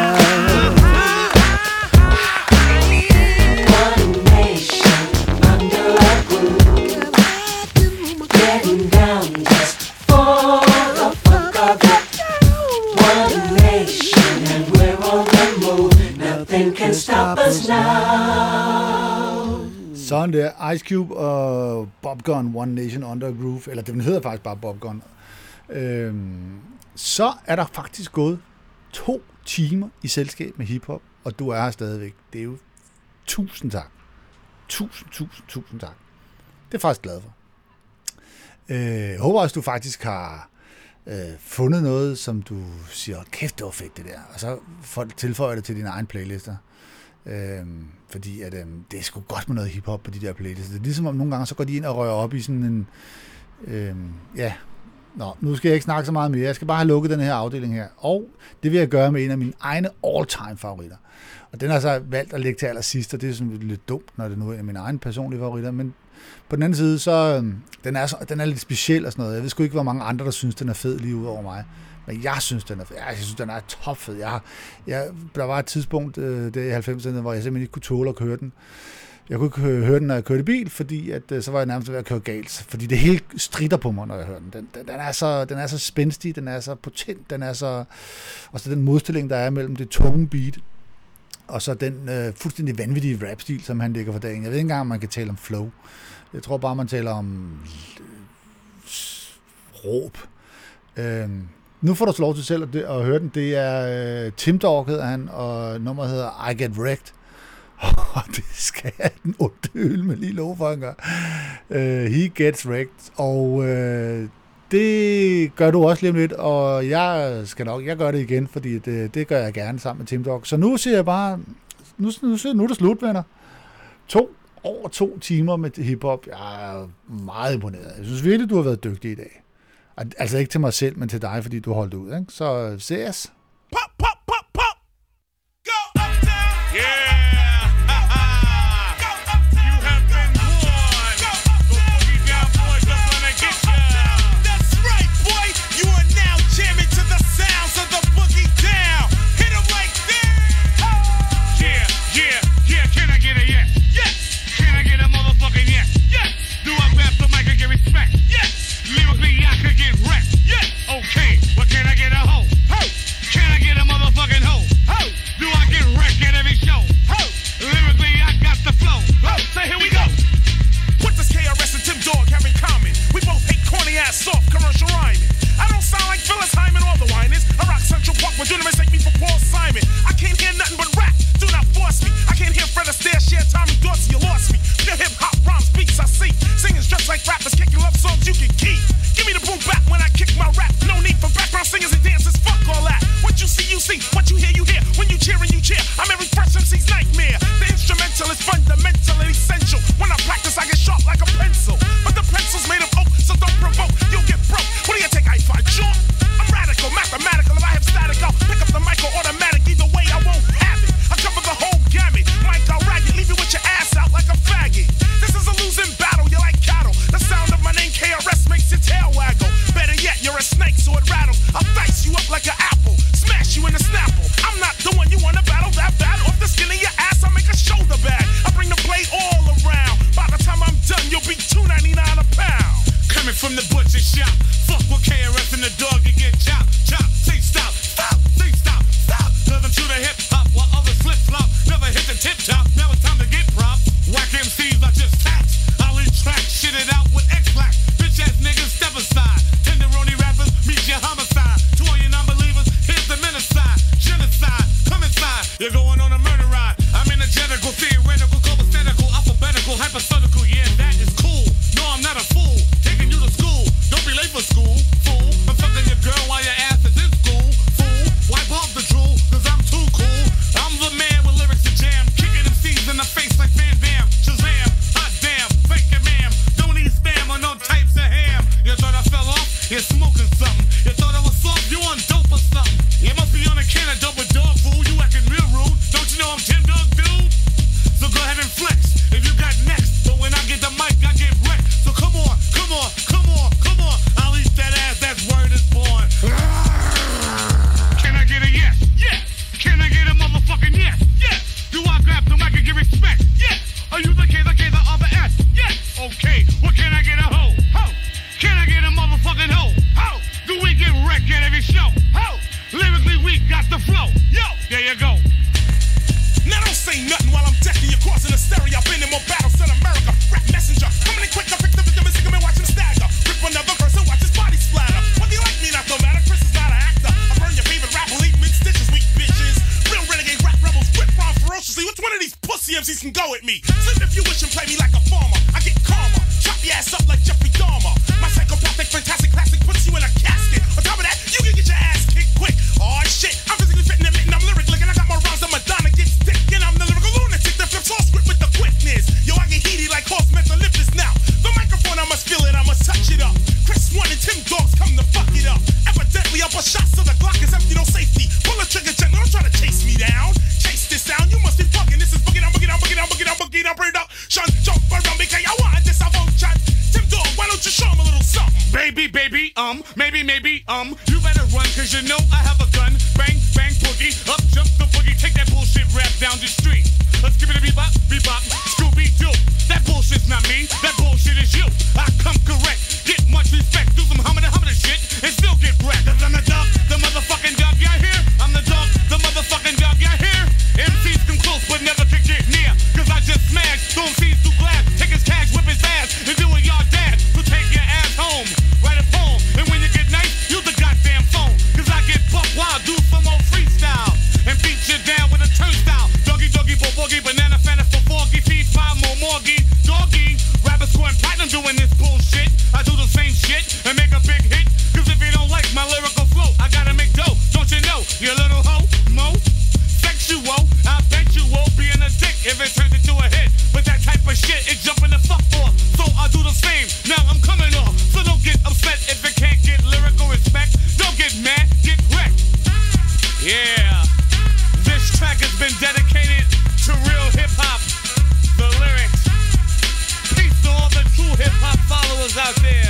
Sådan der, Ice Cube og Bob Gun, One Nation Under Groove, eller den hedder faktisk bare Bob Gun. Øhm, så er der faktisk gået to timer i selskab med hiphop, og du er her stadigvæk. Det er jo tusind tak. Tusind, tusind, tusind tak. Det er jeg faktisk glad for. Øh, jeg håber også, du faktisk har øh, fundet noget, som du siger, kæft, det var fedt det der, og så tilføjer det til dine egne playlister. Øhm, fordi at, øhm, det er sgu godt med noget hiphop på de der playlister. Det er ligesom om nogle gange, så går de ind og rører op i sådan en... Øhm, ja, nå, nu skal jeg ikke snakke så meget mere. Jeg skal bare have lukket den her afdeling her. Og det vil jeg gøre med en af mine egne all-time favoritter. Og den har så valgt at lægge til allersidst, og det er sådan lidt dumt, når det nu er en af mine egne personlige favoritter. Men på den anden side, så øhm, den, er så, den er lidt speciel og sådan noget. Jeg ved sgu ikke, hvor mange andre, der synes, den er fed lige ud over mig. Men jeg synes, den er fed. Jeg synes, den er topfed. Jeg, jeg, der var et tidspunkt øh, der i halvfemserne, hvor jeg simpelthen ikke kunne tåle at køre den. Jeg kunne ikke høre den, når jeg kørte bil, fordi at, øh, så var jeg nærmest ved at køre galt. Fordi det hele stritter på mig, når jeg hører den. Den, den, den, er, så, den er så spændstig, den er så potent, den er så... Og så den modstilling, der er mellem det tunge beat, og så den øh, fuldstændig vanvittige rap-stil, som han lægger for dagen. Jeg ved ikke engang, om man kan tale om flow. Jeg tror bare, man taler om råb. Øhm, Nu får du lov til selv at, at høre den. Det er uh, Tim Dog, hedder han, og nummeret hedder I Get Wrecked. Og det skal jeg den onde øl med lige lov for, han gør. Uh, He Gets Wrecked. Og uh, det gør du også lige om lidt, og jeg skal nok, jeg gør det igen, fordi det, det gør jeg gerne sammen med Tim Dog. Så nu siger jeg bare, nu, nu, nu er det slut, venner. To, over to timer med hiphop. Jeg er meget imponeret. Jeg synes virkelig, du har været dygtig i dag. Altså ikke til mig selv, men til dig, fordi du holdt ud, ikke? Så ses. Pop, pop, pop, pop. Go uptown. Yeah. Go uptown. You have been warned. Go boogie down, boys. Just wanna get ya. That's right, boy. You are now jamming to the sounds of the boogie down. Hit 'em like that. Yeah, yeah, yeah. Can I get a yes? Yes. Can I get a motherfucking yes? Yes. Do I grab the mic and get respect? Yes. Lyrically, I could get wrecked. Yes. Okay, but can I get a hoe? Ho! Can I get a motherfucking hoe? Ho! Do I get wrecked at every show? Ho! Lyrically, I got the flow. Ho! So here we go. What does K R S and Tim Dog have in common? We both hate corny ass soft commercial rhyming. I don't sound like Phyllis Hyman or the whiners. I rock Central Park, but do not mistake me for Paul Simon. I can't hear nothing but rap. Do not force me. I can't hear Fred Astaire, share Tommy Dorsey. You lost me. Your hip hop rhymes, beats I see. Singers just like rappers, kicking love songs you can keep. Give me the boom back when I kick my rap. No need for background singers and dancers. Fuck all that. What you see, you see. What you hear, you hear. When you cheer and you cheer, I'm every fresh M C's nightmare. The instrumental is fundamental and essential. When I practice, I get sharp like a pencil. But the pencil's made of oak, so don't provoke. You'll get broke. What do you think I find short? I'm radical, mathematical. If I have static, I'll pick up the mic or automatic. Either way, I won't have it. I cover the whole gamut. Mic, I'll rag it. Leave you with your ass out like a faggot. This is a losing battle. You're like cattle. The sound of my name, K R S, makes your tail waggle. Better yet, you're a snake, so it rattles. I'll dice you up like an apple. Smash you in the snapple. I'm not the one you wanna battle that bad. Off the skin of your ass, I make a shoulder bag. I bring the blade all around. By the time I'm done, you'll be two ninety-nine a pound. Coming from the butcher shop. Fuck with K R S and the dog, you get chopped, chopped. Say stop, stop, say stop, stop. Nothing to the hip hop. you go. Now don't say nothing while I'm decking you, crossing the stereo. I've been in more battles than America. Rap messenger, coming in quick, I pick the victim and sick him and watch him stagger. Rip another verse and watch his body splatter. Whether you like me, not no matter. Chris is not an actor. I burn your favorite rapper, leave mid stitches, weak bitches. Real renegade rap rebels, rip rhyme ferociously. Which one of these pussy M Cs can go at me? Sleep if you wish and play me like a farmer. I get calmer, chop your ass up like Jeffrey Dahmer. My psychopathic, fantastic classic puts you in a casket. On top of that, you can get your ass kicked quick. Oh shit, I'm physically fitting and admitting I'm lyric licking. I got my rhymes on Madonna gets thick, and I'm the lyrical lunatic that flips all script with the quickness. Yo, I get heaty like horse methalyptus now. The microphone, I must feel it, I must touch it up. Chris One and Tim Dogs come to fuck it up. Evidently, up a shot so the Glock is empty, no safety. Pull the trigger gently, don't try to chase me down. Chase this sound, you must be fucking. This is boogie down, boogie down, boogie down, boogie down, boogie down, bring it up. Shun, jump around me, can you want this? I won't chat. Tim Dog, why don't you show him a little something? Baby, baby, um, maybe, maybe, um, you better run, cause you know I have a gun. Bang, bang, boogie, up jump the boogie, take that bullshit rap down the street. Let's give it a bebop, bebop, Scooby-Doo. That bullshit's not me, that bullshit is you. I come correct, get much respect, do some humming and humming shit, and still get wrecked. Cause I'm the dog, the motherfucking dog, y'all hear? I'm the dog, the motherfucking dog, y'all hear? M Cs come close, but never can get near. Cause I just smash, throw M Cs through glass, take his cash, whip his ass, and do what y'all dad. So take your ass home, write a poem, and when you get nice, use the goddamn phone. Cause I get buck wild, do some old freestyle, and beat you down with a turnstile. Doggy, doggy, bo boogie, banana, fanta, for foggy, feed five more morgy, doggy. Rapper scoring platinum doing this bullshit. I do the same shit and make a big hit. Cause if you don't like my lyrical flow, I gotta make dough, don't you know? You little hoe, mo, sexual, I bet you won't be in a dick if it turns into a hit. But that type of shit, it jumping the fuck off. So I do the same, now I'm coming off. So don't get upset if it can't get lyrical respect. Don't get mad, get wrecked. Yeah, this track has been dedicated to real hip-hop, the lyrics. Peace to all the true hip-hop followers out there.